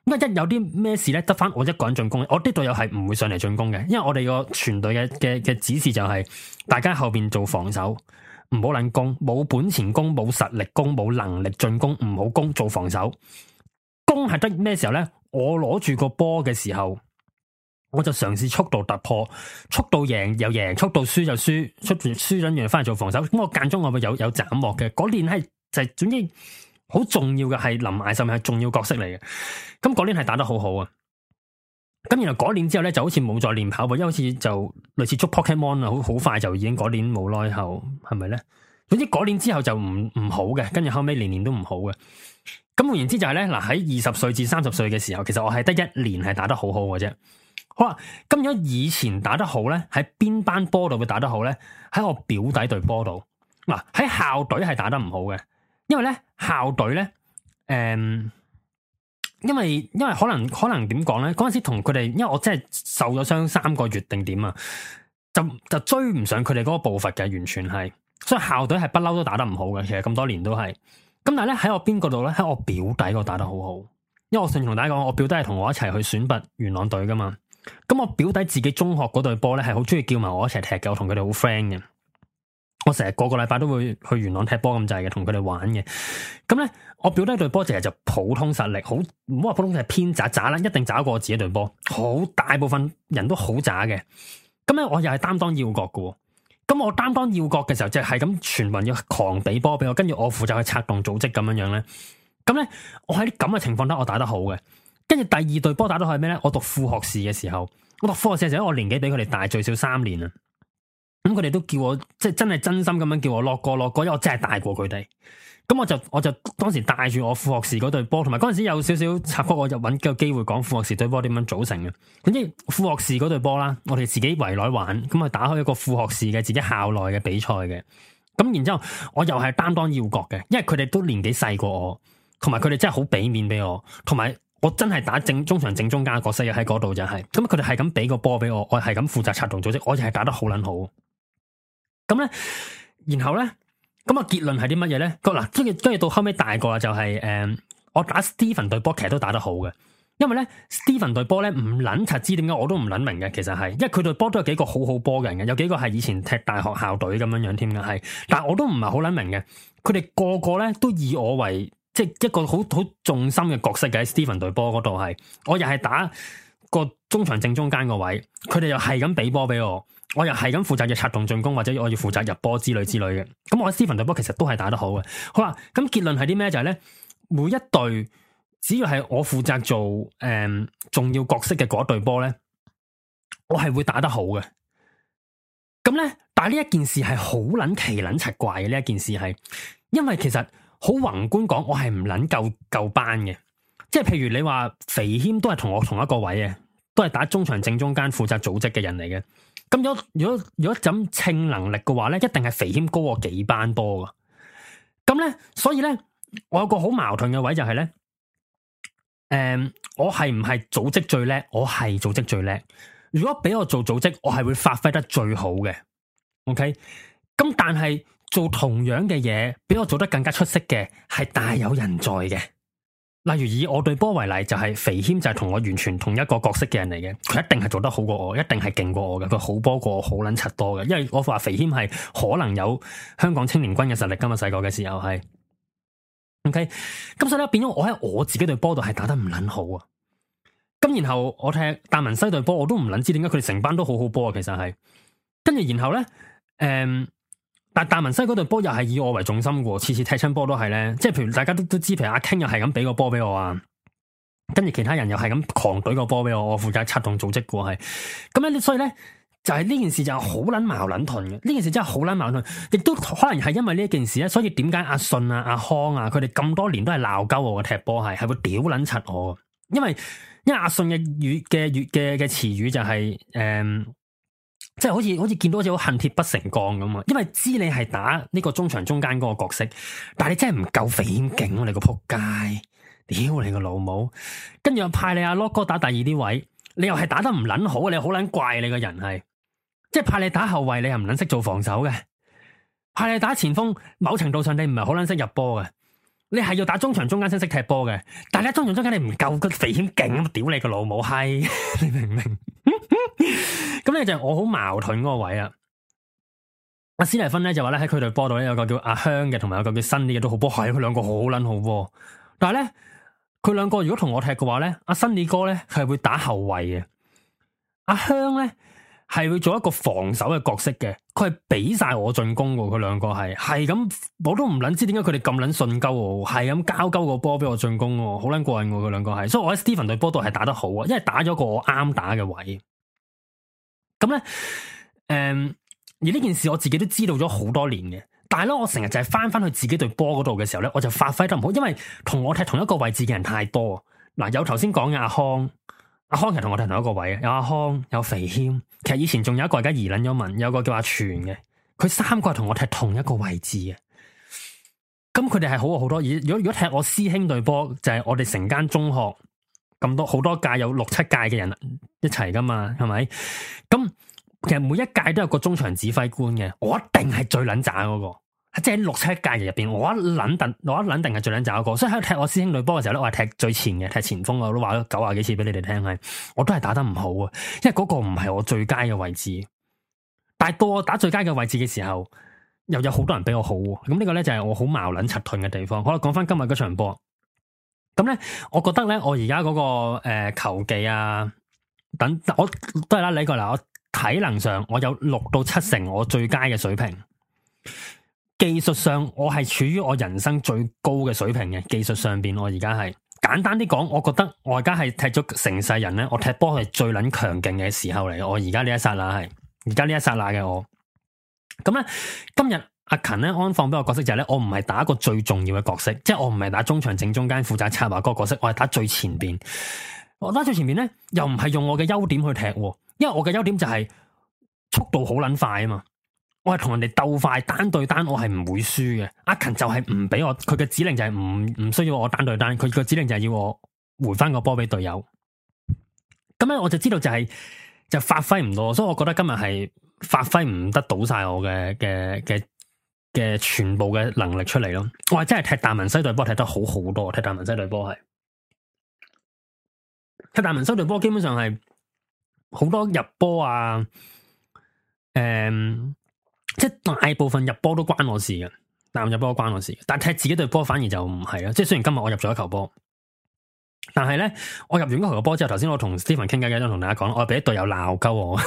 因為一有啲咩事咧，得翻我一個人進攻，我啲隊友係唔會上嚟進攻嘅，因為我哋個全隊嘅嘅嘅指示就係、是、大家後邊做防守，唔好撚攻，冇本錢攻，冇實力攻，冇能力進攻，唔好攻，做防守。攻係得咩時候咧？我攞住個波嘅時候，我就嘗試速度突破，速度贏又贏，速度輸就輸，速度輸緊完翻嚟做防守。咁我間中我會有有斬獲嘅，嗰年係就係、是、總之好重要嘅，係林艾甚係重要角色嚟嘅。咁嗰年係打得好好啊。咁然後嗰年之後咧，就好似冇再練跑步，因為好似就類似捉 Pokemon 啊，好好快就已經嗰年冇耐後，係咪咧？總之嗰年之後就唔唔好嘅，跟住後尾年年都唔好嘅。咁換言之就係咧，嗱，喺二十歲至三十歲嘅時候，其實我係得一年係打得好好嘅啫。好啦，咁如果以前打得好咧，喺邊班波度會打得好咧？喺我表弟隊波度。嗱，喺校隊係打得唔好嘅，因為咧校隊咧，誒、嗯，因為因為可能可能點講咧？嗰陣時同佢哋，因為我真係受咗傷三個月定點啊，就就追唔上佢哋嗰個步伐嘅，完全係，所以校隊係不嬲都打得唔好嘅。其實咁多年都係。咁但係咧喺我邊個度咧？喺我表弟嗰度打得好好，因為我上次同大家講，我表弟係同我一齊去選拔元朗隊噶嘛。咁我表弟自己中學嗰隊波咧係好中意叫埋我一齊踢嘅，我同佢哋好 friend 嘅。我成日個個禮拜都會去元朗踢波咁滯嘅，同佢哋玩嘅。咁咧我表弟隊波其實就普通實力，好唔好話普通，係偏渣渣啦，一定渣過我自己隊波。好大部分人都好渣嘅。咁咧我又係擔當要角嘅。咁我擔當要角嘅時候，就係咁全民要狂俾波俾我，跟住我負責去策動組織咁樣樣咧。咁咧，我喺啲咁嘅情況底，我打得好嘅。跟住第二隊波打到係咩咧？我讀副學士嘅時候，我讀副學士嘅時候，我年紀比佢哋大最少三年啊。咁佢哋都叫我，即係真係真心咁樣叫我落過落過，因為我真係大過佢哋。咁我就我就當時帶住我副學士嗰隊波，同埋嗰陣時有少少插曲，我就揾個機會講副學士隊波點樣組成嘅。總之副學士嗰隊波啦，我哋自己圍內玩，咁啊打開一個副學士嘅自己校內嘅比賽嘅。咁然之後我又係擔當要角嘅，因為佢哋都年紀細過我，同埋佢哋真係好俾面俾我，同埋我真係打正中場正中間嘅角色喺嗰度就係、是。咁佢哋係咁俾個波俾我，我係咁負責策動組織，我就係打得好撚好。咁咧，然後咧。咁啊，結論係啲乜嘢咧？嗱，跟住跟住到後尾大個啦，就係、是、誒、嗯，我打 Steven 隊波其實都打得好嘅，因為咧 Steven 隊波咧唔捻柒知點解我都唔捻明嘅，其實係，因為佢隊波都有幾個好好波嘅人嘅，有幾個係以前踢大學校隊咁樣樣添嘅，係，但係我都唔係好捻明嘅，佢哋個個咧都以我為即係一個好好重心嘅角色嘅喺 Steven 隊波嗰度係，我又係打個中場正中間個位，佢哋又係咁俾波俾我。我又係咁負責嘅策動進攻，或者我要負責入波之類之類嘅。咁我喺 Steven 隊波其實都係打得好嘅。好啦，咁結論係啲咩？就係咧，每一隊只要係我負責做誒、嗯、重要角色嘅嗰隊波咧，我係會打得好嘅。咁咧，但係呢一件事係好捻奇捻奇怪嘅。呢一件事係，因為其實好宏觀講，我係唔捻夠夠班嘅。即係譬如你話肥謙都係同我同一個位嘅，都係打中場正中間負責組織嘅人嚟嘅。咁如果如果如果咁稱能力嘅話咧，一定係肥謙高我幾班波噶。咁咧，所以咧，我有個好矛盾嘅位就係咧，誒、嗯，我係唔係組織最叻？我係組織最叻。如果俾我做組織，我係會發揮得最好嘅。OK，咁但係做同樣嘅嘢，俾我做得更加出色嘅，係大有人在嘅。例如以我隊波為例，就係、是、肥謙就係同我完全同一個角色嘅人嚟嘅，佢一定係做得好過我，一定係勁過我嘅，佢好波過我，好撚柒多嘅。因為我話肥謙係可能有香港青年軍嘅實力，今日細個嘅時候係，OK，咁所以咧變咗我喺我自己隊波度係打得唔撚好啊。咁然後我踢達文西隊波，我都唔撚知點解佢哋成班都好好波啊。其實係，跟住然後咧，誒、嗯。但係達文西嗰隊波又係以我為重心嘅，次次踢親波都係咧，即係譬如大家都都知，譬如阿 King 又係咁俾個波俾我啊，跟住其他人又係咁狂懟個波俾我，我負責策動組織嘅係，咁咧所以咧就係、是、呢件事就係好捻矛盾嘅，呢件事真係好捻矛盾，亦都可能係因為呢件事咧，所以點解阿信啊、阿康啊，佢哋咁多年都係鬧鳩我嘅踢波係，係會屌捻柒我，因為因為阿信嘅語嘅語嘅嘅詞語就係、是、誒。嗯即係好似好似見到好似好恨鐵不成鋼咁啊！因為知你係打呢個中場中間嗰個角色，但係你真係唔夠肥險勁啊！你個撲街，屌你個老母！跟住又派你阿 Lock 哥打第二啲位，你又係打得唔撚好，你好撚怪你個人係，即係派你打後衛，你又唔撚識做防守嘅，派你打前鋒，某程度上你唔係好撚識入波嘅， 你係要打中場中間先識踢波嘅，但係你中場中間你唔夠個肥險勁咁，屌你個老母閪，你明唔明？咁你就係我好矛盾嗰個位啊！阿史蒂芬咧就話咧喺佢隊波度咧有個叫阿香嘅，同埋有個叫新啲嘅都好波，係佢兩個好撚好波。但係咧佢兩個如果同我踢嘅話咧，阿新啲哥咧係會打後衛嘅，阿香咧係會做一個防守嘅角色嘅。佢係俾晒我進攻嘅，佢兩個係係咁，我都唔捻知點解佢哋咁捻順鳩我，係咁交鳩個波俾我進攻，好捻過癮嘅佢兩個係。所以我喺 Stephen 隊波度係打得好啊，因為打咗個我啱打嘅位。咁咧，誒、嗯。而呢件事我自己都知道咗好多年嘅，但係咧我成日就係翻翻去自己隊波嗰度嘅時候咧，我就發揮得唔好，因為同我踢同一個位置嘅人太多。嗱，有頭先講嘅阿康，阿康其實同我踢同一個位，有阿康，有肥謙，其實以前仲有一個而家移捻咗民，有個叫阿全嘅，佢三個係同我踢同一個位置嘅。咁佢哋係好過好多。而如果如果踢我師兄隊波，就係、是、我哋成間中學咁多好多屆有六七屆嘅人一齊噶嘛，係咪？咁。其實每一屆都有個中場指揮官嘅，我一定係最撚渣嗰個，即係六七屆入邊，我一撚定，我一撚定係最撚渣嗰個。所以喺踢我師兄隊波嘅時候咧，我係踢最前嘅，踢前鋒，我都話咗九廿幾次俾你哋聽，係我都係打得唔好啊，因為嗰個唔係我最佳嘅位置。但係到我打最佳嘅位置嘅時候，又有好多人比我好，咁呢個咧就係我好矛撚柒盾嘅地方。好啦，講翻今日嗰場波，咁咧，我覺得咧，我而家嗰個誒、呃、球技啊，等我都係啦，你過嚟我。體能上我有六到七成我最佳嘅水平，技術上我係處於我人生最高嘅水平嘅。技術上邊我而家係簡單啲講，我覺得我而家係踢咗成世人咧，我踢波係最捻強勁嘅時候嚟。我而家呢一剎那係，而家呢一剎那嘅我。咁咧今日阿勤咧安放俾我角色就係咧，我唔係打一個最重要嘅角色，即係我唔係打中場正中間負責策劃嗰個角色，我係打最前邊。我打最前邊咧，又唔係用我嘅優點去踢。因為我嘅優點就係速度好撚快啊嘛，我係同人哋鬥快單對單，我係唔會輸嘅。阿勤就係唔俾我，佢嘅指令就係唔唔需要我單對單，佢個指令就係要我回翻個波俾隊友。咁咧我就知道就係、是、就發揮唔到，所以我覺得今日係發揮唔得到晒我嘅嘅嘅嘅全部嘅能力出嚟咯。我係真係踢達文西隊波踢得好好多，踢達文西隊波係踢達文西隊波基本上係。好多入波啊，誒、嗯，即係大部分入波都關我事嘅，但入波都關我事，但係踢自己隊波反而就唔係啦。即係雖然今日我入咗一球波，但係咧我入完嗰球波之後，頭先我同 Stephen 傾偈嘅都同大家講，我俾啲隊友鬧鳩我，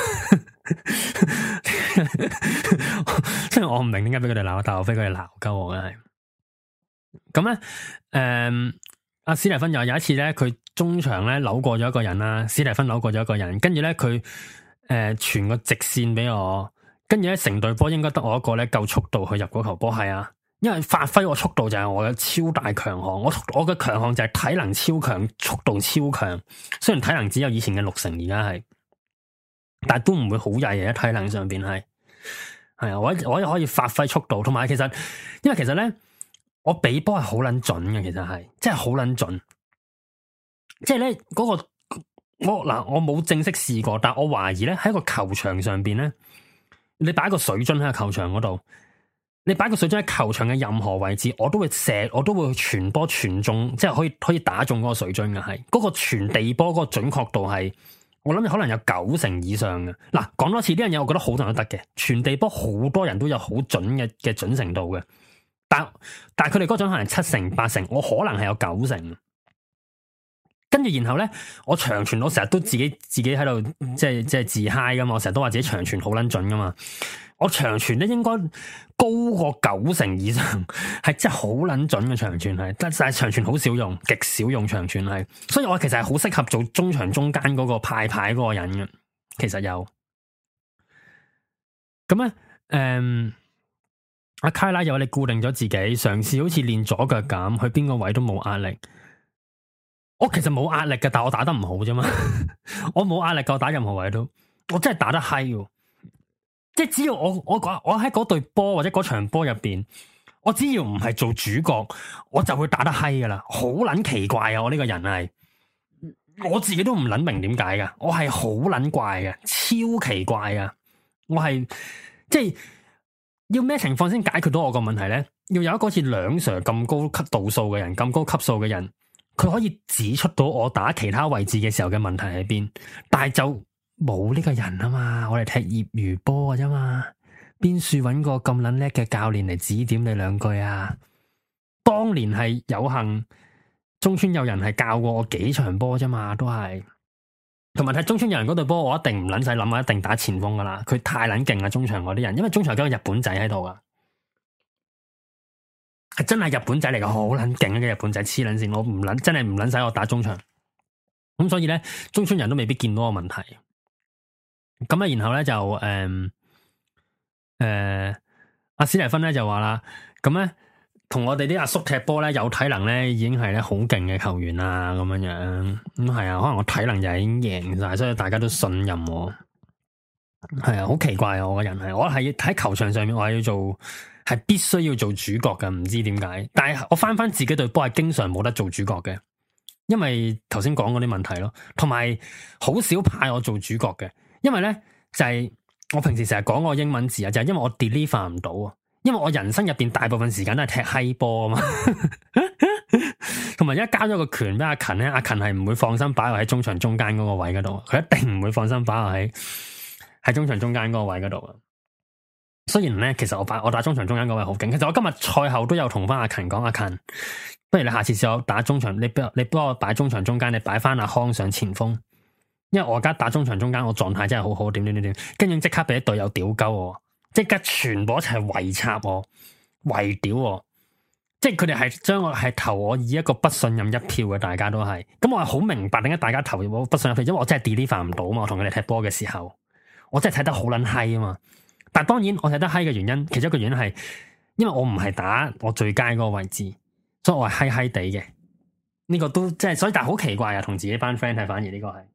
雖然我唔明點解俾佢哋鬧，但係我俾佢哋鬧鳩我嘅係。咁咧，誒、嗯。阿史蒂芬又有一次咧，佢中場咧扭過咗一個人啦，史蒂芬扭過咗一個人，跟住咧佢誒傳個直線俾我，跟住咧成隊波應該得我一個咧夠速度去入嗰球波，係啊，因為發揮我速度就係我嘅超大強項，我我嘅強項就係體能超強，速度超強，雖然體能只有以前嘅六成，而家係，但係都唔會好曳嘅，喺體能上邊係，係啊，我我可以發揮速度，同埋其實因為其實咧。我比波係好捻準嘅，其實係，真係好捻準。即係咧，嗰個我嗱，我冇正式試過，但我懷疑咧喺個球場上邊咧，你擺個水樽喺個球場嗰度，你擺個水樽喺球場嘅任何位置，我都會射，我都會傳波傳中，即係可以可以打中嗰個水樽嘅，係嗰個傳地波嗰個準確度係，我諗可能有九成以上嘅。嗱，講多次呢樣嘢，我覺得好多人都得嘅，傳地波好多人都有好準嘅嘅準程度嘅。但但係佢哋嗰種可能七成八成，我可能係有九成。跟住然後咧，我長傳我成日都自己自己喺度即係即係自嗨噶嘛，我成日都話自己長傳好撚準噶嘛。我長傳咧應該高過九成以上，係真係好撚準嘅長傳係，但係長傳好少用，極少用長傳係。所以我其實係好適合做中場中間嗰個派牌嗰個人嘅。其實有咁咧，誒。嗯阿卡拉又話你固定咗自己，嘗試好似練左腳咁，去邊個位都冇壓力。我其實冇壓力嘅，但我打得唔好啫嘛。我冇壓力嘅，我打任何位都，我真係打得嗨喎。即係只要我我我喺嗰隊波或者嗰場波入邊，我只要唔係做主角，我就會打得嗨噶啦。好撚奇怪啊！我呢個人係，我自己都唔撚明點解噶。我係好撚怪嘅，超奇怪啊！我係即係。要咩情況先解決到我個問題咧？ 要有一個好似兩 Sir 咁高級度數嘅人，咁高級數嘅人，佢可以指出到我打其他位置嘅時候嘅問題喺邊，但係就冇呢個人啊嘛，我哋踢業餘波嘅啫嘛，邊處搵個咁撚叻嘅教練嚟指點你兩句啊？當年係有幸中村有人係教過我幾場波啫嘛，都係。同埋睇中村有人嗰隊波，我一定唔撚使諗啊，一定打前鋒噶啦，佢太撚勁啦，中場嗰啲人，因為中場有個日本仔喺度噶。係真係日本仔嚟噶，好撚勁嘅日本仔，黐撚線，我唔撚真係唔撚使我打中場。咁所以咧，中村人都未必見到個問題。咁啊，然後咧就誒誒，阿史蒂芬咧就話啦，咁咧同我哋啲阿叔踢波咧有體能咧，已經係咧好勁嘅球員啦，咁樣樣。咁係啊，可能我體能就已經贏晒，所以大家都信任我。係啊，好奇怪啊！我個人係，我係喺球場上面，我係要做。係必須要做主角嘅，唔知點解。但係我翻翻自己隊波係經常冇得做主角嘅，因為頭先講嗰啲問題咯，同埋好少派我做主角嘅。因為咧就係、是、我平時成日講個英文字啊，就係、是、因為我 deliver 唔到啊。因為我人生入邊大部分時間都係踢閪波啊嘛，同埋而家交咗個權俾阿勤咧，阿勤係唔會放心擺我喺中場中間嗰個位嗰度，佢一定唔會放心擺我喺喺中場中間嗰個位嗰度啊。雖然咧，其實我打我打中場中間嗰位好勁。其實我今日賽後都有同翻阿勤講，阿勤，不如你下次試我打中場，你幫你幫我擺中場中間，你擺翻阿康上前鋒。因為我而家打中場中間，我狀態真係好好，點點點點，跟住即刻俾啲隊友屌鳩我，即刻全部一齊圍插我，圍屌我，即係佢哋係將我係投我以一個不信任一票嘅，大家都係。咁我係好明白點解大家投我不信任一票，因為我真係 deliver 唔到啊嘛。我同佢哋踢波嘅時候，我真係睇得好撚閪啊嘛。但當然，我睇得閪嘅原因，其中一個原因係，因為我唔係打我最佳嗰個位置，所以我係閪閪地嘅。呢、這個都即係，所以但係好奇怪啊，同自己班 friend 係反而呢個係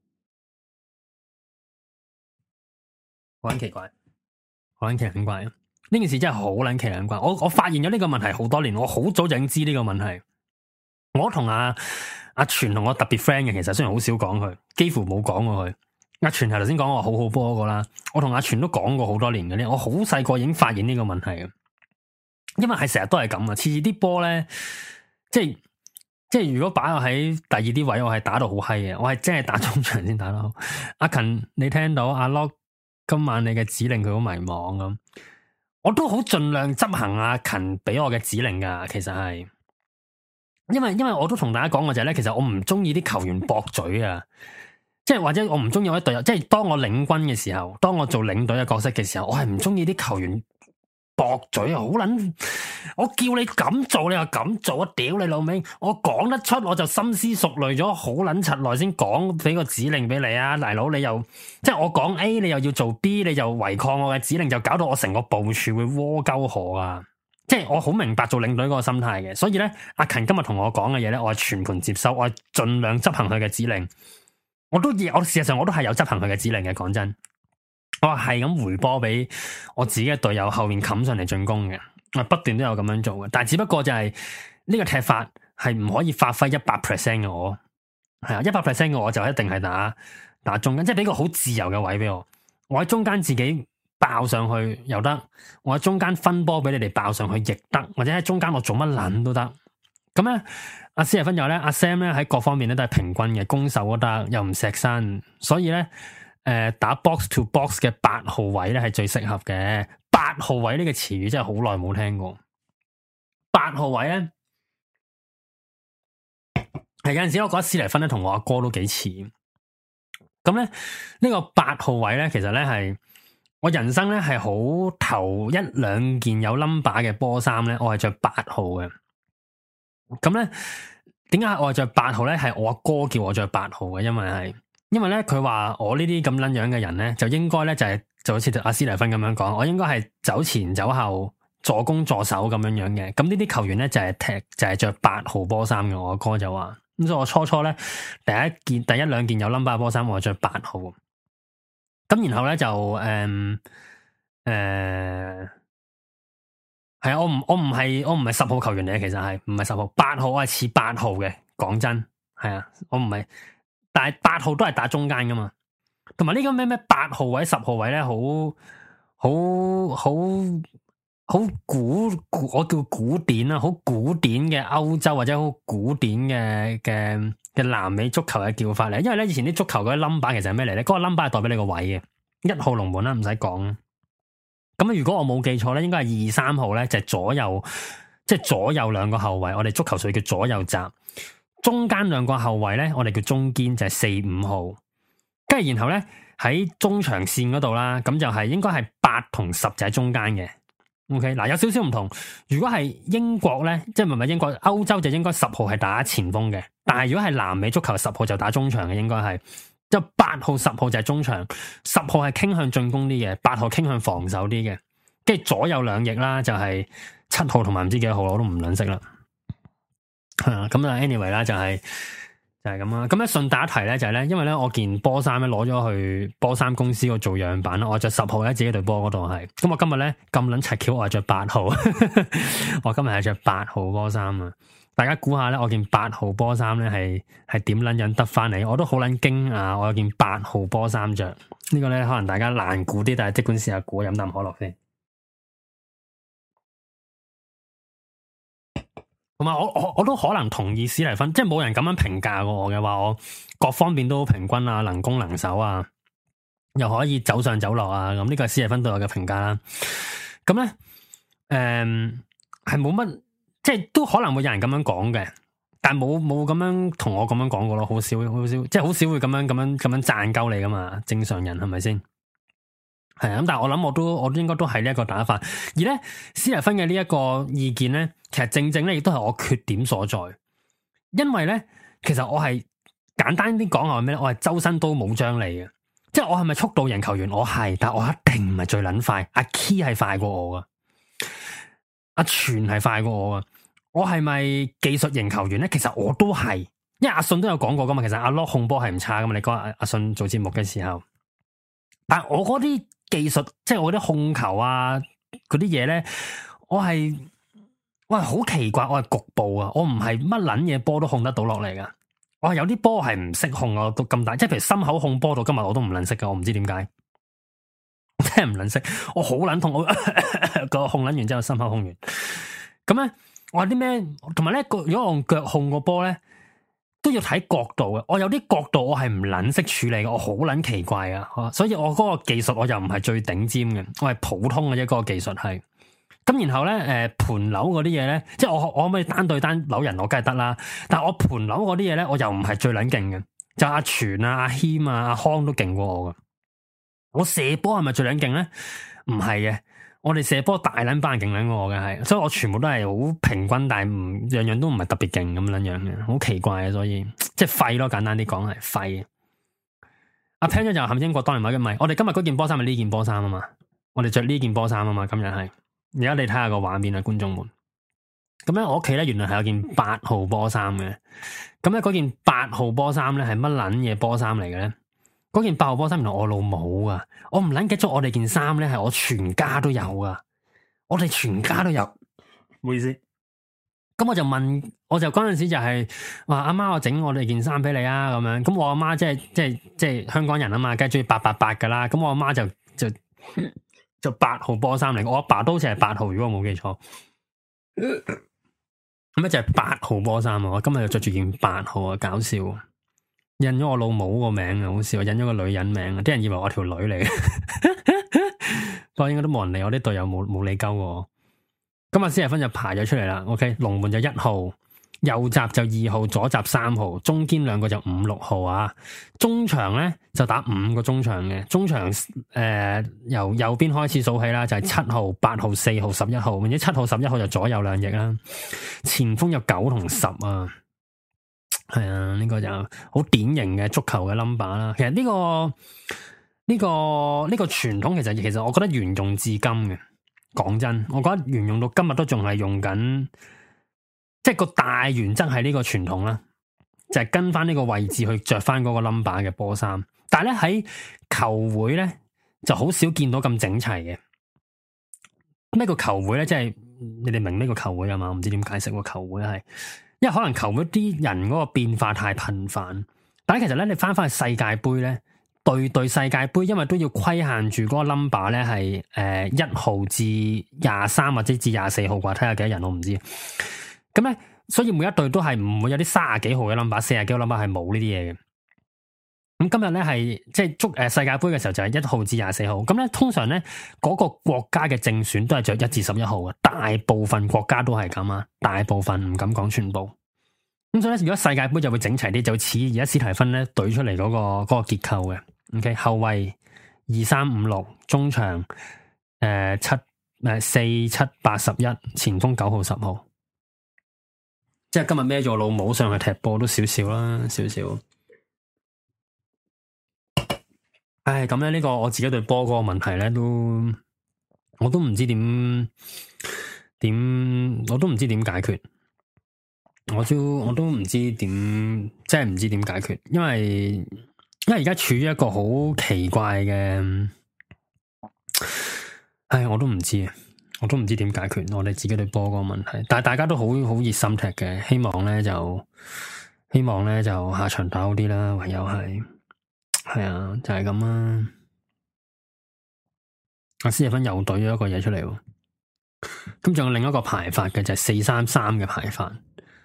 好撚奇怪，好撚奇撚怪。呢件事真係好撚奇撚怪。我我發現咗呢個問題好多年，我好早就已經知呢個問題。我同阿阿全同我特別 friend 嘅，其實雖然好少講佢，幾乎冇講過佢。阿全係頭先講我好好波嗰個啦，我同阿全都講過好多年嘅咧，我好細個已經發現呢個問題嘅，因為係成日都係咁啊，次次啲波咧，即係即係如果擺我喺第二啲位，我係打到好閪嘅，我係真係打中場先打得好。阿勤，你聽到阿 Lock 今晚你嘅指令佢好迷茫咁，我都好盡量執行阿勤俾我嘅指令噶，其實係，因為因為我都同大家講過就係咧，其實我唔中意啲球員駁嘴啊。即係或者我唔中意我啲隊友，即係當我領軍嘅時候，當我做領隊嘅角色嘅時候，我係唔中意啲球員駁嘴啊！好撚，我叫你咁做，你又咁做，我屌你老味！我講得出，我就深思熟慮咗好撚柒耐先講俾個指令俾你啊！大佬你又即係我講 A，你又要做 B，你就違抗我嘅指令，就搞到我成個部署會窩鳩河啊！即係我好明白做領隊嗰個心態嘅，所以咧，阿勤今日同我講嘅嘢咧，我係全盤接收，我係盡量執行佢嘅指令。我都我事實上我都係有執行佢嘅指令嘅，講真，我係咁回波俾我自己嘅隊友後面冚上嚟進攻嘅，我不斷都有咁樣做嘅，但係只不過就係呢個踢法係唔可以發揮一百 percent 嘅我，係啊，一百 percent 嘅我就一定係打打中間，即係俾個好自由嘅位俾我，我喺中間自己爆上去又得，我喺中間分波俾你哋爆上去亦得，或者喺中間我做乜撚都得，咁咧。阿斯亞芬又咧，阿 Sam 咧喺各方面咧都係平均嘅，攻守都得，又唔錫身，所以咧，誒、呃、打 box to box 嘅八號位咧係最適合嘅。八號位呢個詞語真係好耐冇聽過。八號位咧，係有陣時我覺得斯尼芬咧同我阿哥都幾似。咁咧呢、這個八號位咧，其實咧係我人生咧係好頭一兩件有 number 嘅波衫咧，我係着八號嘅。咁咧，點解我係着八號咧？係我阿哥叫我着八號嘅，因為係，因為咧佢話我呢啲咁撚樣嘅人咧，就應該咧就係、是、就好似阿斯尼芬咁樣講，我應該係走前走後助攻助手咁樣樣嘅。咁呢啲球員咧就係、是、踢就係着八號波衫嘅。我阿哥就話，咁所以我初初咧第一件第一兩件有 number 波衫，我着八號。咁然後咧就誒誒。嗯呃係啊，我唔我唔係我唔係十號球員嚟嘅，其實係唔係十號，八號我係似八號嘅。講真，係啊，我唔係，但係八號都係打中間噶嘛。同埋呢個咩咩八號位、十號位咧，好好好好古，我叫古典啦，好古典嘅歐洲或者好古典嘅嘅嘅南美足球嘅叫法嚟。因為咧以前啲足球嗰啲 number 其實係咩嚟咧？嗰、嗰個 number 係代表你個位嘅，一號龍門啦，唔使講。咁如果我冇記錯咧，應該係二三號咧，就係、是、左右，即、就、係、是、左右兩個後衛。我哋足球所以叫左右閘。中間兩個後衛咧，我哋叫中堅，就係四五號。跟住然後咧喺中場線嗰度啦，咁就係應該係八同十就喺中間嘅。OK，嗱有少少唔同。如果係英國咧，即係唔係英國，歐洲就應該十號係打前鋒嘅。但係如果係南美足球，十號就打中場嘅，應該係。就八號、十號就係中場，十號係傾向進攻啲嘅，八號傾向防守啲嘅。跟住左右兩翼啦，就係七號同埋唔知幾多號，我都唔撚識啦。係啊，咁啊，anyway 啦，就係就係咁啦。咁咧順帶一提咧，就係咧，因為咧我件波衫咧攞咗去波衫公司度做樣板啦，我着十號喺自己隊波嗰度係。咁我今日咧咁撚柒巧，我係着八號。我今日係着八號波衫啊！大家估下咧，我件八號波衫咧係係點撚樣得翻嚟？我都好撚驚啊！我有件八號波衫着，呢、這個咧可能大家難估啲，但係即管試下估，飲啖可樂先。同埋我我我都可能同意史蒂芬，即係冇人咁樣評價過我嘅，話我各方面都好平均啊，能攻能守啊，又可以走上走落啊，咁呢個係史蒂芬對我嘅評價啦。咁咧，誒係冇乜。即係都可能會有人咁樣講嘅，但係冇冇咁樣同我咁樣講過咯，好少好少，即係好少會咁樣咁樣咁樣讚鳩你噶嘛，正常人係咪先？係啊，咁但係我諗我都我都應該都係呢一個打法，而咧斯蒂芬嘅呢一個意見咧，其實正正咧亦都係我缺點所在，因為咧其實我係簡單啲講係咩咧？我係周身刀冇張利嘅，即係我係咪速度型球員？我係，但係我一定唔係最撚快，阿 Key 係快過我噶，阿全係快過我噶。我係咪技術型球員咧？其實我都係，因為阿信都有講過噶嘛。其實阿 Lock 控波係唔差噶嘛。你講阿阿信做節目嘅時候，但係我嗰啲技術，即係我啲控球啊，嗰啲嘢咧，我係我係好奇怪，我係局部啊，我唔係乜撚嘢波都控得到落嚟噶。我係有啲波係唔識控啊，到咁大，即係譬如心口控波到今日我都唔撚識噶，我唔知點解，我真係唔撚識，我好撚痛，我個控撚完之後心口控完，咁咧。我有啲咩，同埋咧，如果我用腳控個波咧，都要睇角度嘅。我有啲角度我係唔捻識處理嘅，我好捻奇怪啊！所以我嗰個技術我又唔係最頂尖嘅，我係普通嘅啫。嗰個技術係咁，然後咧，誒、呃，盤扭嗰啲嘢咧，即係我我可唔可以單對單扭人？我梗係得啦。但係我盤扭嗰啲嘢咧，我又唔係最捻勁嘅。就阿全啊、阿謙啊、阿康都勁過我噶。我射波係咪最捻勁咧？唔係嘅。我哋射波大撚班人勁撚過我嘅係，所以我全部都係好平均，但係唔樣樣都唔係特別勁咁樣樣嘅，好奇怪啊！所以即係廢咯，簡單啲講係廢。阿 Pan 就係英國當年買嘅咪，我哋今日嗰件波衫係呢件波衫啊嘛，我哋着呢件波衫啊嘛，今日係。而家你睇下個畫面啊，觀眾們。咁咧，我屋企咧原來係有件八號波衫嘅，咁咧嗰件八號波衫咧係乜撚嘢波衫嚟嘅咧？嗰件八號波衫原來我老母啊！我唔捻記咗我哋件衫咧係我全家都有噶，我哋全家都有。唔好意思，咁我就問，我就嗰陣時就係話阿媽，我整我哋件衫俾你啊，咁樣。咁我阿媽即係即係即係香港人啊嘛，梗係中意八八八噶啦。咁我阿媽就就就八號波衫嚟，我阿爸都好似係八號，如果我冇記錯。咁咧就係八號波衫啊！我今日就着住件八號啊，搞笑。印咗我老母個名啊，好笑！印咗個女人名啊，啲人以為我條女嚟嘅，不過應該都冇人理我啲隊友，冇冇理鳩我。今日斯蒂芬就排咗出嚟啦。OK，龍門就一號，右閘就二號，左閘三號，中堅兩個就五六號啊。中場咧就打五個中場嘅，中場誒、呃、由右邊開始數起啦，就係、是、七號、八號、四號、十一號，或者七號、十一號就左右兩翼啦。前鋒有九同十啊。係啊，呢、這個就好典型嘅足球嘅 number 啦。其實呢、這個呢、這個呢、這個傳統，其實其實我覺得沿用至今嘅。講真，我覺得沿用到今日都仲係用緊，即係個大原則係呢個傳統啦，就係、是、跟翻呢個位置去着翻嗰個 number 嘅波衫。但係咧喺球會咧就好少見到咁整齊嘅。咩叫球會咧？即係你哋明咩個球會啊嘛？我唔知點解釋個球會係。因為可能球會啲人嗰個變化太頻繁，但係其實咧，你翻翻去世界盃咧， 隊隊世界盃，因為都要規限住嗰個 number 咧，係誒一號至廿三或者至廿四號啩，睇下幾多人我唔知。咁咧，所以每一隊都係唔會有啲三十幾號嘅 number， 四十幾號 number 係冇呢啲嘢嘅。咁今日咧係即係足誒世界盃嘅時候就係一號至廿四號。咁咧通常咧嗰個國家嘅正選都係着一至十一號嘅，大部分國家都係咁啊，大部分唔敢講全部。咁所以咧，如果世界盃就會整齊啲，就似而家史提芬咧懟出嚟嗰個嗰個結構嘅。OK， 後衛二三五六，中場誒七誒四七八十一，前鋒九號十號。即係今日孭咗老母上去踢波都少少啦，少少。唉，咁咧呢個我自己對波嗰個問題咧，都我都唔知點點，我都唔知點解決，我都我都唔知點，即係唔知點解決，因為因為而家處於一個好奇怪嘅，唉，我都唔知啊，我都唔知點解決我哋自己對波嗰個問題，但係大家都好好熱心踢嘅，希望咧就希望咧就下場打好啲啦，唯有係。係啊，就係咁啦。阿斯蒂芬又懟咗一個嘢出嚟，咁仲有另一個排法嘅就係四三三嘅排法。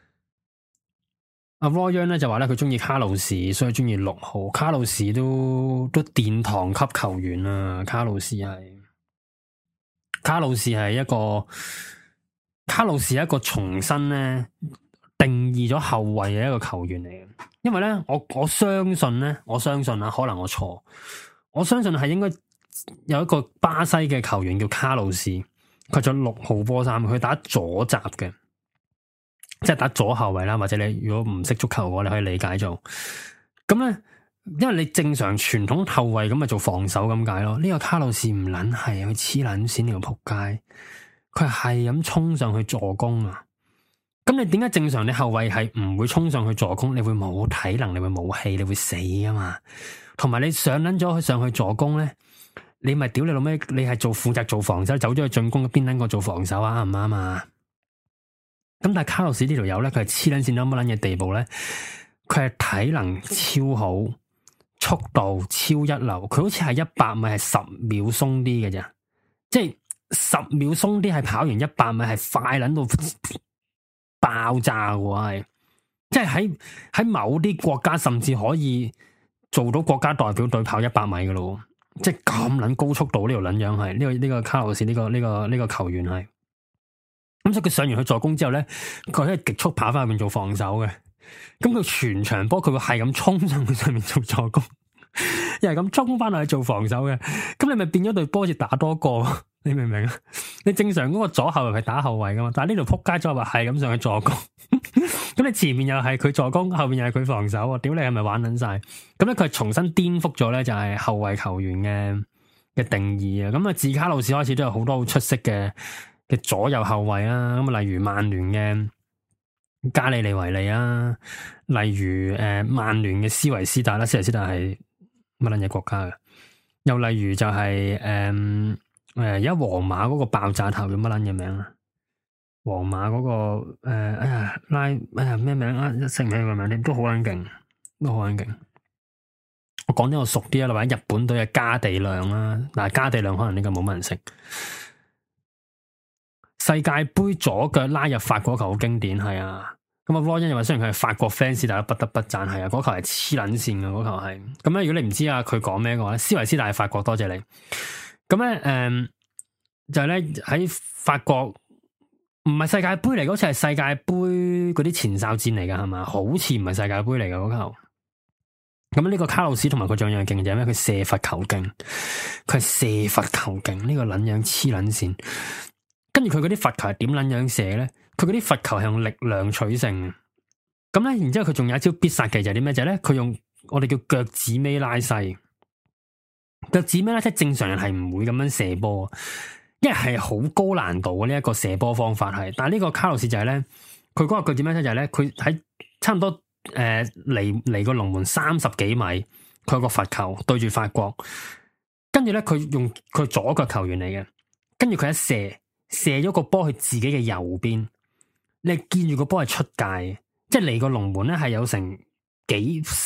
阿 Roy 咧就話咧佢中意卡路士，所以中意六號。卡路士都都殿堂級球員啊！卡路士係卡路士係一個卡路士係一個重新咧定義咗後衛嘅一個球員嚟嘅。因為咧，我我相信咧，我相信啊，可能我錯，我相信係應該有一個巴西嘅球員叫卡路士，佢着六號波衫，佢打左閘嘅，即係打左後衛啦。或者你如果唔識足球嘅話，你可以理解做咁咧，因為你正常傳統後衛咁咪做防守咁解咯。呢個卡路士唔撚係，佢黐撚線呢個仆街，佢係咁衝上去助攻啊！咁你點解正常你後衛係唔會衝上去助攻？你會冇體能，你會冇氣，你會死啊嘛！同埋你上捻咗去上去助攻咧，你咪屌你老咩？你係做負責做防守，走咗去進攻，邊捻個做防守啊？啱唔啱啊？咁但係卡路士呢條友咧，佢係黐捻線到乜捻嘅地步咧？佢係體能超好，速度超一流，佢好似係一百米係十秒鬆啲嘅啫，即係十秒鬆啲係跑完一百米係快捻到爆炸嘅係，即係喺喺某啲國家甚至可以做到國家代表隊跑一百米嘅咯，即係咁撚高速度呢條撚樣係呢個呢個卡路士呢個呢個呢個球員係，咁所以佢上完去助攻之後咧，佢係極速跑翻入面做防守嘅，咁佢全場波佢會係咁衝上去上面做助攻，又係咁衝翻落去做防守嘅，咁你咪變咗隊波似打多個。你明唔明啊？你正常嗰個左後衛係打後衛噶嘛，但係呢條撲街左後衛係咁上去助攻，咁你前面又係佢助攻，後面又係佢防守啊！屌你係咪玩撚晒？咁咧佢係重新顛覆咗咧，就係後衛球員嘅嘅定義啊！咁啊，自卡路士開始都有好多好出色嘅嘅左右後衛啊！咁啊，例如曼聯嘅加里尼維利啊，例如誒曼聯嘅斯維斯達啦，斯維斯達係乜撚嘢國家嘅？又例如就係、是、誒。嗯誒，而家皇馬嗰個爆炸頭叫乜撚嘢名啊？皇馬嗰、那個誒、呃，哎呀拉，哎呀咩名啊？一識唔起個名添，都好撚勁，都好撚勁。我講啲我熟啲啊，或者日本隊嘅加地亮啦，嗱加地亮可能呢個冇乜人識。世界盃左腳拉入法國球好經典，係啊。咁啊，羅恩又話雖然佢係法國 fans，但係不得不讚係啊，嗰球係黐撚線嘅，嗰球係。咁咧，如果你唔知啊，佢講咩嘅話咧，斯維斯大係法國，多謝你。咁咧，誒、嗯，就係咧喺法國，唔係世界盃嚟，好似係世界盃嗰啲前哨戰嚟噶，係嘛？好似唔係世界盃嚟噶嗰球。咁呢個卡路士同埋佢仲有樣勁就係咩？佢射罰球勁，佢係射罰球勁，呢、這個撚樣黐撚線。跟住佢嗰啲罰球係點撚樣射咧？佢嗰啲罰球係用力量取勝。咁咧，然之後佢仲有一招必殺技就係啲咩？就係咧，佢用我哋叫腳趾尾拉細。腳趾尾咧，即係正常人係唔會咁樣射波，因為係好高難度嘅呢一個射波方法係。但係呢個卡路士就係咧，佢嗰個腳趾尾咧就係咧，佢喺差唔多誒離離個龍門三十幾米，佢有個罰球對住法國，跟住咧佢用佢左腳球員嚟嘅，跟住佢一射射咗個波去自己嘅右邊，你見住個波係出界，即係離個龍門咧係有成幾十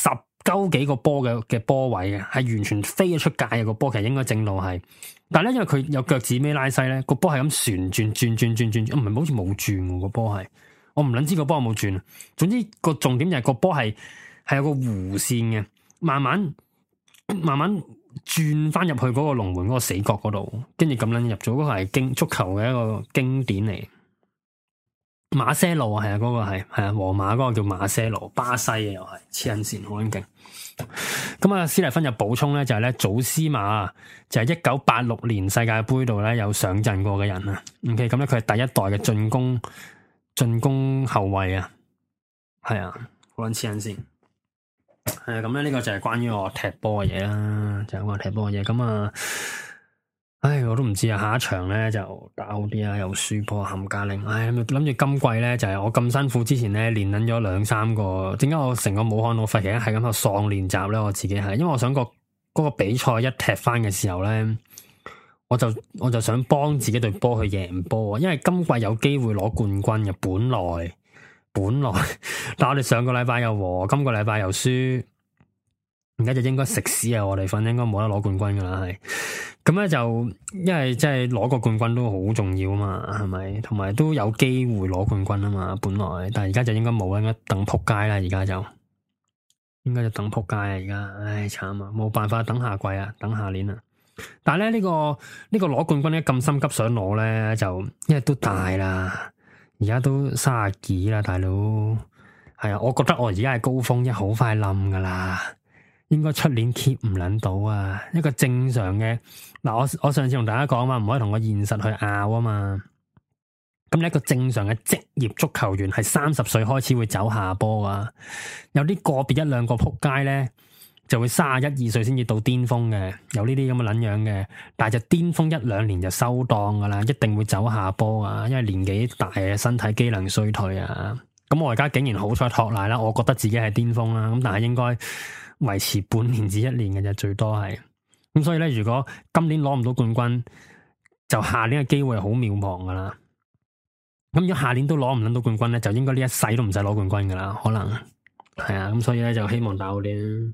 鳩幾個波嘅嘅波位嘅，係完全飛咗出界嘅個波，其實應該正路係，但係咧因為佢有腳趾尾拉西咧，個波係咁旋轉轉轉轉轉，唔係好似冇轉個波係，我唔捻知個波有冇轉。總之個重點就係個波係係有個弧線嘅，慢慢慢慢轉翻入去嗰個龍門嗰個死角嗰度，跟住咁捻入咗，嗰個係經足球嘅一個經典嚟。馬些路係啊，嗰個係係啊，皇馬嗰個叫馬些路，巴西嘅又係黐緊線，好勁。咁啊，斯蒂芬就補充咧，就係咧祖斯馬就係一九八六年世界杯度咧有上陣過嘅人啊。OK，咁咧佢係第一代嘅進攻進攻後衛啊，係啊，好撚黐緊線。係啊，咁咧呢個就係關於我踢波嘅嘢啦，就係我踢波嘅嘢。咁啊。唉，我都唔知啊！下一場咧就打好啲啊，又輸波冚家拎。唉，諗住今季咧就係、是、我咁辛苦之前咧練緊咗兩三個，點解我成個武漢我發現係咁喺度喪練習咧？我自己係，因為我想個嗰、那個比賽一踢翻嘅時候咧，我就我就想幫自己隊波去贏波，因為今季有機會攞冠軍嘅，本來本來，但我哋上個禮拜又和，今個禮拜又輸，而家就應該食屎啊！我哋份應該冇得攞冠軍噶啦，係。咁咧就，因為即係攞個冠軍都好重要啊嘛，係咪？同埋都有機會攞冠軍啊嘛，本來，但係而家就應該冇啦，應該等撲街啦，而家就應該就等撲街啊！而家，唉，慘啊，冇辦法，等下季啊，等下年啊。但係咧呢個呢個攞冠軍咧咁心急想攞咧，就因為都大啦，而家都卅幾啦，大佬。係啊，我覺得我而家係高峰，一好快冧噶啦。應該出年 keep 唔捻到啊！一個正常嘅嗱，我我上次同大家講啊嘛，唔可以同個現實去拗啊嘛。咁你一個正常嘅職業足球員係三十歲開始會走下坡啊，有啲個別一兩個撲街咧就會卅一二歲先至到巔峰嘅，有呢啲咁嘅捻樣嘅，但係就巔峰一兩年就收檔噶啦，一定會走下坡啊，因為年紀大啊，身體機能衰退啊。咁我而家竟然好彩托賴啦，我覺得自己係巔峰啦，咁但係應該維持半年至一年嘅啫，最多係咁，所以咧，如果今年攞唔到冠軍，就下年嘅機會係好渺茫噶啦。咁如果下年都攞唔到冠軍咧，就應該呢一世都唔使攞冠軍噶啦，可能係啊。咁所以咧，就希望打好啲。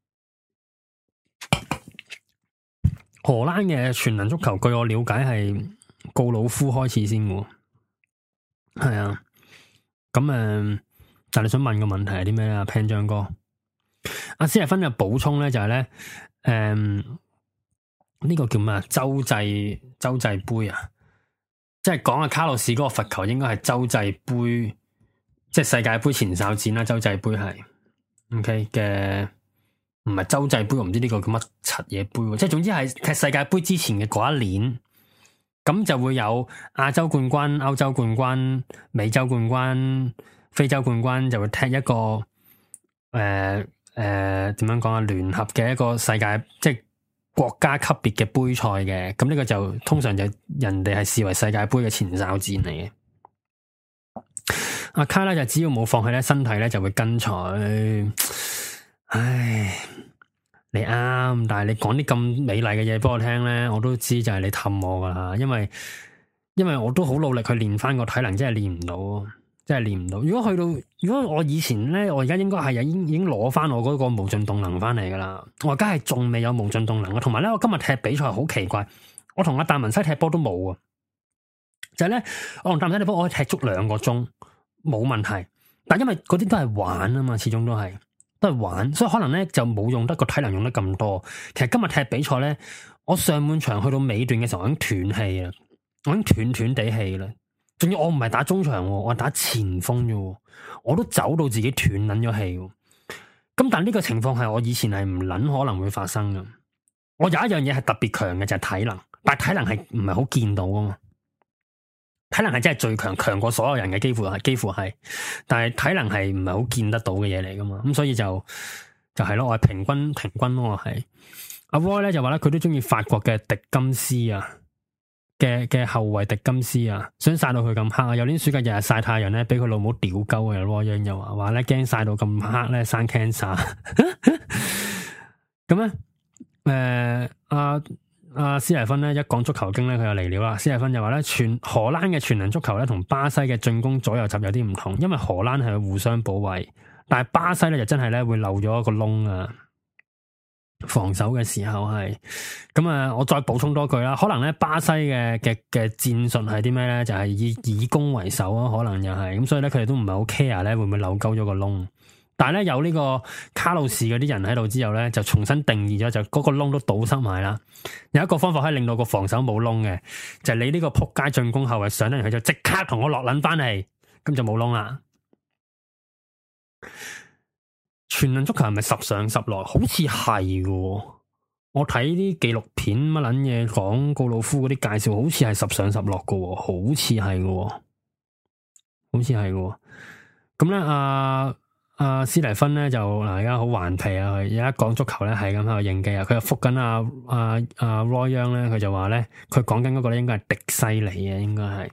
荷蘭嘅全能足球，據我了解係告魯夫開始先嘅，係啊。咁誒、呃，但係你想問個問題係啲咩啊？Pan 張哥。阿斯蒂芬嘅補充咧就係、是、咧，誒、嗯，呢、這個叫咩啊？洲際洲際杯啊，即係講阿卡洛士嗰個罰球應該係洲際杯，即係世界杯前哨戰啦。洲際杯係 OK 嘅，唔係洲際杯，我唔知呢個叫乜柒嘢杯，即係總之係踢世界杯之前嘅嗰一年，咁就會有亞洲冠軍、歐洲冠軍、美洲冠軍、非洲冠軍，就會踢一個誒。呃誒，點、呃、樣講啊？聯合嘅一個世界即係國家級別嘅杯賽嘅，咁呢個就通常就人哋係視為世界杯嘅前哨戰嚟嘅。阿卡咧就只要冇放棄咧，身體咧就會跟隨。唉，你啱，但係你講啲咁美麗嘅嘢俾我聽咧，我都知就係你氹我噶啦，因為因為我都好努力去練翻個體能，真係練唔到。真係練唔到。如果去到，如果我以前咧，我而家應該係已經已經攞翻我嗰個無盡動能翻嚟噶啦。我而家係仲未有無盡動能啊。同埋咧，我今日踢比賽好奇怪，我同阿達文西踢波都冇啊。就係咧，我同達文西踢波，我可以踢足兩個鐘冇問題。但因為嗰啲都係玩啊嘛，始終都係都係玩，所以可能咧就冇用得個體能用得咁多。其實今日踢比賽咧，我上半場去到尾段嘅時候，我已經斷氣啦，我已經斷斷地氣啦。仲要我唔係打中場，我係打前鋒啫，我都走到自己斷捻咗氣。咁但呢個情況係我以前係唔捻可能會發生嘅。我有一樣嘢係特別強嘅就係體能，但係體能係唔係好見到噶嘛？體能係真係最強，強過所有人嘅，幾乎係幾乎係。但係體能係唔係好見得到嘅嘢嚟噶嘛？咁所以就就係咯，我係平均平均咯，我係阿 Roy 咧就話咧佢都中意法國嘅迪金斯啊。嘅嘅後衛迪金斯啊，想曬到佢咁黑啊！有年暑假日日曬太陽咧，俾佢老母屌鳩啊！羅樣又話話咧驚曬到咁黑咧生 cancer。咁咧，誒阿阿斯蒂芬咧一講足球經咧，佢又嚟了啦。斯蒂芬就話咧，全荷蘭嘅全能足球咧，同巴西嘅進攻左右閘有啲唔同，因為荷蘭係互相保衛， 但係巴西咧就真係咧會漏咗一個窿啊！防守嘅時候係咁啊！我再補充多句啦，可能咧巴西嘅嘅嘅戰術係啲咩咧？就係、是、以以攻為守啊，可能又係咁，所以咧佢哋都唔係好 care 咧會唔會漏鳩咗個窿。但係咧有呢個卡路士嗰啲人喺度之後咧，就重新定義咗，就嗰個窿都堵塞埋啦。有一個方法可以令到個防守冇窿嘅，就係、是、你呢個撲街進攻後衛上嚟，佢就即刻同我落撚翻嚟，咁就冇窿啦。全能足球係咪十上十落？好似係嘅，我睇啲紀錄片乜撚嘢講告魯夫嗰啲介紹，好似係十上十落嘅，好似係嘅，好似係嘅。咁咧，阿阿斯蒂芬咧就嗱，而家好頑皮啊！而家講足球咧係咁喺度應機啊，佢又覆緊阿阿阿 Roy Young 咧，佢就話咧，佢講緊嗰個咧應該係迪西尼啊，應該係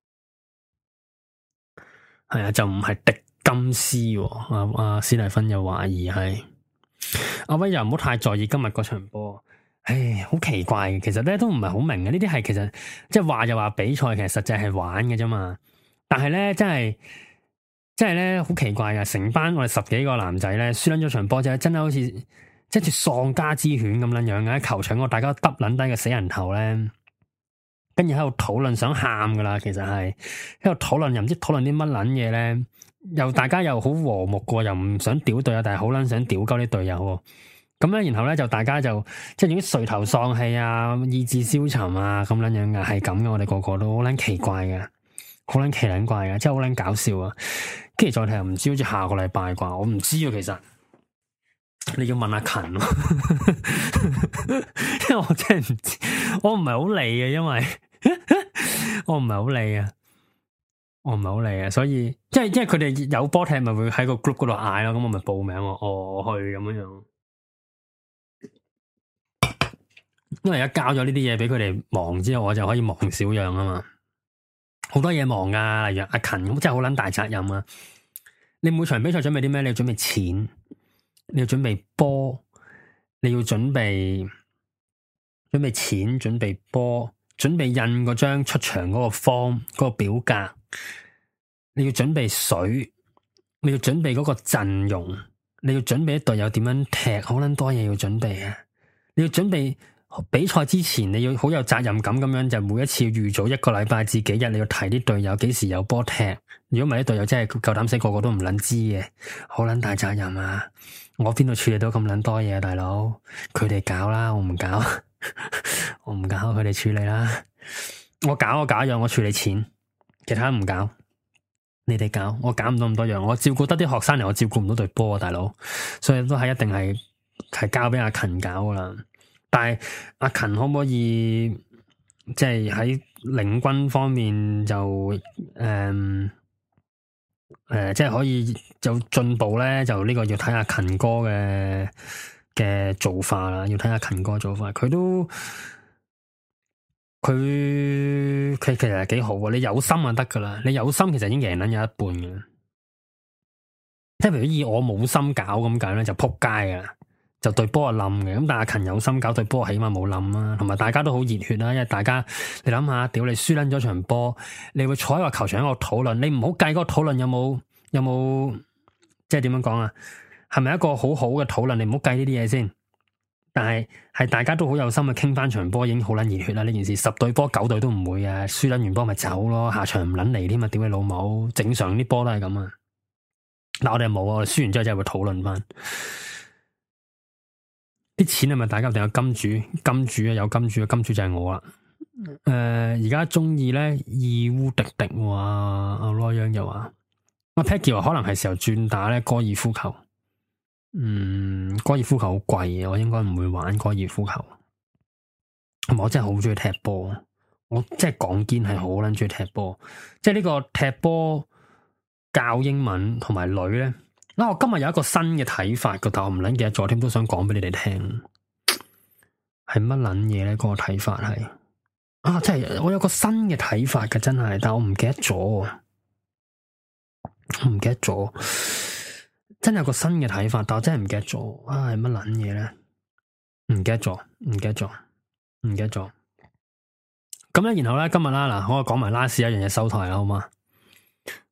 係啊，就唔係迪金斯。阿阿斯蒂芬又懷疑係阿威，又唔好太在意今日嗰場波。唉，好奇怪嘅，其實咧都唔係好明嘅。呢啲係其實即係話就話比賽，其實實際係玩嘅啫嘛。但係咧，真係。即係咧，好奇怪噶！成班我哋十幾個男仔咧，輸捻咗場波之後，真係好似即係似喪家之犬咁樣樣嘅喺球場，我大家耷捻低個死人頭咧，跟住喺度討論，想喊噶啦，其實係喺度討論，又唔知討論啲乜捻嘢咧，又大家又好和睦過，又唔想屌隊友，但係好捻想屌鳩啲隊友。咁咧，然後咧就大家就即係總之垂頭喪氣啊，意志消沉啊，咁捻樣嘅係咁嘅，我哋個個都好捻奇怪嘅。好撚奇撚怪嘅，真係好撚搞笑啊！跟住再睇又唔知，好似下個禮拜啩，我唔知啊。其實你要問阿勤咯，因為我真係唔知，我唔係好理嘅，因為我唔係好理啊，我唔係好理啊，所以即係即係佢哋有波踢，咪會喺個 group 嗰度嗌咯，咁我咪報名我我去咁樣樣。因為而家交咗呢啲嘢俾佢哋忙之後，我就可以忙少樣啊嘛。好多嘢忙噶，例如阿勤咁，真係好撚大責任啊！你每場比賽準備啲咩？你要準備錢，你要準備波，你要準備準備錢，準備波，準備印嗰張出場嗰個 form 嗰個表格，你要準備水，你要準備嗰個陣容，你要準備一隊友點樣踢，好撚多嘢要準備啊！你要準備。比賽之前你要好有責任感咁樣，就每一次預早一個禮拜至幾日，你要提啲隊友幾時有波踢。如果唔係啲隊友真係夠膽死，個個都唔捻知嘅，好捻大責任啊！我邊度處理到咁捻多嘢啊，大佬？佢哋搞啦，我唔搞，我唔搞，佢哋處理啦。我搞我搞一樣，我處理錢，其他唔搞。你哋搞，我搞唔到咁多樣。我照顧得啲學生嚟，我照顧唔到隊波啊，大佬。所以都係一定係係交俾阿勤搞噶啦。但係阿勤可唔可以即係喺領軍方面就誒誒、呃呃，即係可以就進步咧？就呢個要睇下勤哥嘅嘅做法啦，要睇下勤哥做法。佢都佢佢其實係幾好啊！你有心就得噶啦，你有心其實已經贏緊有一半嘅。即係譬如以我冇心搞咁解咧，就撲街噶啦。就對波啊冧嘅，咁但係阿勤有心搞對波，起碼冇冧啊，同埋大家都好熱血啦，因為大家你諗下，屌你輸捻咗場波，你會坐喺個球場喺度討論，你唔好計嗰個討論有冇有冇，即係點樣講啊？係咪一個好好嘅討論？你唔好計呢啲嘢先。但係係大家都好有心去傾翻場波，已經好捻熱血啦！呢件事十隊波九隊都唔會啊，輸捻完波咪走咯，下場唔捻嚟添啊！屌你老母，正常啲波都係咁啊。嗱，我哋冇啊，我哋輸完之後真係會討論翻。啲錢係咪大家定有金主？金主啊，有金主啊，金主就係我啦。誒、呃，而家中意咧，義烏迪迪話阿羅央又話，阿 Peggy 話可能係時候轉打咧高爾夫球。嗯，高爾夫球好貴嘅，我應該唔會玩高爾夫球。我真係好中意踢波，我真係講堅係好撚中意踢波。即係呢個踢波教英文同埋女咧。嗱，我今日有一個新嘅睇法嘅，但我唔撚記得咗添，都想講俾你哋聽，係乜撚嘢咧？嗰個睇法係啊，真係我有個新嘅睇法嘅，真係，但我唔記得咗，我唔記得咗，真係有個新嘅睇法，但我真係唔記得咗啊，係乜撚嘢咧？唔記得咗，唔記得咗，唔記得咗。咁咧，然後咧，今日啦，嗱，我講埋 last 一樣嘢收台啦，好嘛？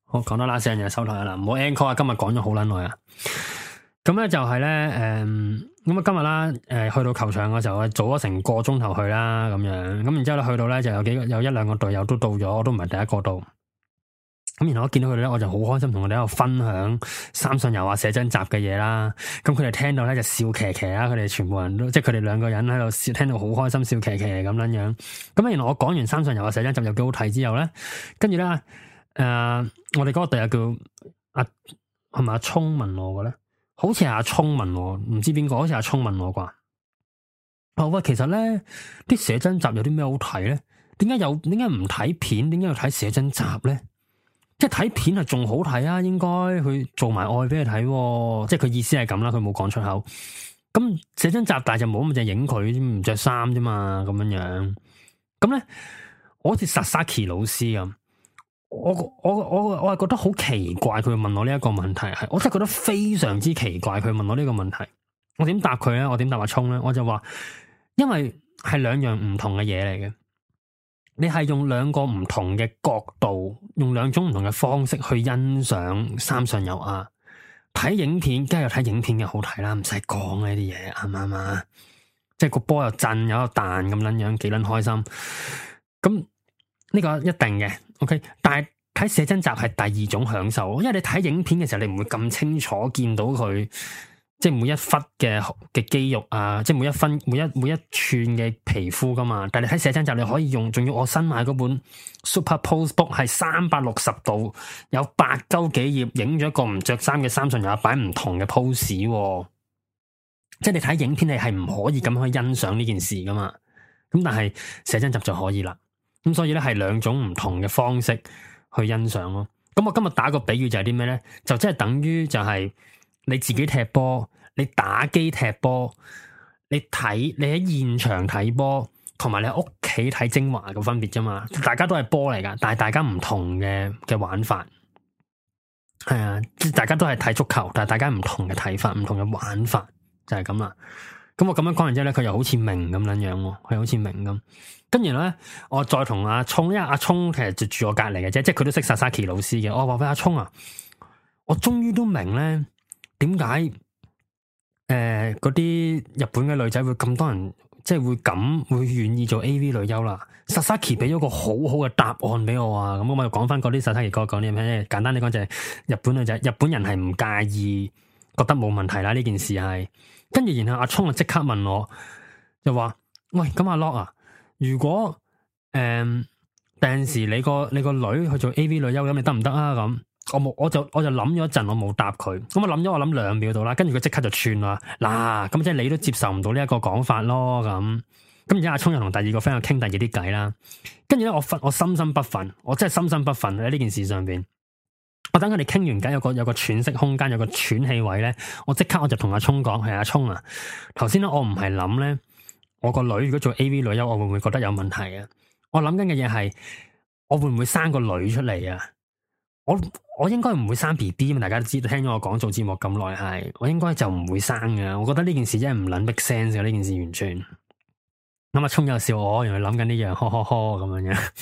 好，講多啦，四樣嘢收台啦，唔好 encore 啊！今日講咗好撚耐啊。咁咧就係咧，誒、嗯，咁啊今日啦，誒、呃，去到球場嘅時候，早咗成個鐘頭去啦，咁樣，咁然之後咧去到咧就有幾個有一兩個隊友都到咗，我都唔係第一個到。咁然後我見到佢哋咧，我就好開心，同佢哋喺度分享三上悠亞寫真集嘅嘢啦。咁佢哋聽到咧就笑騎騎啦，佢哋全部人都即係佢哋兩個人喺度笑，聽到好開心，笑騎騎咁樣樣。咁原來我講完三上悠亞寫真集又幾好睇之後咧，跟住咧，誒、呃，我哋嗰個隊友叫阿係咪阿聰問我嘅咧？好似係阿聰問我，唔知邊個，好似阿聰問我啩。哦喂，其實咧啲寫真集有啲咩好睇咧？點解有？點解唔睇片？點解要睇寫真集咧？即係睇片係仲好睇啊！應該佢做埋愛俾你睇，即係佢意思係咁啦。佢冇講出口。咁寫真集但係就冇咁就影佢唔着衫啫嘛，咁樣樣。咁咧，我好似 Sasaki 老師咁。我我我我係覺得好奇怪，佢會問我呢一個問題，係我真係覺得非常之奇怪。佢問我呢個問題，我點答佢咧？我點答阿聰咧？我就話，因為係兩樣唔同嘅嘢嚟嘅，你係用兩個唔同嘅角度，用兩種唔同嘅方式去欣賞三上悠亞。睇影片梗係有睇影片嘅好睇啦，唔使講呢啲嘢，啱唔啱啊？即係個波又震，有個彈咁樣樣，幾撚開心。咁呢個一定嘅。OK，但係睇寫真集係第二種享受，因為你睇影片嘅時候，你唔會咁清楚見到佢，即係每一忽嘅嘅肌肉啊，即係每一分每一每一寸嘅皮膚噶嘛。但係你睇寫真集，你可以用，仲要我新買嗰本 Super Pose Book 係三百六十度，有八鳩幾頁，影咗一個唔着衫嘅三上悠亞擺唔同嘅 pose，啊，即係你睇影片你係唔可以咁樣去欣賞呢件事噶嘛。咁但係寫真集就可以啦。咁所以咧係兩種唔同嘅方式去欣賞咯。咁我今日打個比喻就係啲咩咧？就即係等於就係你自己踢波，你打機踢波，你睇你喺現場睇波，同埋你喺屋企睇精華嘅分別啫嘛。大家都係波嚟噶，但係大家唔同嘅嘅玩法。係啊，即係大家都係睇足球，但係大家唔同嘅睇法，唔同嘅玩法就係咁啦。咁我咁樣講完之後咧，佢又好似明咁樣樣喎，佢好似明咁。跟住咧，我再同阿聰，因為阿聰其實就住我隔籬嘅啫，即係佢都識 Sasaki 老師嘅。我話俾阿聰啊，我終於都明咧，點解誒嗰啲日本嘅女仔會咁多人，即係會咁會願意做 A V 女優啦。Sasaki 俾咗個好好嘅答案俾我啊！咁我咪講翻嗰啲 Sasaki 哥講啲咩？簡單啲講就係日本女仔，日本人係唔介意，覺得冇問題啦。呢件事係。跟住，然後阿聰就即刻問我，就話：喂，咁阿 Lock 啊，如果誒第陣時你個你個女去做 A V 女優咁，你得唔得啊？咁我冇，我就我就諗咗一陣，我冇答佢。咁我諗咗，我諗兩秒到啦。跟住佢即刻就串啦，嗱，咁即係你都接受唔到呢一個講法咯。咁咁而家阿聰又同第二個 friend 傾第二啲偈啦。跟住咧，我分我深深不忿，我真係深深不忿喺呢件事上邊。我等佢哋傾完偈，有個有個喘息空間，有個喘氣位咧，我即刻我就同阿聰講：係阿聰啊，頭先咧我唔係諗咧，我個女如果做 A V 女優，我會唔會覺得有問題啊？我諗緊嘅嘢係，我會唔會生個女出嚟啊？我我應該唔會生 B B 嘛？大家都知道，聽咗我講做節目咁耐，係我應該就唔會生嘅。我覺得呢件事真係唔捻 make sense 嘅，呢件事完全。咁阿聰又笑我，原來諗緊呢樣，呵呵呵咁樣樣，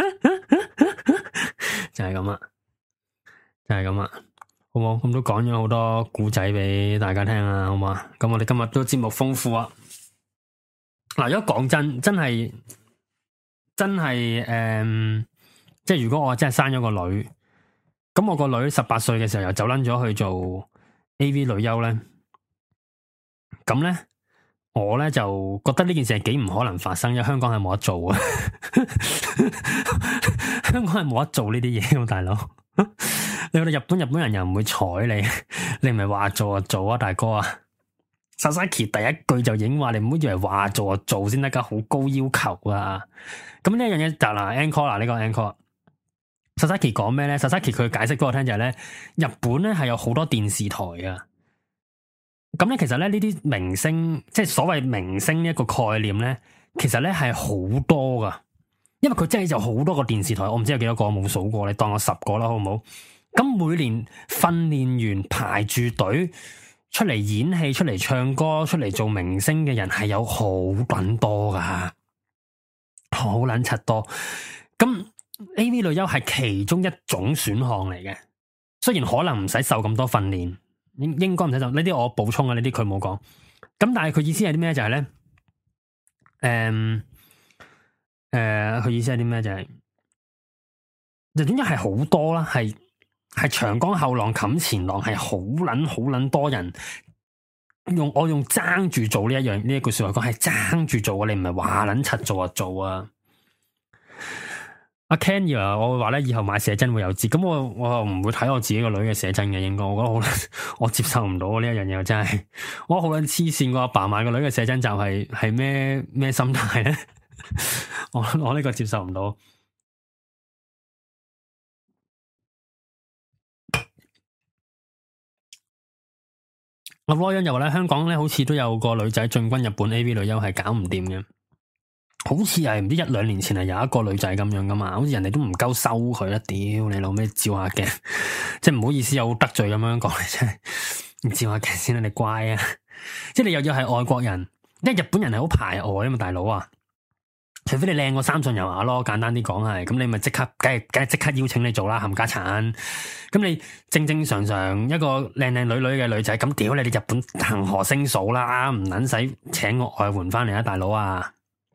就係咁啊！就係咁啊，好冇？咁都講咗好多故仔俾大家聽啊，好嘛？咁我哋今日都節目豐富啊。嗱，如果講真，真係真係誒、嗯，即係如果我真係生咗個女，咁我個女十八歲嘅時候又走撚咗去做 A V 女優咧，咁咧我咧就覺得呢件事係幾唔可能發生，因為香港係冇得做啊，香港係冇得做呢啲嘢，大佬。你去到日本，日本人又唔會睬你，你唔係話做就做啊，大哥啊！Sasaki 第一句就已經話你唔好以為話做就做先得噶，好高要求啊！咁呢一樣嘢就嗱 encore 啦，呢個 encore。Sasaki 講咩咧 ？Sasaki 佢解釋俾我聽就係咧，日本咧係有好多電視台噶。咁咧其實咧呢啲明星，即係所謂明星呢一個概念咧，其實咧係好多噶。因為佢真係有好多個電視台，我唔知有幾多個，我冇數過，你當我十個啦，好唔好？咁每年訓練完排住隊出嚟演戲、出嚟唱歌、出嚟做明星嘅人係有好撚多噶，好撚柒多。咁 A V 女優係其中一種選項嚟嘅，雖然可能唔使受咁多訓練，應應該唔使受。呢啲我補充啊，呢啲佢冇講。咁但係佢意思係啲咩？就係、是、咧，誒、嗯，誒、呃，佢意思係啲咩？就係、是，就總之係好多啦，係係長江後浪冚前浪，係好捻好捻多人用我用爭住做呢一樣呢一句說話講，係爭住做啊！你唔係話捻柒做啊做啊！阿 Ken 以為我會話咧，以後買寫真會有折，咁我我又唔會睇我自己個女嘅寫真嘅，應該我覺得好，我接受唔到呢一樣嘢，真係我好撚黐線，個阿爸買個女嘅寫真集係係咩咩心態咧？我我呢個接受唔到。阿 Royan 又話咧，香港咧好似都有個女仔進軍日本 A V 女優係搞唔掂嘅。好似係唔知一兩年前係有一個女仔咁樣噶嘛，好似人哋都唔夠收佢啦，屌你老咩照下鏡，即係唔好意思有得罪咁樣講，真係你照下鏡先啦，你乖啊！即係你又要係外國人，因為日本人係好排外啊嘛，大佬啊，除非你靚過三上悠亞咯，簡單啲講係，咁你咪即刻，梗係梗係即刻邀請你做啦，冚家鏟。咁你正正常常一個靚靚女女嘅女仔，咁屌你，你日本恆河星數啦，唔撚使請個外援翻嚟啊，大佬啊！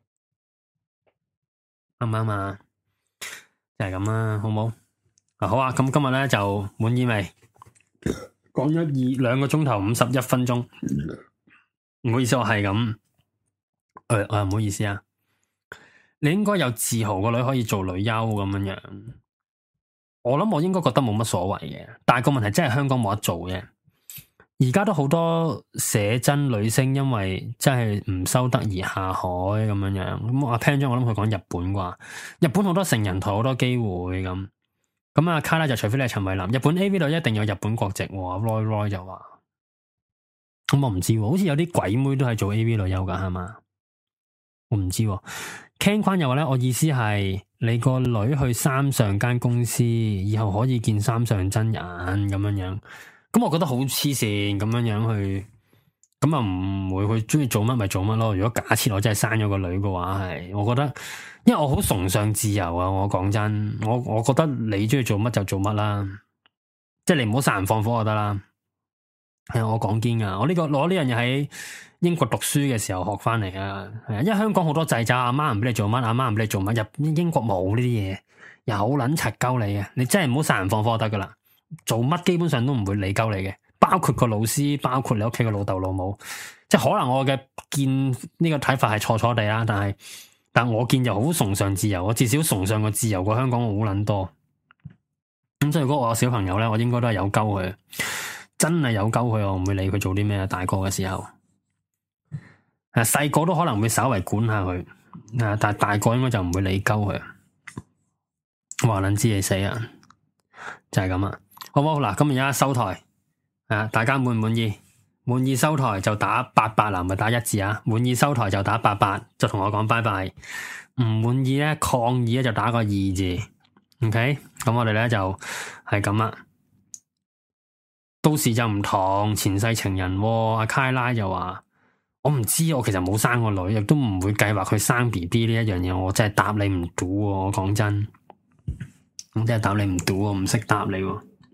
啱唔啱啊？就係咁啦，好唔好？啊好啊，咁今日咧就滿意未？講咗二兩個鐘頭五十一分鐘，唔好意思，我係咁。誒、呃，我又唔好意思啊。你應該有自豪個女可以做女優咁樣樣。我諗我應該覺得冇乜所謂嘅，但係個問題真係香港冇得做嘅。而家都好多寫真女星，因為真係唔收得而下海咁樣樣。咁阿 Pan 張，我諗佢講日本啩，日本好多成人台好多機會咁。咁啊卡拉就除非你係陳慧琳，日本 A V 女一定有日本國籍。Roy Roy 就話，咁我唔知，好似有啲鬼妹都係做 A V 女優噶係嘛？我唔知。Ken 寬又話咧，我意思係你個女去三上間公司，以後可以見三上真人咁樣樣。咁我覺得好黐線咁樣樣去，咁啊唔會去中意做乜咪做乜咯。如果假設我真係生咗個女嘅話，係我覺得，因為我好崇尚自由啊。我講真，我我覺得你中意做乜就做乜啦，即係你唔好殺人放火就得啦。係我講堅噶，我呢、這個攞呢樣嘢喺英國讀書嘅時候學翻嚟啊。係啊，因為香港好多掣肘，阿媽唔俾你做乜，阿媽唔俾你做乜。入英國冇呢啲嘢，又好撚柒鳩你嘅，你真係唔好殺人放火就得噶啦。做乜基本上都唔會理鳩你嘅，包括個老師，包括你屋企嘅老豆老母，即係可能我嘅見呢個睇法係錯錯地啦，但係但我見就好崇尚自由，我至少崇尚個自由過香港好撚多。咁所以如果我有小朋友咧，我應該都係有鳩佢，真係有鳩佢，我唔會理佢做啲咩。大個嘅時候，誒細個都可能會稍微管下佢，啊但係大個應該就唔會理鳩佢。話撚知你死啊，就係咁啊！好唔好？嗱，今日而家收台，啊，大家滿唔滿意？滿意收台就打八八啦，唔係打一字啊！滿意收台就打八八，就同我講拜拜。唔滿意咧，抗議咧就打個二字。OK，咁我哋咧就係咁啦。到時就唔同前世情人，啊，阿卡拉就話：我唔知，我其實冇生個女，亦都唔會計劃佢生 B B 呢一樣嘢。我真係答你唔到，我講真，我真係答你唔到，我唔識答你。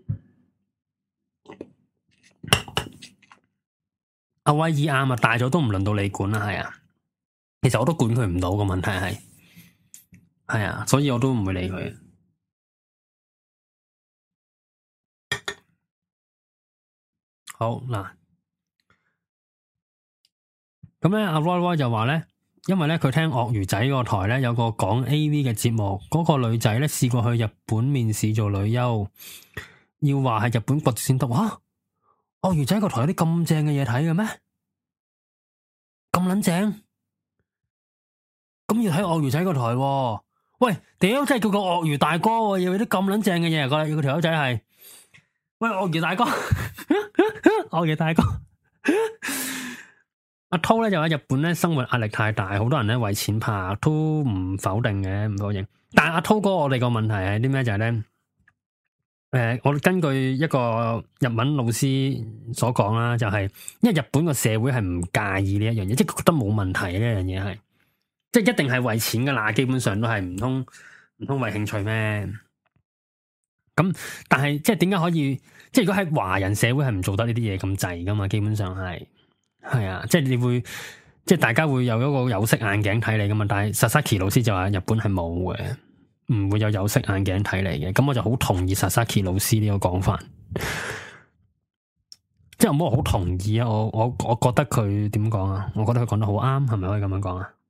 阿威爾啱啊，大咗都唔輪到你管啦，係啊。其實我都管佢唔到，個問題係，係啊，所以我都唔會理佢。好嗱，咁咧阿 Roy Roy 就話咧，因為咧佢聽鱷魚仔個台咧有個講 A V 嘅節目，嗰、嗰個女仔咧試過去日本面試做女優，要話係日本國籍先得。吓，鱷魚仔個台有啲咁正嘅嘢睇嘅咩？咁撚正？咁要睇鱷魚仔個台喎？喂，屌，真係叫個鱷魚大哥喎，要有啲咁撚正嘅嘢，個個條友仔係，喂，鱷魚大哥，鱷魚大哥，阿濤咧就喺日本咧生活壓力太大，好多人咧為錢拍，都唔否定嘅，唔否認。但係阿濤哥，我哋個問題係啲咩？就係咧。誒、呃，我根據一個日文老師所講啦，就係、是、因為日本個社會係唔介意呢一樣嘢，即係覺得冇問題呢一樣嘢係，即係一定係為錢噶啦，基本上都係唔通唔通為興趣咩？咁但係即係點解可以？即係如果喺華人社會係唔做得呢啲嘢咁滯噶嘛？基本上係係啊，即係你會即係大家會有一個有色眼鏡睇你噶嘛？但係 Sasaki 老師就話日本係冇嘅，唔會有有色眼鏡睇你嘅。咁我就好同意 Sasaki 老師呢個講法。即係我冇好同意啊！我我我覺得佢點講啊？我覺得佢講得好啱，係咪可以咁樣講啊？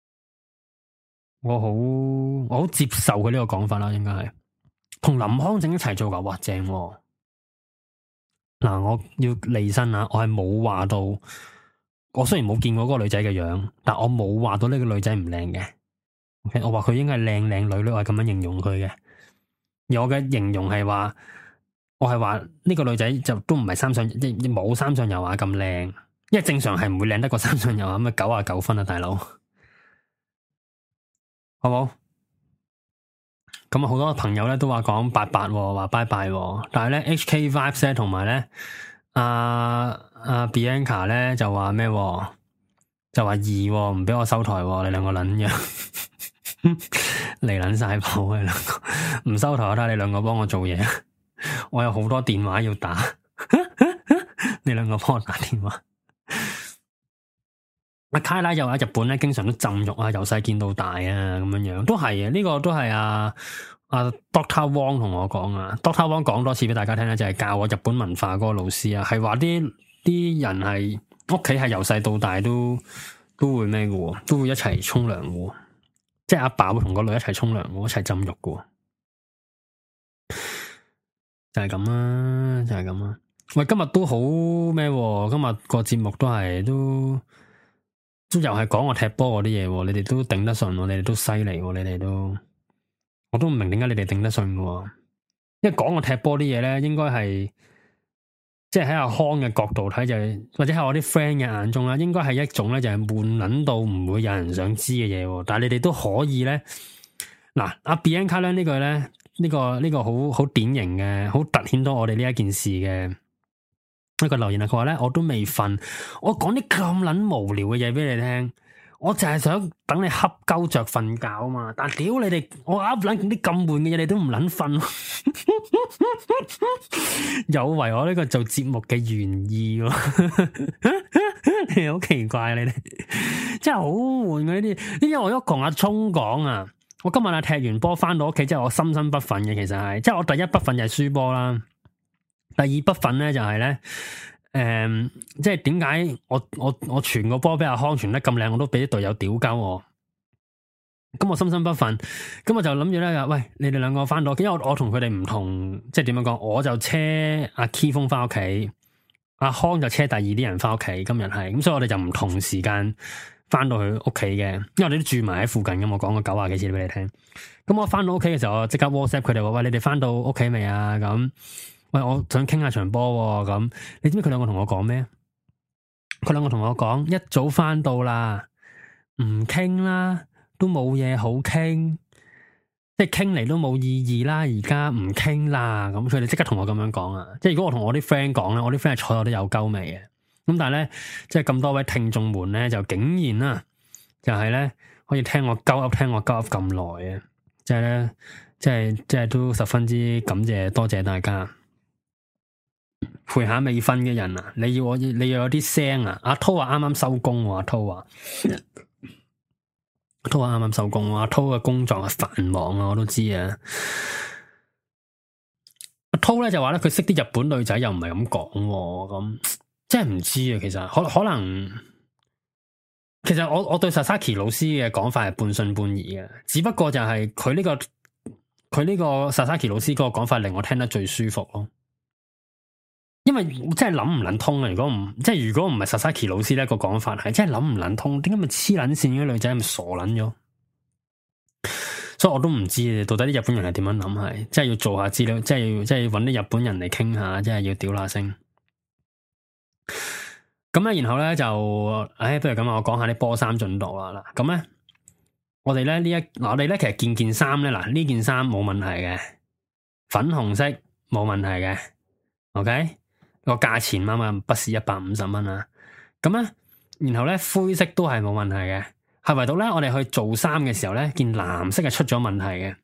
我好我好接受佢呢個講法啦，應該係同林康正一齊做噶，哇正喎！嗱，我要離身啊！我係冇話到，我雖然冇見過嗰個女仔嘅樣，但我冇話到呢個女仔唔靚嘅。OK，我話佢應該係靚靚女女，我係咁樣形容佢嘅。而我嘅形容係話，我係話呢個女仔就都唔係三上，即冇三上悠亞咁靚，因為正常係唔會靚得過三上悠亞咁啊，九啊九分啊，大佬，好冇？咁啊，好多朋友咧都話講八八，話拜拜，但係咧 H K Vibes 咧同埋咧阿阿 Bianca 咧就話咩？就話二唔俾我收台，你兩個撚樣嚟撚晒譜啊！兩個唔收台，我睇下你兩個幫我做嘢，我有好多電話要打，你兩個幫我打電話。阿卡拉又話日本咧，經常都浸浴啊，由細見到大啊，咁樣樣都係啊，呢個都係啊啊 Doctor Wong 同我講啊 ，Doctor Wong 講多次俾大家聽咧，就係教我日本文化嗰個老師啊，係話啲啲人係屋企係由細到大都都會咩嘅，都會一齊沖涼嘅，即係阿爸會同個女一齊沖涼，一齊浸浴嘅，就係咁啊，就係咁啊。喂，今日都好咩？今日個節目都係都。都又係講我踢波嗰啲嘢，你哋都頂得順，你哋都犀利，你哋都，我都唔明點解你哋頂得順嘅，因為講我踢波啲嘢咧，應該係即係喺阿康嘅角度睇就係，或者喺我啲 friend 嘅眼中啦，應該係一種咧就係悶捻到唔會有人想知嘅嘢，但係你哋都可以咧，嗱阿 Bianca 咧呢句咧呢個呢個好好典型嘅，好凸顯到我哋呢一件事嘅。一個留言啊，佢話咧我都未瞓，我講啲咁撚無聊嘅嘢俾你聽，我就係想等你瞌鳩着瞓覺啊嘛，但係屌你哋，我噏撚啲咁悶嘅嘢，你都唔撚瞓，有違我呢個做節目嘅原意喎，你好奇怪你哋，真係好悶嘅呢啲，因為我一同阿聰講啊，我今日啊踢完波翻到屋企之後，我心生不忿嘅，其實係，即係我第一不忿就係輸波啦。第二不忿咧就係、是、咧，誒、嗯，即係點解我我我傳個波俾阿康傳得咁靚，我都俾啲隊友屌鳩我，咁我心生不忿，咁我就諗住咧，喂，你哋兩個翻到屋企，因為我我同佢哋唔同，即係點樣講，我就車阿 Key 風翻屋企，阿康就車第二啲人翻屋企，今日係，咁所以我哋就唔同時間翻到去屋企嘅，因為我哋都住埋喺附近咁，我講過九廿幾次俾你聽，咁我翻到屋企嘅時候，我即刻 WhatsApp 佢哋話，喂，你哋翻到屋企未啊？咁。喂，我想傾下場波咁，你知唔知佢兩個同我講咩？佢兩個同我講，一早翻到啦，唔傾啦，都冇嘢好傾，即係傾嚟都冇意義啦。而家唔傾啦，咁佢哋即刻同我咁樣講啊！即係如果我同我啲 friend 講咧，我啲 friend 係坐我都有鳩味嘅。咁但係咧，即係咁多位聽眾們咧，就竟然啊，就係咧可以聽我鳩噏，聽我鳩噏咁耐啊！即係咧，即係即係都十分之感謝，多謝大家。陪下未瞓嘅人啊！你要我，你要有啲聲啊！阿濤話啱啱收工，阿濤話，阿濤話啱啱收工，阿濤嘅工作係繁忙啊，我都知啊。阿濤咧就話咧，佢識啲日本女仔又唔係咁講，咁即係唔知啊。其實可可能，其實我我對 Sasaki 老師嘅講法係半信半疑嘅，只不過就係佢呢個佢呢個 Sasaki 老師嗰個講法令我聽得最舒服咯。因為真係諗唔諗通啊！如果唔即係如果唔係 Sasaki 老師呢個講法係真係諗唔諗通，點解咪黐捻線嘅女仔咁傻捻咗？所以我都唔知到底啲日本人係點樣諗，係即係要做下資料，即係要即係要搵啲日本人嚟傾下，即係要屌下聲。咁咧，然後咧就，唉，不如咁啊，我講下啲波衫進度啦。嗱，咁咧，我哋咧呢一，嗱我哋咧其實件件衫咧，嗱呢件衫冇問題嘅，粉紅色冇問題嘅 ，OK。個價錢啱啱不是一百五十蚊啊，咁咧，然後咧灰色都係冇問題嘅，係唯獨咧我哋去做衫嘅時候咧，件藍色係出咗問題嘅。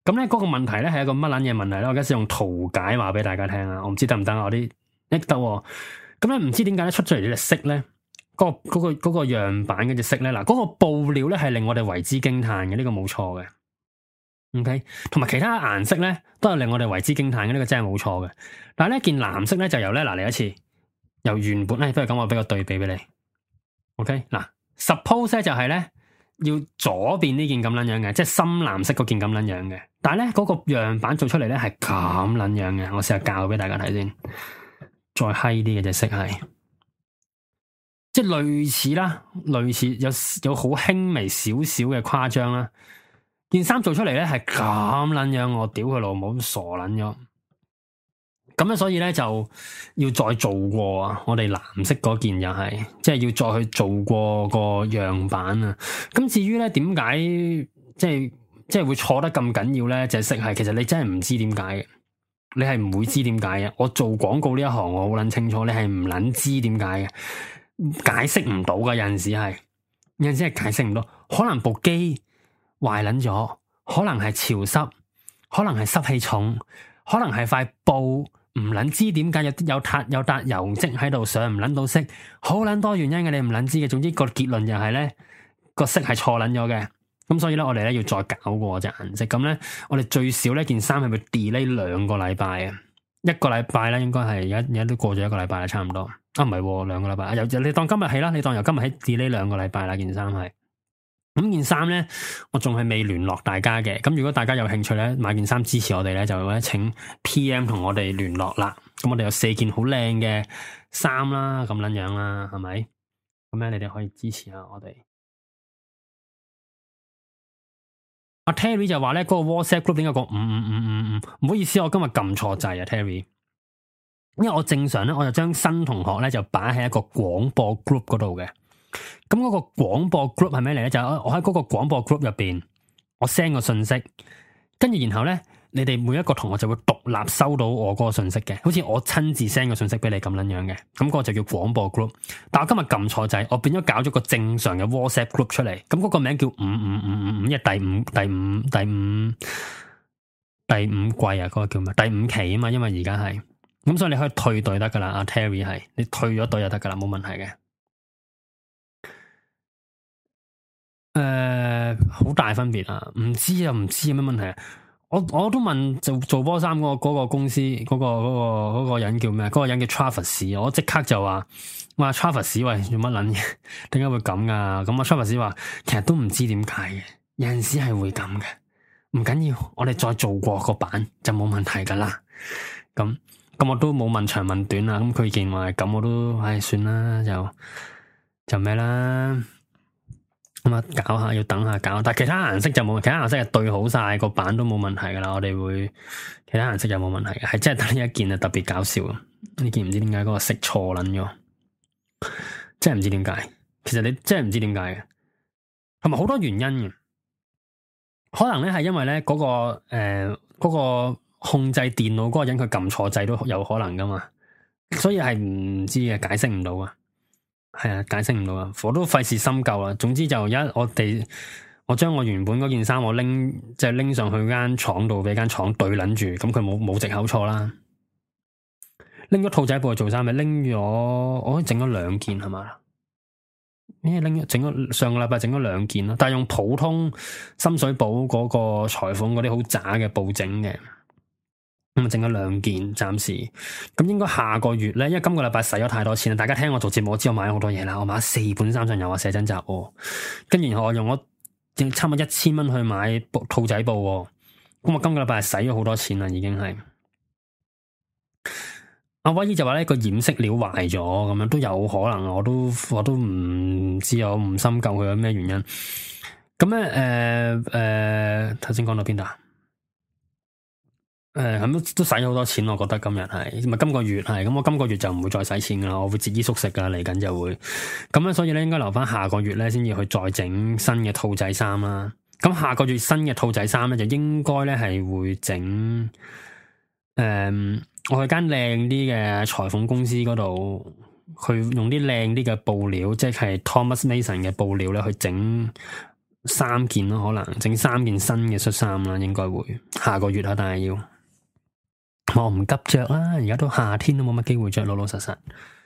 咁咧嗰個問題咧係一個乜撚嘢問題咧？我而家先用圖解話俾大家聽啊！我唔知得唔得啊？我啲一得喎。咁咧唔知點解咧出咗嚟呢隻色咧？嗰、嗰個嗰、嗰個嗰、嗰個樣板嗰隻色咧，嗱、嗰、嗰個布料咧係令我哋為之驚嘆嘅，呢、呢個冇錯嘅。OK，同埋其他顏色咧都係令我哋為之驚嘆嘅，呢、呢個真係冇錯嘅。但係呢件藍色咧就由咧嗱嚟一次，由原本咧不如咁我俾個對比俾你。OK，嗱 suppose 咧就係咧要左邊呢件咁撚樣嘅，即係深藍色嗰件咁撚樣嘅。但係咧嗰個樣板做出嚟咧係咁撚樣嘅，我試下教俾大家睇先。再閪啲嘅隻色係，即係類似啦，類似有有好輕微少少嘅誇張啦。件衫做出嚟咧係咁撚樣，我屌佢老母咁傻撚咗。咁咧所以咧就要再做過啊！我哋藍色嗰件又係，即係要再去做過個樣板啊。咁至於咧點解即係即係會錯得咁緊要咧？隻色係其實你真係唔知點解嘅。你係唔會知點解嘅，我做廣告呢一行我好捻清楚，你係唔捻知點解嘅，解釋唔到噶，有陣時係，有陣時係解釋唔到，可能部機壞捻咗，可能係潮濕，可能係濕氣重，可能係塊布唔捻知點解有有笪有笪油漬喺度上唔捻到色，好捻多原因嘅，你唔捻知嘅，總之個結論就係咧個色係錯捻咗嘅。咁所以咧，我哋咧要再搞過隻顏色。咁咧，我哋最少呢件衫係會 delay 兩個禮拜啊，一個禮拜咧應該係而家而家都過咗一個禮拜啦，差唔多。啊，唔係兩個禮拜，由你當今日起啦，你當由今日起 delay 兩個禮拜啦，件衫係。咁件衫咧，我仲係未聯絡大家嘅。咁如果大家有興趣咧，買件衫支持我哋咧，就咧請 P M 同我哋聯絡啦。咁我哋有四件好靚嘅衫啦，咁撚樣啦，係咪？咁咧，你哋可以支持下我哋。阿 Terry 就話咧，嗰個 WhatsApp group 點解講五五五五五？唔好意思，我今日撳錯掣啊 Terry。因為我正常咧，我就將新同學咧就擺喺一個廣播 group 嗰度嘅。咁嗰個廣播 group 係咩嚟咧？就係我喺嗰個廣播 group 入邊，我 send 個信息，跟住然後咧，你哋每一個同學就會獨立收到我嗰個信息嘅，好似我親自 send 個信息俾你咁樣樣嘅。咁嗰個就叫廣播 group。但我今日撳錯掣，我變咗搞咗個正常嘅 WhatsApp group 出嚟。咁嗰個名叫五五五五五，因為第五第五第五第五季啊，嗰個叫咩？第五期啊嘛，因為而家係咁，所以你可以退隊得噶啦。阿 Terry 係你退咗隊就得噶啦，冇問題嘅。誒、呃，好大分別啊！唔知啊，唔知有咩問題啊！我我都問做做波衫嗰個嗰個公司嗰個嗰個嗰個人叫咩？嗰個人叫 Travis， 我即刻就話話 Travis 喂，做乜撚嘢？點解會咁啊？咁啊 Travis 話其實都唔知點解嘅，有陣時係會咁嘅，唔緊要，我哋再做過個版就冇問題噶啦。咁咁我都冇問長問短啊！咁佢見話咁我都唉算啦，就就咩啦。咁啊，搞下要等下搞，但係其他顏色就冇，其他顏色係對好晒個版都冇問題噶啦。我哋會其他顏色就冇問題嘅，係真係得呢一件啊特別搞笑啊！呢件唔知點解嗰個色錯捻咗，真係唔知點解。其實你真係唔知點解嘅，同埋好多原因嘅，可能咧係因為咧嗰個誒、呃嗰個控制電腦嗰個人佢撳錯掣都有可能噶嘛，所以係唔知嘅，解釋唔到啊。係啊，解釋唔到啊！我都費事深究啦。總之就一我哋，我將我原本嗰件衫我拎，即係拎上去間廠度俾間廠對捻住，咁佢冇冇藉口錯啦。拎咗兔仔布去做衫咪拎咗，我整咗兩件係嘛？咩拎咗整咗上個禮拜整咗兩件咯，但係用普通深水埗嗰個裁縫嗰啲好渣嘅布整嘅。咁啊，整咗兩件，暫時咁應該下個月咧，因為今個禮拜使咗太多錢啦。大家聽我做節目，我知我買咗好多嘢啦。我買咗四本三上悠啊寫真集，跟住然後我用咗差唔多一千蚊去買兔仔布。咁我今個禮拜係使咗好多錢啦，已經係。阿威姨就話咧個染色料壞咗，咁樣都有可能，我都我都唔知，我唔深究佢有咩原因。咁咧，誒、呃、誒，頭先講到邊度啊？誒，咁都都使咗好多錢，我覺得今日係，咪今個月係，咁我今個月就唔會再使錢噶啦，我會節衣縮食噶啦，嚟緊就會，咁咧所以咧應該留翻下個月咧先至去再整新嘅兔仔衫啦。咁下個月新嘅兔仔衫咧就應該咧係會整，誒、嗯，我去間靚啲嘅裁縫公司嗰度，去用啲靚啲嘅布料，即係 Thomas Mason 嘅布料咧去整三件咯，可能整三件新嘅恤衫啦，應該會下個月啊，但係要我唔急着啦，而家都夏天都冇乜機會着，老老實實。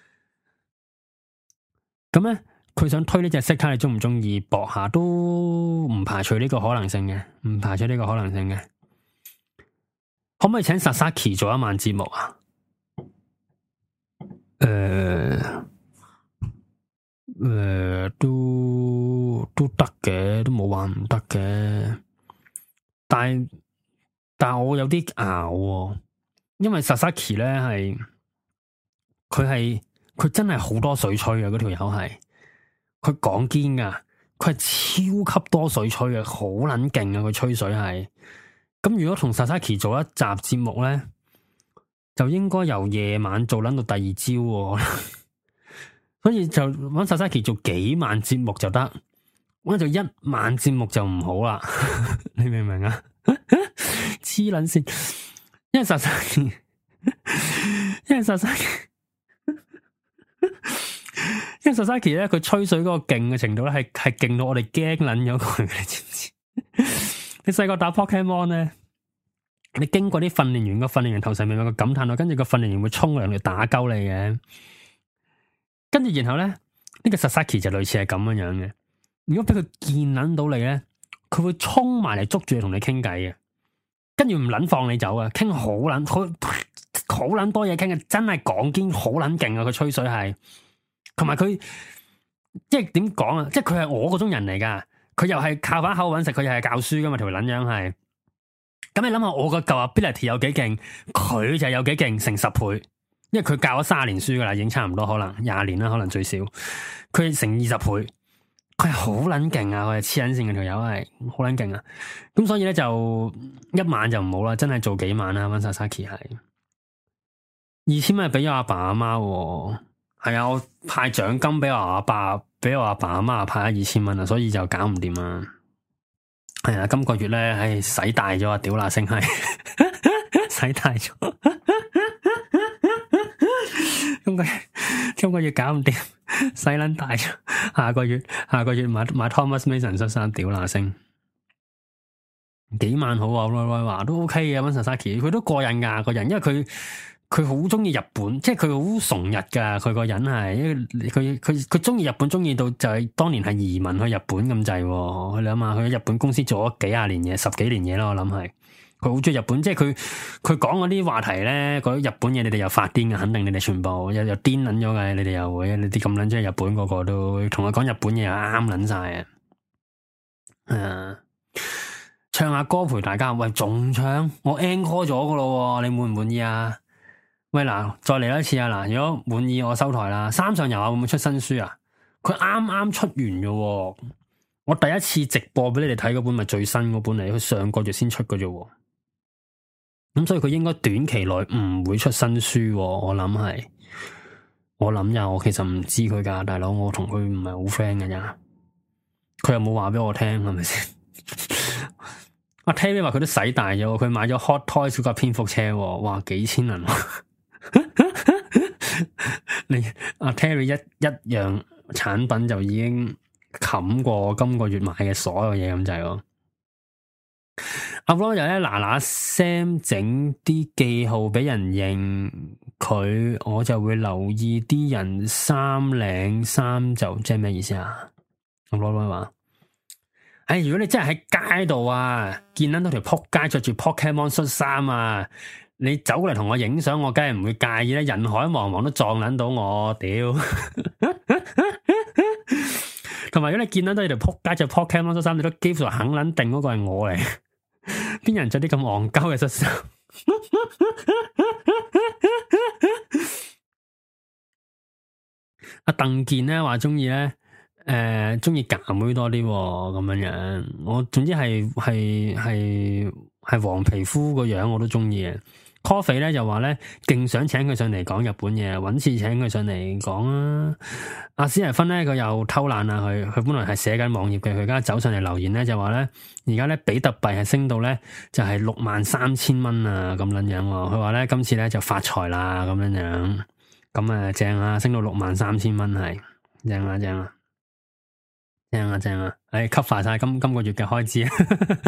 咁咧，佢想推呢隻色，睇下你中唔中意搏下，都唔排除呢個可能性嘅，唔排除呢個可能性嘅。可唔可以請 Sasaki 做一晚節目啊？誒、呃、誒、呃，都都得嘅，都冇話唔得嘅。但係但係我有啲拗，因為 Sasaki 咧係佢係佢真係好多水吹啊！嗰條友係佢講堅噶，佢係超級多水吹啊，好撚勁啊！佢吹水係。咁如果同 Sasaki 做一集節目咧，就應該由夜晚做捻到第二朝，哦，所以就揾 Sasaki 做幾晚節目就得，揾做一晚節目就唔好啦。你明唔明啊？黐捻線，因為 Sasaki，因為 Sasaki，因為 Sasaki 咧，佢吹水嗰個勁嘅程度咧，係係勁到我哋驚捻咗佢，你知唔知？你細個打 Pokemon 咧，你經過啲訓練員個訓練員頭上面有個感嘆號，跟住個訓練員會衝嚟嚟打鳩你嘅，跟住然後咧呢、呢個 Sasaki 就類似係咁樣樣嘅。如果俾佢見捻到你咧，佢會衝埋嚟捉住你同你傾偈嘅，跟住唔捻放你走啊，傾好捻好好捻多嘢傾嘅，真係講堅好捻勁啊！佢吹水係，同埋佢即係點講啊？即係佢係我嗰種人嚟噶。佢又係靠把口搵食，佢又係教書噶嘛，條撚樣係。咁你諗下，我個舊 ability 有幾勁，佢就有幾勁，成十倍。因為佢教咗三十年書噶啦，已經差唔多，可能廿年啦，可能最少。佢成二十倍，佢係好撚勁啊！佢係黐撚線嘅條友係，好撚勁啊！咁所以咧就一晚就唔好啦，真係做幾晚啦。溫莎莎奇係二千蚊，俾咗阿爸阿媽。係啊，我派獎金俾我阿爸，俾我阿爸阿媽派咗二千蚊啊，所以就搞唔掂啊。係啊，今個月咧，唉，使大咗啊，屌啦聲係，使大咗。今個月今個月搞唔掂，使撚大咗。下個月下個月買買 Thomas Mason 恤衫，屌啦聲。幾萬好啊，威威話都 OK 嘅，溫莎莎奇佢都過癮噶個人，因為佢。佢好中意日本，即係佢好崇日噶。佢個人係，因為佢佢佢中意日本，中意到就係當年係移民去日本咁滯。佢諗下，佢喺日本公司做咗幾廿年嘢，十幾年嘢啦。我諗係，佢好中意日本，即係佢佢講嗰啲話題咧，嗰啲日本嘢，你哋又發癲嘅，肯定你哋全部又又癲捻咗嘅，你哋又會，你啲咁捻中意日本個個都同佢講日本嘢又啱捻晒啊！誒，唱下歌陪大家，喂，仲唱？我 encore 咗噶咯，你滿唔滿意啊？喂嗱，再嚟一次啊嗱！如果滿意我收台啦。三上悠亞會唔會出新書啊？佢啱啱出完嘅，我第一次直播俾你哋睇嗰本咪最新嗰本嚟，佢上個月先出嘅啫。咁所以佢應該短期內唔會出新書，我諗係。我諗呀，我其實唔知佢噶，大佬，我同佢唔係好 friend 嘅咋。佢又冇話俾我聽，係咪先？阿 Terry 話佢都使大咗，佢買咗 Hot Toys 嗰架蝙蝠車，哇，幾千銀。你阿 Terry 一一樣產品就已經冚過今個月買嘅所有嘢咁滯咯。阿 Ron 又咧嗱嗱聲整啲記號俾人認佢，我就會留意啲人衫領衫就即係咩意思啊？阿 Ron 話：哎，如果你真係喺街度啊，見到條撲街着住 Pokemon 恤衫啊！你走過嚟同我影相，我梗係唔會介意啦。人海茫茫都撞撚到我，屌！同埋如果你見到都係條撲街着 Pokemon 恤衫，你都幾乎肯撚定嗰個係我嚟。邊人着啲咁戇鳩嘅恤衫？阿鄧健咧話中意咧，誒中意夾妹多啲咁樣樣。我總之係係係係黃皮膚個樣我都中意嘅。Coffee 咧就話咧，勁想請佢上嚟講日本嘢，搵次請佢上嚟講啊！阿史提芬咧，佢又偷懶啊！佢佢本來係寫緊網頁嘅，佢而家走上嚟留言咧就話咧，而家咧比特幣係升到咧就係六萬三千蚊啊咁樣樣。佢話咧今次咧就發財啦咁樣樣，咁啊正啊，升到六萬三千蚊係正啊正啊！ 正啊正啊，誒，cover晒今今個月嘅開支啊！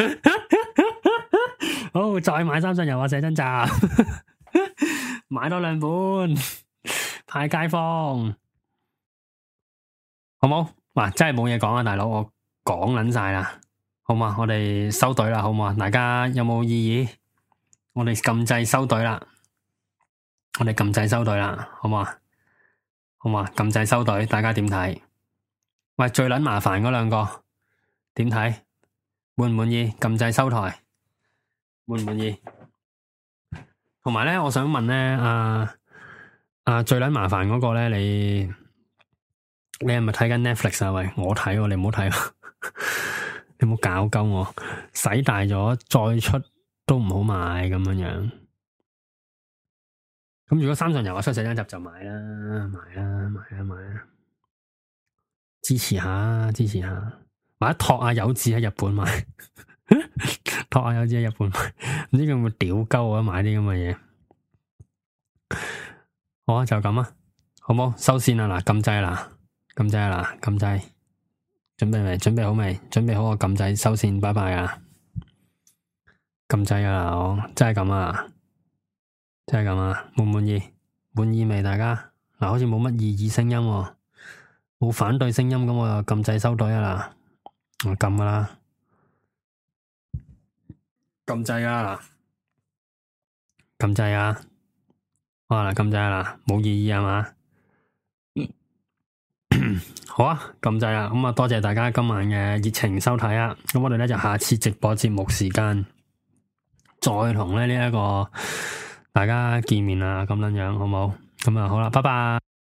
好，再買三信油啊，寫真集，買多兩本派街坊，好冇？哇，真係冇嘢講啊，大佬，我講捻晒啦，好嘛？我哋收隊啦，好嘛？大家有冇異議？我哋撳掣收隊啦，我哋撳掣收隊啦，好嘛？好嘛？撳掣收隊，大家點睇？喂，最捻麻煩嗰兩個點睇？滿唔滿意？撳掣收台，滿唔滿意？同埋咧，我想問咧，啊啊最捻麻煩嗰個咧，你？你係咪睇緊 Netflix 啊？喂，我睇喎，你唔好睇，你唔好搞鳩我，使大咗再出都唔好買咁樣樣。咁如果三上游話出寫真集就買啦，買啦，買啦，買啦，支持下，支持下，買一托啊有志喺日本買，托啊有志喺日本買，唔知佢會唔會屌鳩我買啲咁嘅嘢？好啊，就咁啊，好冇？收線啦，嗱，撳掣啦。撳掣啦，撳掣，準備未？準備好未？準備好我撳掣收線，拜拜啊！撳掣啊，我真係咁啊，真係咁啊，滿唔滿意？滿意未？大家嗱，好似冇乜異議聲音，冇反對聲音，咁我就撳掣收隊啊啦，我撳噶啦，撳掣啊，撳掣啊，好啦，撳掣啦，冇異議係嘛？好啊，撳掣啦，咁啊多謝大家今晚嘅熱情收睇啊，咁我哋咧就下次直播節目時間再同咧呢一個大家見面啊，咁樣樣好冇？咁啊好啦，拜拜。